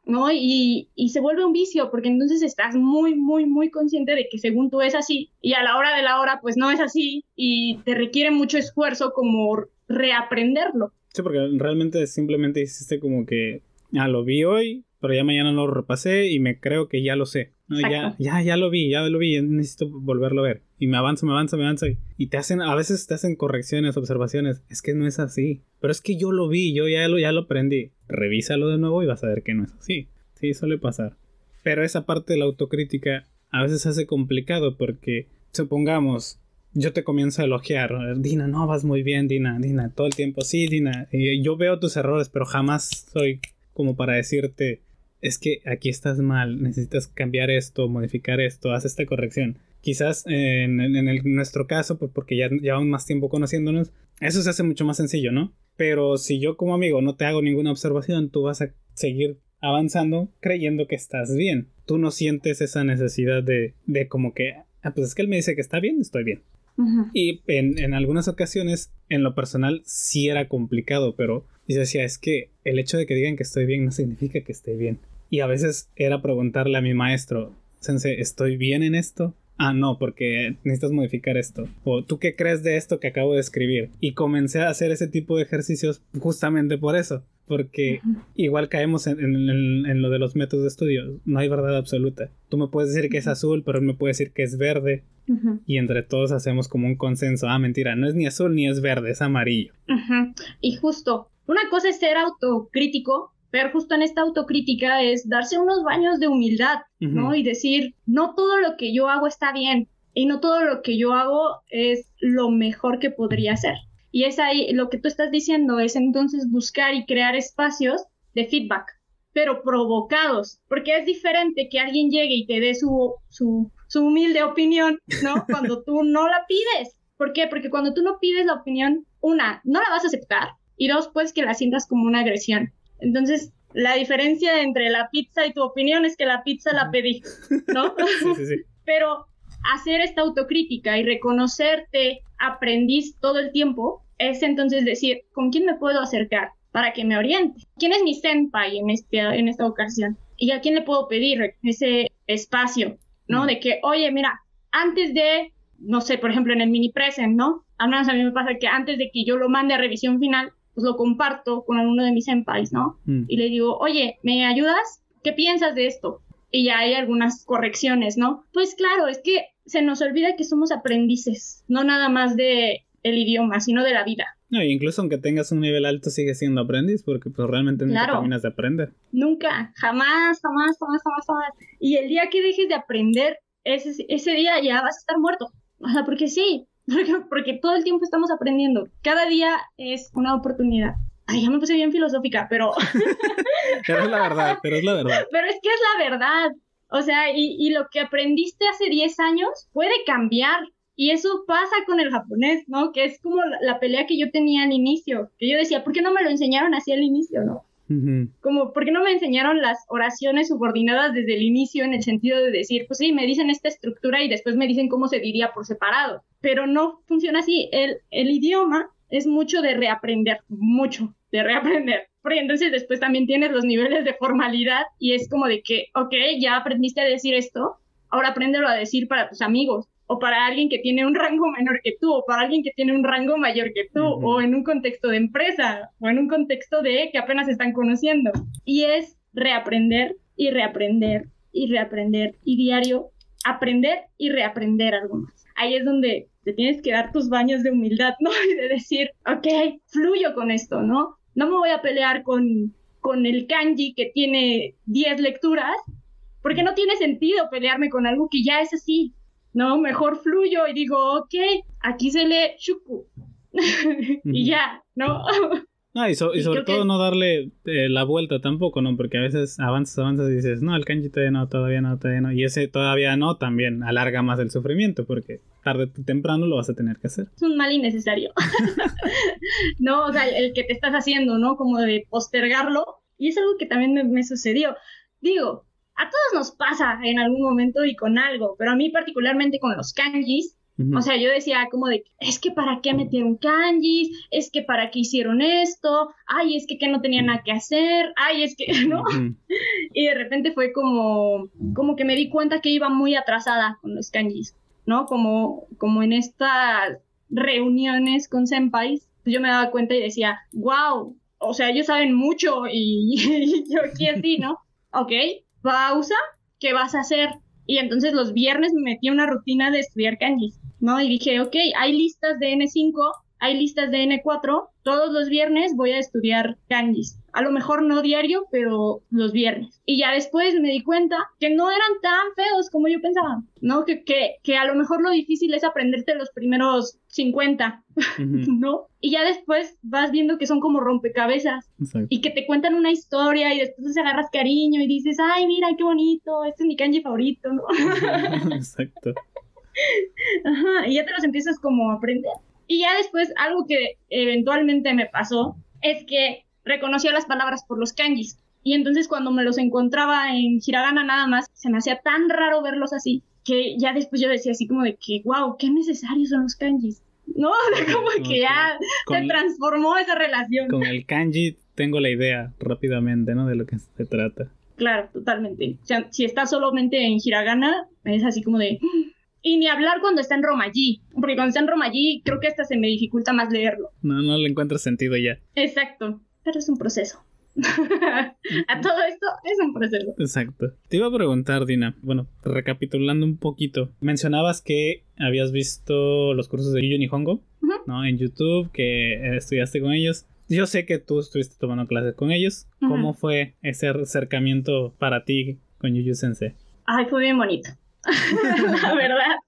¿no? Y, y se vuelve un vicio, porque entonces estás muy, muy, muy consciente de que según tú es así, y a la hora de la hora, pues no es así, y te requiere mucho esfuerzo como reaprenderlo. Sí, porque realmente simplemente hiciste como que, ah, lo vi hoy, pero ya mañana lo repasé y me creo que ya lo sé. No, ya, ya, ya lo vi, ya lo vi, ya necesito volverlo a ver. Y me avanzo, me avanzo, me avanzo. Y te hacen, a veces te hacen correcciones, observaciones. Es que no es así. Pero es que yo lo vi, yo ya lo, ya lo aprendí. Revísalo de nuevo y vas a ver que no es así. Sí, suele pasar. Pero esa parte de la autocrítica a veces se hace complicado porque, supongamos, yo te comienzo a elogiar. Dina, no, vas muy bien, Dina, Dina, todo el tiempo. Sí, Dina, y yo veo tus errores, pero jamás soy como para decirte, es que aquí estás mal, necesitas cambiar esto, modificar esto, haz esta corrección. Quizás eh, en, en, el, en nuestro caso, pues porque ya llevamos más tiempo conociéndonos, eso se hace mucho más sencillo, ¿no? Pero si yo como amigo no te hago ninguna observación, tú vas a seguir avanzando creyendo que estás bien. Tú no sientes esa necesidad de, de como que, ah, pues es que él me dice que está bien, estoy bien. Uh-huh. Y en, en algunas ocasiones, en lo personal, sí era complicado, pero yo decía, es que el hecho de que digan que estoy bien no significa que esté bien. Y a veces era preguntarle a mi maestro, Sensei, ¿estoy bien en esto? Ah, no, porque necesitas modificar esto. O ¿tú qué crees de esto que acabo de escribir? Y comencé a hacer ese tipo de ejercicios justamente por eso. Porque uh-huh. igual caemos en, en, en, en lo de los métodos de estudio. No hay verdad absoluta. Tú me puedes decir que es azul, pero él me puede decir que es verde. Uh-huh. Y entre todos hacemos como un consenso. Ah, mentira, no es ni azul ni es verde, es amarillo. Uh-huh. Y justo, una cosa es ser autocrítico, pero justo en esta autocrítica es darse unos baños de humildad, uh-huh. ¿no? Y decir, no todo lo que yo hago está bien. Y no todo lo que yo hago es lo mejor que podría hacer. Y es ahí, lo que tú estás diciendo es entonces buscar y crear espacios de feedback, pero provocados, porque es diferente que alguien llegue y te dé su, su, su humilde opinión, ¿no? Cuando tú no la pides. ¿Por qué? Porque cuando tú no pides la opinión, una, no la vas a aceptar, y dos, pues que la sientas como una agresión. Entonces, la diferencia entre la pizza y tu opinión es que la pizza la pedí, ¿no? Sí, sí, sí. Pero hacer esta autocrítica y reconocerte aprendiz todo el tiempo es entonces decir, ¿con quién me puedo acercar para que me oriente? ¿Quién es mi senpai en, este, en esta ocasión? ¿Y a quién le puedo pedir ese espacio, ¿no? Mm. De que, oye, mira, antes de, no sé, por ejemplo, en el mini present, ¿no? Al menos a mí me pasa que antes de que yo lo mande a revisión final, pues lo comparto con alguno de mis senpais, ¿no? Mm. Y le digo, oye, ¿me ayudas? ¿Qué piensas de esto? Y ya hay algunas correcciones, ¿no? Pues claro, es que se nos olvida que somos aprendices, no nada más de el idioma, sino de la vida. No, incluso aunque tengas un nivel alto, sigues siendo aprendiz, porque pues realmente nunca claro. terminas de aprender. Nunca, jamás, jamás, jamás, jamás, jamás. Y el día que dejes de aprender, ese, ese día ya vas a estar muerto. O sea, porque sí, porque, porque todo el tiempo estamos aprendiendo. Cada día es una oportunidad. Ay, ya me puse bien filosófica, pero... pero es la verdad, pero es la verdad. Pero es que es la verdad. O sea, y, y lo que aprendiste hace diez años puede cambiar. Y eso pasa con el japonés, ¿no? Que es como la, la pelea que yo tenía al inicio. Que yo decía, ¿por qué no me lo enseñaron así al inicio, no? Uh-huh. Como, ¿por qué no me enseñaron las oraciones subordinadas desde el inicio en el sentido de decir, pues sí, me dicen esta estructura y después me dicen cómo se diría por separado? Pero no funciona así. El, el idioma es mucho de reaprender, mucho de reaprender. Porque entonces después también tienes los niveles de formalidad y es como de que, ok, ya aprendiste a decir esto, ahora apréndelo a decir para tus amigos. O para alguien que tiene un rango menor que tú, o para alguien que tiene un rango mayor que tú, uh-huh. o en un contexto de empresa, o en un contexto de que apenas están conociendo. Y es reaprender, y reaprender, y reaprender, y diario aprender y reaprender algo más. Ahí es donde te tienes que dar tus baños de humildad, ¿no? Y de decir, ok, fluyo con esto, ¿no? No me voy a pelear con, con el kanji que tiene diez lecturas, porque no tiene sentido pelearme con algo que ya es así. No, mejor fluyo y digo, ok, aquí se lee shuku. Y ya, ¿no? No, y, so, y, y sobre todo que... no darle eh, la vuelta tampoco, ¿no? Porque a veces avanzas, avanzas y dices, no, el kanji todavía no, todavía no, todavía no. Y ese todavía no también alarga más el sufrimiento, porque tarde o temprano lo vas a tener que hacer. Es un mal innecesario. No, o sea, el que te estás haciendo, ¿no? Como de postergarlo. Y es algo que también me, me sucedió. Digo, a todos nos pasa en algún momento y con algo, pero a mí particularmente con los kanjis, Uh-huh. O sea, yo decía como de, es que para qué metieron kanjis, es que para qué hicieron esto, ay, es que, que no tenía nada que hacer, ay, es que, ¿no? Uh-huh. Y de repente fue como, como que me di cuenta que iba muy atrasada con los kanjis, ¿no? Como, como en estas reuniones con senpais, yo me daba cuenta y decía, wow, o sea, ellos saben mucho y, y yo aquí así, ¿no? Ok, pausa, ¿qué vas a hacer? Y entonces los viernes me metí a una rutina de estudiar kanjis, ¿no? Y dije, ok, hay listas de ene cinco, hay listas de ene cuatro, todos los viernes voy a estudiar kanjis. A lo mejor no diario, pero los viernes. Y ya después me di cuenta que no eran tan feos como yo pensaba, ¿no? Que, que, que a lo mejor lo difícil es aprenderte los primeros cincuenta, uh-huh. ¿no? Y ya después vas viendo que son como rompecabezas. Exacto. Y que te cuentan una historia y después te agarras cariño y dices, ay, mira, qué bonito, este es mi kanji favorito, ¿no? Exacto. Ajá, y ya te los empiezas como a aprender. Y ya después, algo que eventualmente me pasó es que reconocía las palabras por los kanjis. Y entonces cuando me los encontraba en hiragana nada más, se me hacía tan raro verlos así, que ya después yo decía así como de que, wow, qué necesarios son los kanjis. No, como okay. que ya con, se transformó esa relación. Con el kanji tengo la idea rápidamente, ¿no? De lo que se trata. Claro, totalmente. O sea, si está solamente en hiragana, es así como de... Y ni hablar cuando está en romaji, porque cuando está en romaji creo que hasta se me dificulta más leerlo. No, no le encuentro sentido ya. Exacto, pero es un proceso. A todo esto es un proceso. Exacto. Te iba a preguntar, Dina, bueno, recapitulando un poquito, mencionabas que habías visto los cursos de Yuyu Nihongo, uh-huh. ¿no? En YouTube, que estudiaste con ellos. Yo sé que tú estuviste tomando clases con ellos. Uh-huh. ¿Cómo fue ese acercamiento para ti con Yuyu Sensei? Ay, fue bien bonito. La verdad.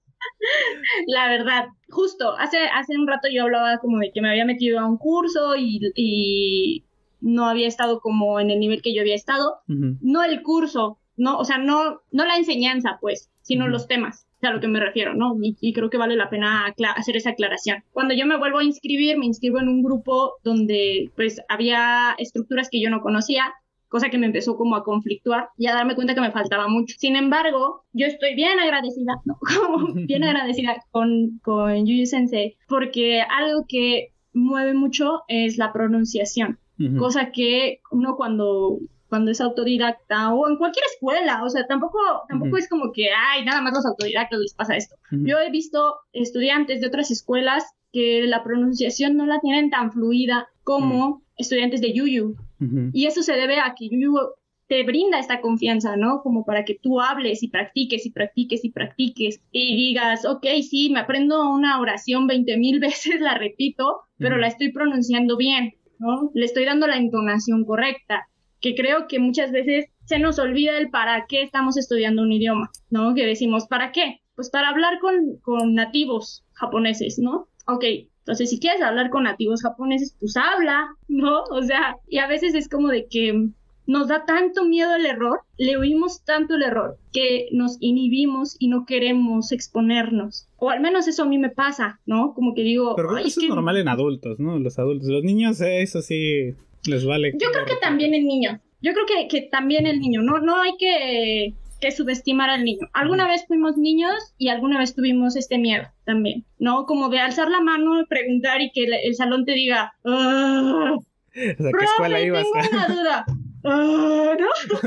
La verdad. Justo, hace, hace un rato yo hablaba como de que me había metido a un curso y... y... no había estado como en el nivel que yo había estado, uh-huh. no el curso, no, o sea, no, no la enseñanza, pues, sino uh-huh. los temas, o sea, a lo que me refiero, ¿no? Y, y creo que vale la pena acla- hacer esa aclaración. Cuando yo me vuelvo a inscribir, me inscribo en un grupo donde, pues, había estructuras que yo no conocía, cosa que me empezó como a conflictuar y a darme cuenta que me faltaba mucho. Sin embargo, yo estoy bien agradecida, ¿no? Como bien agradecida con, con Yuyu Sensei, porque algo que mueve mucho es la pronunciación. Uh-huh. Cosa que uno cuando, cuando es autodidacta o en cualquier escuela, o sea, tampoco, tampoco uh-huh. es como que, ay, nada más los autodidactas les pasa esto. Uh-huh. Yo he visto estudiantes de otras escuelas que la pronunciación no la tienen tan fluida como uh-huh. estudiantes de Yuyu. Uh-huh. Y eso se debe a que Yuyu te brinda esta confianza, ¿no? Como para que tú hables y practiques y practiques y practiques y digas, ok, sí, me aprendo una oración veinte mil veces, la repito, pero uh-huh. la estoy pronunciando bien, ¿no? Le estoy dando la entonación correcta, que creo que muchas veces se nos olvida el para qué estamos estudiando un idioma, ¿no? Que decimos, ¿para qué? Pues para hablar con, con nativos japoneses, ¿no? Ok, entonces si quieres hablar con nativos japoneses, pues habla, ¿no? O sea, y a veces es como de que nos da tanto miedo el error, le oímos tanto el error, que nos inhibimos y no queremos exponernos. O al menos eso a mí me pasa, ¿no? Como que digo... Pero eso es que... normal en adultos, ¿no? Los adultos. Los niños, eso sí, les vale. Yo creo que también el niño. Yo creo que, que también el niño. No, no hay que, que subestimar al niño. Alguna vez fuimos niños y alguna vez tuvimos este miedo también, ¿no? Como de alzar la mano, preguntar y que el, el salón te diga... ¡Ah! O sea, ¿qué escuela ibas? Tengo una duda. ¡Ah! ¿No?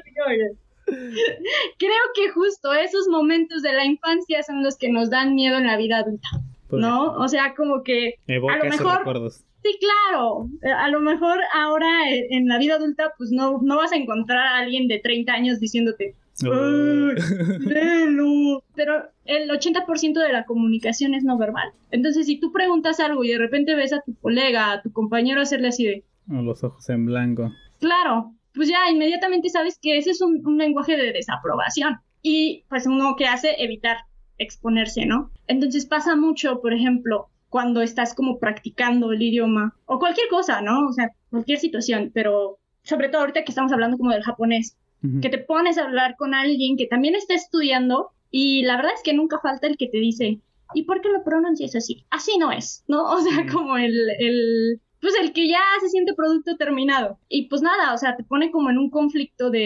Creo que justo esos momentos de la infancia son los que nos dan miedo en la vida adulta, ¿no? O sea, como que evoca a lo mejor... recuerdos. Sí, claro. A lo mejor ahora en la vida adulta pues no, no vas a encontrar a alguien de treinta años diciéndote ¡ay, léelo! Pero el ochenta por ciento de la comunicación es no verbal. Entonces, si tú preguntas algo y de repente ves a tu colega, a tu compañero hacerle así de... O los ojos en blanco. Claro, pues ya inmediatamente sabes que ese es un, un lenguaje de desaprobación. Y pues uno que hace, evitar exponerse, ¿no? Entonces pasa mucho, por ejemplo, cuando estás como practicando el idioma, o cualquier cosa, ¿no? O sea, cualquier situación, pero sobre todo ahorita que estamos hablando como del japonés, uh-huh. que te pones a hablar con alguien que también está estudiando, y la verdad es que nunca falta el que te dice, ¿y por qué lo pronuncias así? Así no es, ¿no? O sea, uh-huh. como el... el pues el que ya se siente producto terminado. Y pues nada, o sea, te pone como en un conflicto de,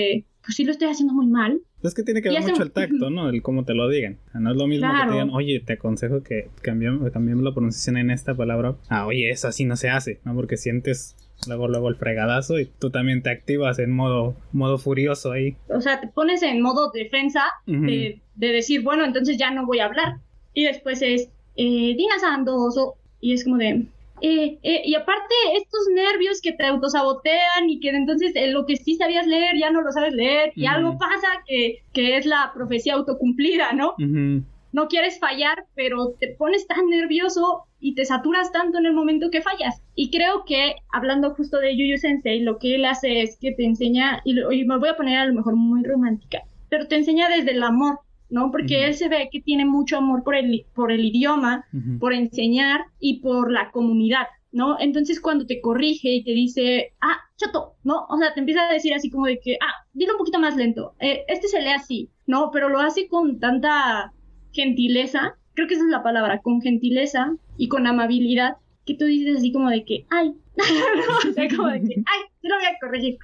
pues sí lo estoy haciendo muy mal. Es que tiene que ver hace... mucho el tacto, ¿no? El cómo te lo digan. O sea, no es lo mismo claro. que te digan, oye, te aconsejo que cambiemos, cambiemos la pronunciación en esta palabra. Ah, oye, eso así no se hace, ¿no? Porque sientes luego, luego el fregadazo y tú también te activas en modo, modo furioso ahí. O sea, te pones en modo defensa uh-huh. de, de decir, bueno, entonces ya no voy a hablar. Y después es, eh, Dina Sandoso, y es como de... Eh, eh, y aparte estos nervios que te autosabotean y que entonces eh, lo que sí sabías leer ya no lo sabes leer y uh-huh. algo pasa que, que es la profecía autocumplida, ¿no? Uh-huh. No quieres fallar, pero te pones tan nervioso y te saturas tanto en el momento que fallas. Y creo que, hablando justo de Yu Yu Sensei, lo que él hace es que te enseña, y, lo, y me voy a poner a lo mejor muy romántica, pero te enseña desde el amor, ¿no? Porque uh-huh. él se ve que tiene mucho amor por el, por el idioma, uh-huh. por enseñar y por la comunidad, ¿no? Entonces cuando te corrige y te dice, ah, chato, ¿no? O sea, te empieza a decir así como de que, ah, dilo un poquito más lento, eh, este se lee así, ¿no? Pero lo hace con tanta gentileza, creo que esa es la palabra, con gentileza y con amabilidad, que tú dices así como de que, ay, no, o sea, como de que, ay, te lo voy a corregir.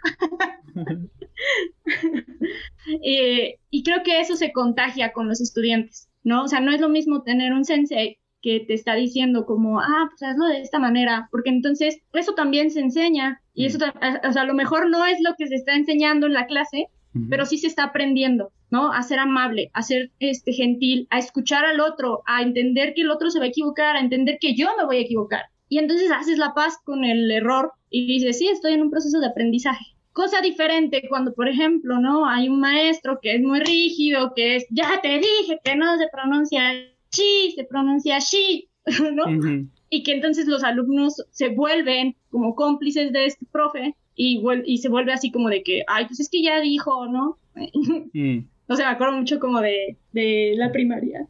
eh, y creo que eso se contagia con los estudiantes, ¿no? O sea, no es lo mismo tener un sensei que te está diciendo como, ah, pues hazlo de esta manera, porque entonces eso también se enseña, y eso, o sea, a lo mejor no es lo que se está enseñando en la clase, uh-huh. pero sí se está aprendiendo, ¿no? A ser amable, a ser este, gentil, a escuchar al otro, a entender que el otro se va a equivocar, a entender que yo me voy a equivocar. Y entonces haces la paz con el error y dices, sí, estoy en un proceso de aprendizaje. Cosa diferente cuando, por ejemplo, ¿no? Hay un maestro que es muy rígido, que es, ya te dije que no se pronuncia chi, se pronuncia shi, ¿no? Uh-huh. Y que entonces los alumnos se vuelven como cómplices de este profe y, vuel- y se vuelve así como de que, ay, pues es que ya dijo, ¿no? Mm. O sea, me acuerdo mucho como de, de la primaria.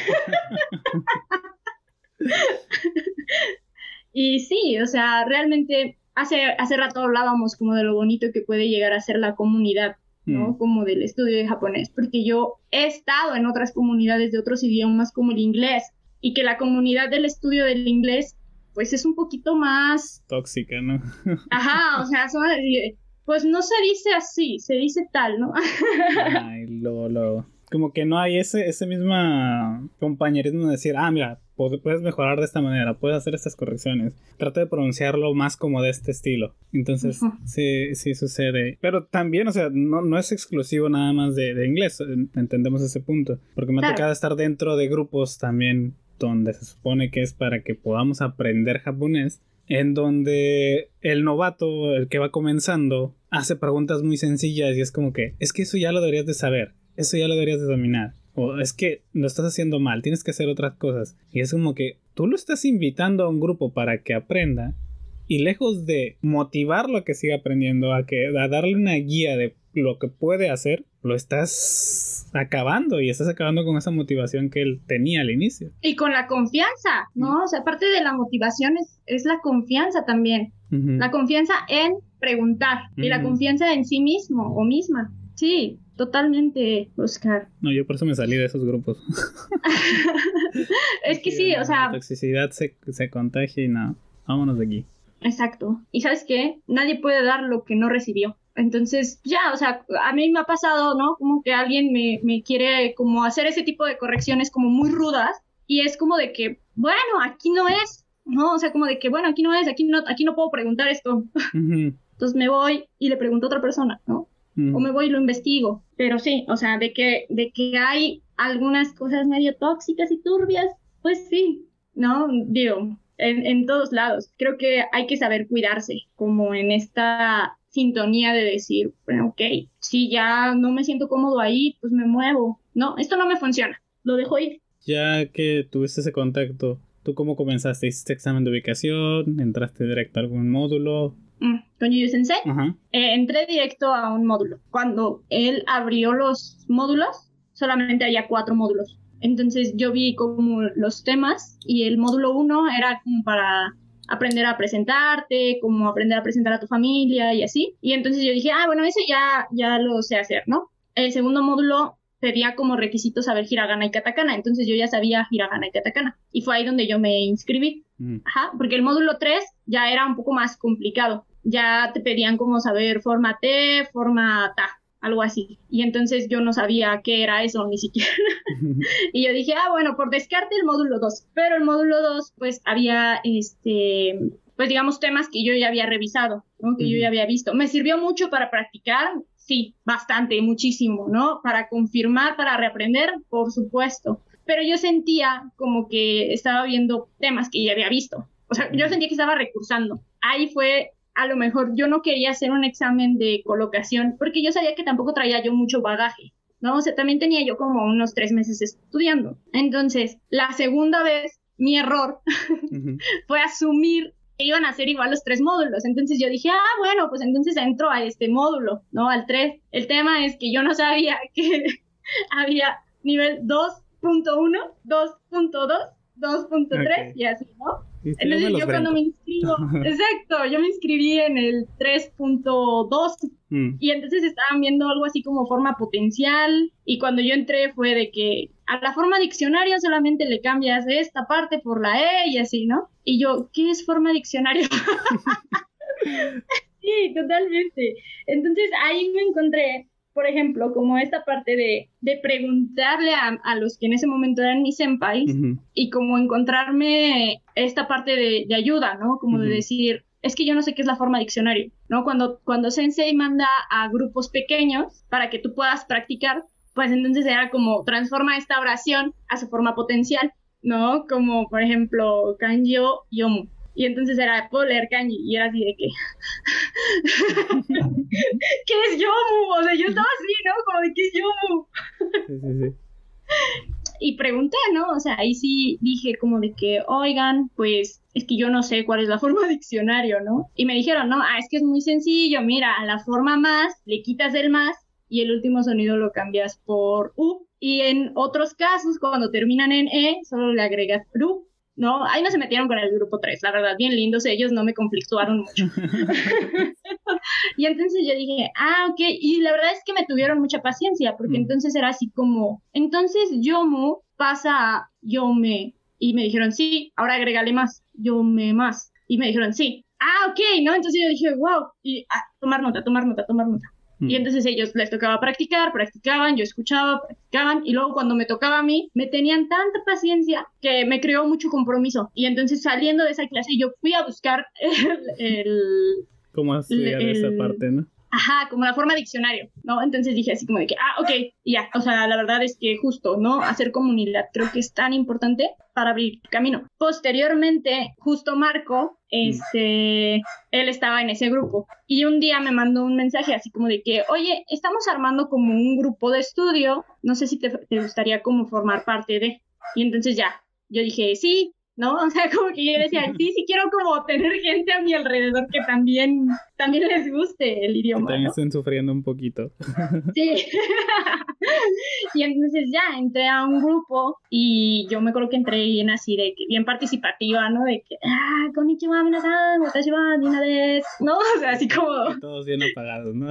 Y sí, o sea, realmente hace, hace rato hablábamos como de lo bonito que puede llegar a ser la comunidad, ¿no? Mm. Como del estudio de japonés, porque yo he estado en otras comunidades de otros idiomas como el inglés, y que la comunidad del estudio del inglés, pues es un poquito más... tóxica, ¿no? Ajá, o sea, son... pues no se dice así, se dice tal, ¿no? Ay, luego, luego. Como que no hay ese, ese mismo compañerismo de decir, ah, mira, puedes mejorar de esta manera, puedes hacer estas correcciones. Trata de pronunciarlo más como de este estilo. Entonces, uh-huh. sí, sí sucede. Pero también, o sea, no, no es exclusivo nada más de, de inglés, entendemos ese punto. Porque me ha claro. tocado estar dentro de grupos también donde se supone que es para que podamos aprender japonés, en donde el novato, el que va comenzando, hace preguntas muy sencillas y es como que, es que eso ya lo deberías de saber, eso ya lo deberías de dominar, o es que lo estás haciendo mal, tienes que hacer otras cosas. Y es como que tú lo estás invitando a un grupo para que aprenda, y lejos de motivarlo a que siga aprendiendo, a, que, a darle una guía de lo que puede hacer, lo estás acabando, y estás acabando con esa motivación que él tenía al inicio. Y con la confianza, ¿no? O sea, aparte de la motivación es, es la confianza también. Uh-huh. La confianza en preguntar, uh-huh. y la confianza en sí mismo o misma. Sí, totalmente, Oscar. No, yo por eso me salí de esos grupos. Es que sí, o sea... La toxicidad se, se contagia y no, vámonos de aquí. Exacto. ¿Y sabes qué? Nadie puede dar lo que no recibió. Entonces, ya, o sea, a mí me ha pasado, ¿no? Como que alguien me, me quiere como hacer ese tipo de correcciones como muy rudas, y es como de que, bueno, aquí no es, ¿no? O sea, como de que, bueno, aquí no es, aquí no, aquí no puedo preguntar esto. Uh-huh. Entonces me voy y le pregunto a otra persona, ¿no? Uh-huh. O me voy y lo investigo. Pero sí, o sea, de que, de que hay algunas cosas medio tóxicas y turbias, pues sí, ¿no? Digo... En, en todos lados. Creo que hay que saber cuidarse, como en esta sintonía de decir, bueno, ok, si ya no me siento cómodo ahí, pues me muevo. No, esto no me funciona, lo dejo ir. Ya que tuviste ese contacto, ¿tú cómo comenzaste? ¿Hiciste examen de ubicación? ¿Entraste directo a algún módulo? Mm, con Yu Yu Sensei, uh-huh. eh, entré directo a un módulo. Cuando él abrió los módulos, solamente había cuatro módulos. Entonces yo vi como los temas, y el módulo uno era como para aprender a presentarte, como aprender a presentar a tu familia y así. Y entonces yo dije, ah, bueno, eso ya, ya lo sé hacer, ¿no? El segundo módulo pedía como requisito saber hiragana y katakana, entonces yo ya sabía hiragana y katakana. Y fue ahí donde yo me inscribí. Mm. Ajá, porque el módulo tres ya era un poco más complicado. Ya te pedían como saber forma T, forma ta. algo así. Y entonces yo no sabía qué era eso ni siquiera. Y yo dije, ah, bueno, por descarte el módulo dos. Pero el módulo dos, pues había, este, pues digamos, temas que yo ya había revisado, ¿no? Que uh-huh. yo ya había visto. Me sirvió mucho para practicar, sí, bastante, muchísimo, ¿no? Para confirmar, para reaprender, por supuesto. Pero yo sentía como que estaba viendo temas que ya había visto. O sea, yo sentía que estaba recursando. Ahí fue, a lo mejor, yo no quería hacer un examen de colocación porque yo sabía que tampoco traía yo mucho bagaje, ¿no? O sea, también tenía yo como unos tres meses estudiando. Entonces, la segunda vez, mi error uh-huh. fue asumir que iban a ser igual los tres módulos. Entonces yo dije, ah, bueno, pues entonces entro a este módulo, ¿no? Al tres. El tema es que yo no sabía que había nivel dos punto uno, dos punto dos, dos punto tres okay. y así, ¿no? Entonces yo cuando me inscribo, exacto, yo me inscribí en el tres punto dos mm. y entonces estaban viendo algo así como forma potencial y cuando yo entré fue de que a la forma diccionario solamente le cambias esta parte por la E y así, ¿no? Y yo, ¿qué es forma diccionario? Sí, totalmente. Entonces ahí me encontré, por ejemplo, como esta parte de, de preguntarle a, a los que en ese momento eran mis senpais uh-huh. y como encontrarme esta parte de, de ayuda, ¿no? Como uh-huh. de decir, es que yo no sé qué es la forma diccionario, ¿no? Cuando, cuando Sensei manda a grupos pequeños para que tú puedas practicar, pues entonces era como transforma esta oración a su forma potencial, ¿no? Como, por ejemplo, kanjio yomu. Y entonces era, puedo leer kanji, y era así de que, ¿qué es yomu? O sea, yo estaba así, ¿no? Como de, ¿qué es yomu? Sí, sí, sí. Y pregunté, ¿no? O sea, ahí sí dije como de que, oigan, pues, es que yo no sé cuál es la forma diccionario, ¿no? Y me dijeron, no, ah, es que es muy sencillo, mira, a la forma más, le quitas el más, y el último sonido lo cambias por U. Y en otros casos, cuando terminan en E, solo le agregas ru. No, ahí no se metieron con el grupo tres, la verdad, bien lindos ellos, no me conflictuaron mucho. Y entonces yo dije, ah, ok, y la verdad es que me tuvieron mucha paciencia, porque mm. entonces era así como, entonces yomu pasa a yome, y me dijeron, sí, ahora agrégale más, yome más, y me dijeron, sí, ah, ok, ¿no? Entonces yo dije, wow, y ah, tomar nota, tomar nota, tomar nota. Y entonces ellos les tocaba practicar, practicaban, yo escuchaba, practicaban, y luego cuando me tocaba a mí, me tenían tanta paciencia que me creó mucho compromiso. Y entonces saliendo de esa clase, yo fui a buscar el... el ¿Cómo estudiar el, esa parte, no? Ajá, como la forma diccionario, ¿no? Entonces dije así como de que, ah, ok, y ya. O sea, la verdad es que justo, ¿no? Hacer comunidad creo que es tan importante para abrir camino. Posteriormente, justo Marco, este, mm. él estaba en ese grupo. Y un día me mandó un mensaje así como de que, oye, estamos armando como un grupo de estudio, no sé si te, te gustaría como formar parte de... Y entonces ya, yo dije, sí, ¿no? O sea, como que yo decía, sí, sí quiero como tener gente a mi alrededor que también, también les guste el idioma, que también ¿no? estén sufriendo un poquito. Sí. Y entonces ya entré a un grupo y yo me acuerdo que entré bien así de que bien participativa, ¿no? De que, ah, konnichiwa, minasan, watashi wa Nina desu, ¿no? O sea, así como... Y todos bien apagados, ¿no?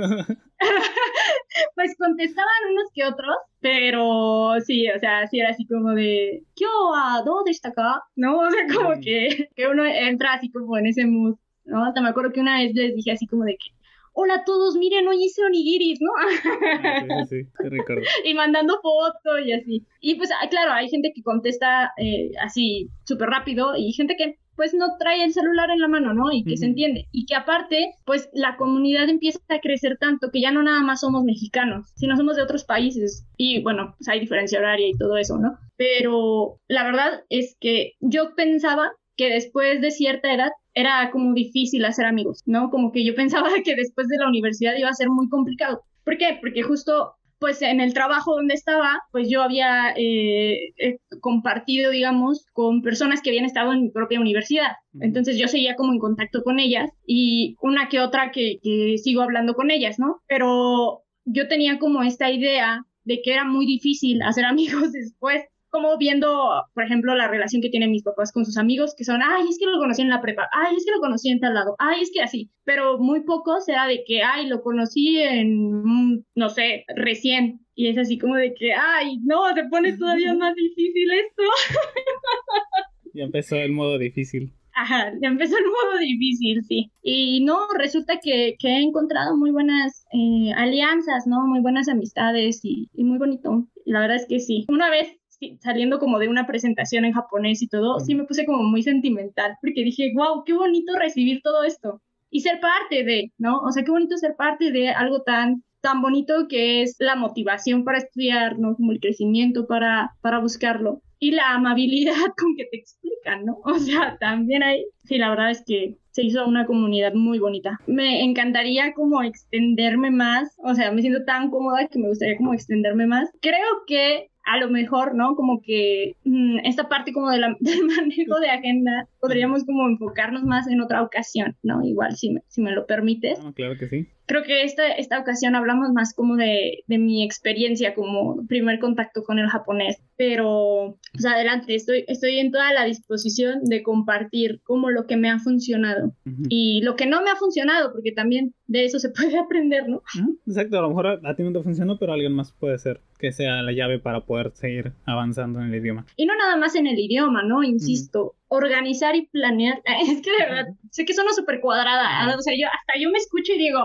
Pues contestaban unos que otros, pero sí, o sea, sí era así como de, ¿Kyo wa dou deshita ka? ¿No? O sea, como que, que uno entra así como en ese mood, ¿no? Hasta me acuerdo que una vez les dije así como de que, hola a todos, miren, hoy hice onigiris, ¿no? Ah, sí, sí, sí, te recuerdo. Y mandando fotos y así. Y pues, claro, hay gente que contesta eh, así súper rápido y gente que pues no trae el celular en la mano, ¿no? Y que uh-huh. se entiende. Y que aparte, pues la comunidad empieza a crecer tanto que ya no nada más somos mexicanos, sino somos de otros países. Y bueno, pues hay diferencia horaria y todo eso, ¿no? Pero la verdad es que yo pensaba que después de cierta edad era como difícil hacer amigos, ¿no? Como que yo pensaba que después de la universidad iba a ser muy complicado. ¿Por qué? Porque justo, pues en el trabajo donde estaba, pues yo había eh, eh, compartido, digamos, con personas que habían estado en mi propia universidad. Entonces yo seguía como en contacto con ellas y una que otra que, que sigo hablando con ellas, ¿no? Pero yo tenía como esta idea de que era muy difícil hacer amigos después, como viendo, por ejemplo, la relación que tienen mis papás con sus amigos, que son, ay, es que lo conocí en la prepa, ay, es que lo conocí en tal lado, ay, es que así, pero muy poco será de que, ay, lo conocí en, no sé, recién, y es así como de que, ay, no, se pone todavía más difícil esto. Ya empezó el modo difícil. Ajá, ya empezó el modo difícil, sí. Y no, resulta que, que he encontrado muy buenas eh, alianzas, ¿no? Muy buenas amistades y, y muy bonito. La verdad es que sí. Una vez sí, saliendo como de una presentación en japonés y todo, sí me puse como muy sentimental porque dije, wow, qué bonito recibir todo esto y ser parte de, ¿no? O sea, qué bonito ser parte de algo tan tan bonito que es la motivación para estudiar, ¿no? Como el crecimiento para, para buscarlo. Y la amabilidad con que te explican, ¿no? O sea, también hay, sí, la verdad es que se hizo una comunidad muy bonita. Me encantaría como extenderme más, o sea, me siento tan cómoda que me gustaría como extenderme más. Creo que a lo mejor, ¿no? Como que mmm, esta parte como de la, del manejo de agenda, podríamos como enfocarnos más en otra ocasión, ¿no? Igual, si me, si me lo permites. Ah, claro que sí. Creo que esta, esta ocasión hablamos más como de, de mi experiencia como primer contacto con el japonés, pero pues adelante, estoy, estoy en toda la disposición de compartir como lo que me ha funcionado uh-huh. y lo que no me ha funcionado, porque también de eso se puede aprender, ¿no? Uh-huh. Exacto, a lo mejor a, a ti no te funcionó, pero a alguien más puede ser que sea la llave para poder seguir avanzando en el idioma. Y no nada más en el idioma, ¿no? Insisto, uh-huh. organizar y planear, es que de verdad, sé que suena súper cuadrada, uh-huh. o sea, yo hasta yo me escucho y digo,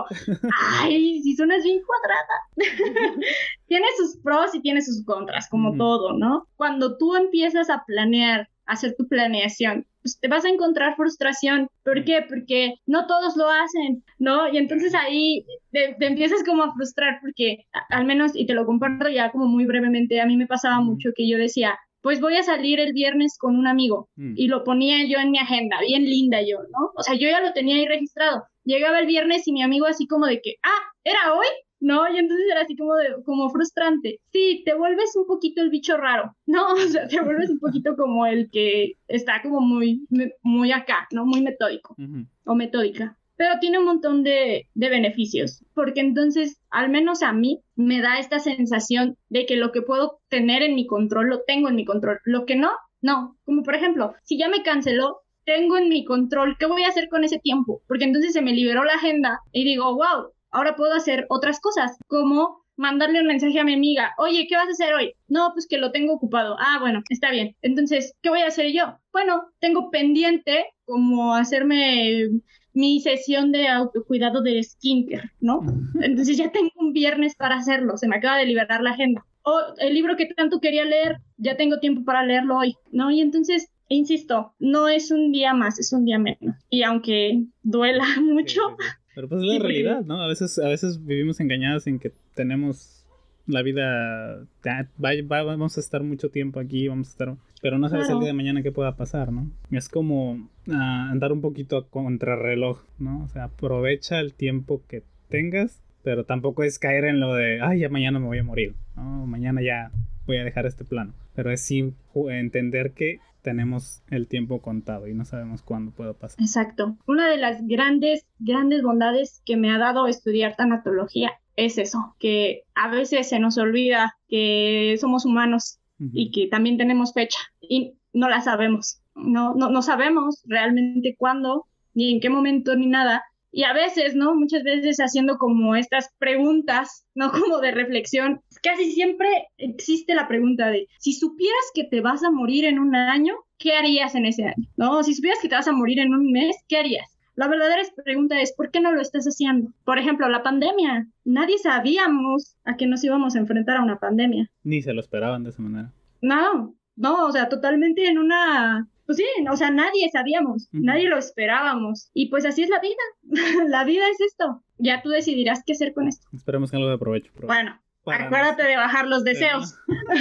ay, si suenas bien cuadrada. Tiene sus pros y tiene sus contras, como uh-huh. todo, ¿no? Cuando tú empiezas a planear, a hacer tu planeación, pues te vas a encontrar frustración. ¿Por qué? Porque no todos lo hacen, ¿no? Y entonces ahí te, te empiezas como a frustrar porque, a, al menos, y te lo comparto ya como muy brevemente, a mí me pasaba uh-huh. mucho que yo decía, pues voy a salir el viernes con un amigo, mm. y lo ponía yo en mi agenda, bien linda yo, ¿no? O sea, yo ya lo tenía ahí registrado. Llegaba el viernes y mi amigo así como de que, ah, ¿era hoy? ¿No? Y entonces era así como de, como frustrante. Sí, te vuelves un poquito el bicho raro, ¿no? O sea, te vuelves un poquito como el que está como muy, muy acá, ¿no? Muy metódico, uh-huh. o metódica. Pero tiene un montón de, de beneficios, porque entonces, al menos a mí, me da esta sensación de que lo que puedo tener en mi control, lo tengo en mi control. Lo que no, no. Como por ejemplo, si ya me canceló, tengo en mi control, ¿qué voy a hacer con ese tiempo? Porque entonces se me liberó la agenda y digo, wow, ahora puedo hacer otras cosas, como mandarle un mensaje a mi amiga, oye, ¿qué vas a hacer hoy? No, pues que lo tengo ocupado. Ah, bueno, está bien. Entonces, ¿qué voy a hacer yo? Bueno, tengo pendiente como hacerme mi sesión de autocuidado de skincare, ¿no? Entonces ya tengo un viernes para hacerlo, se me acaba de liberar la agenda. O el libro que tanto quería leer, ya tengo tiempo para leerlo hoy, ¿no? Y entonces, insisto, no es un día más, es un día menos. Y aunque duela mucho... Sí, sí, sí. Pero pues es la sí, realidad, porque... ¿no? A veces, a veces vivimos engañados en que tenemos la vida, va, va, vamos a estar mucho tiempo aquí, vamos a estar, pero no sabes claro. el día de mañana qué pueda pasar, ¿no? Es como uh, andar un poquito a contrarreloj, ¿no? O sea, aprovecha el tiempo que tengas, pero tampoco es caer en lo de, ay, ya mañana me voy a morir, ¿no? Mañana ya voy a dejar este plano, pero es sí entender que tenemos el tiempo contado y no sabemos cuándo puede pasar. Exacto. Una de las grandes, grandes bondades que me ha dado estudiar tanatología es eso, que a veces se nos olvida que somos humanos uh-huh. y que también tenemos fecha y no la sabemos. No, no, no sabemos realmente cuándo, ni en qué momento, ni nada. Y a veces, ¿no? Muchas veces haciendo como estas preguntas, ¿no? Como de reflexión. Casi siempre existe la pregunta de, si supieras que te vas a morir en un año, ¿qué harías en ese año? ¿No? Si supieras que te vas a morir en un mes, ¿qué harías? La verdadera pregunta es, ¿por qué no lo estás haciendo? Por ejemplo, la pandemia. Nadie sabíamos a qué nos íbamos a enfrentar a una pandemia. Ni se lo esperaban de esa manera. No, no, o sea, totalmente en una... Pues sí, o sea, nadie sabíamos, uh-huh. nadie lo esperábamos. Y pues así es la vida. La vida es esto. Ya tú decidirás qué hacer con esto. Esperemos que algo de provecho. provecho. Bueno, Para acuérdate nos... de bajar los deseos.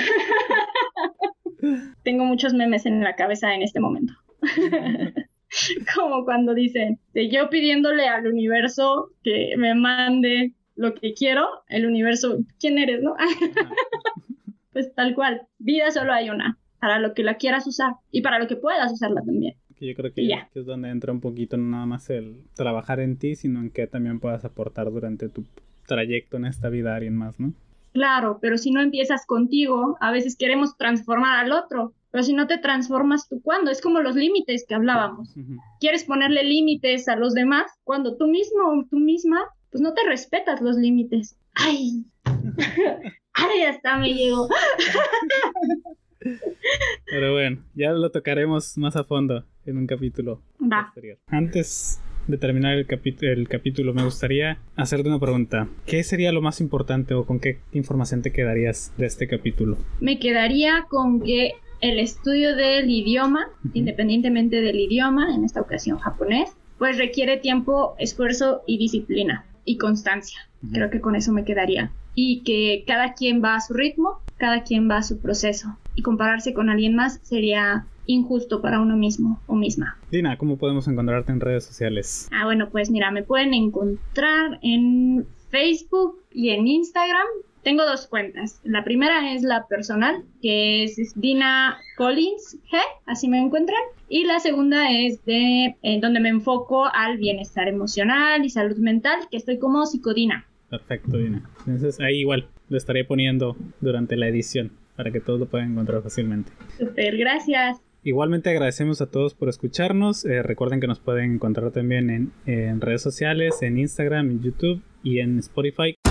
Tengo muchos memes en la cabeza en este momento. Como cuando dicen, de yo pidiéndole al universo que me mande lo que quiero, el universo, ¿quién eres, no? Pues tal cual, vida solo hay una. Para lo que la quieras usar y para lo que puedas usarla también. Que yo creo que, ya. que es donde entra un poquito no nada más el trabajar en ti, sino en que también puedas aportar durante tu trayecto en esta vida a alguien más, ¿no? Claro, pero si no empiezas contigo, a veces queremos transformar al otro, pero si no te transformas tú, ¿cuándo? Es como los límites que hablábamos. Uh-huh. Quieres ponerle límites a los demás cuando tú mismo o tú misma, pues no te respetas los límites. ¡Ay! ¡Ay, hasta me llegó! Pero bueno, ya lo tocaremos más a fondo en un capítulo Va. posterior. Antes de terminar el, capi- el capítulo, me gustaría hacerte una pregunta. ¿Qué sería lo más importante o con qué información te quedarías de este capítulo? Me quedaría con que el estudio del idioma, uh-huh. independientemente del idioma, en esta ocasión japonés, pues requiere tiempo, esfuerzo y disciplina y constancia. Uh-huh. Creo que con eso me quedaría. Y que cada quien va a su ritmo, cada quien va a su proceso. Y compararse con alguien más sería injusto para uno mismo o misma. Dina, ¿cómo podemos encontrarte en redes sociales? Ah, bueno, pues mira, me pueden encontrar en Facebook y en Instagram. Tengo dos cuentas. La primera es la personal, que es Dina Collins G, así me encuentran. Y la segunda es de eh, donde me enfoco al bienestar emocional y salud mental, que estoy como Psicodina. Perfecto, Dina. Entonces ahí igual lo estaré poniendo durante la edición para que todos lo puedan encontrar fácilmente. Súper, gracias. Igualmente agradecemos a todos por escucharnos. Eh, recuerden que nos pueden encontrar también en, en redes sociales, en Instagram, en YouTube y en Spotify.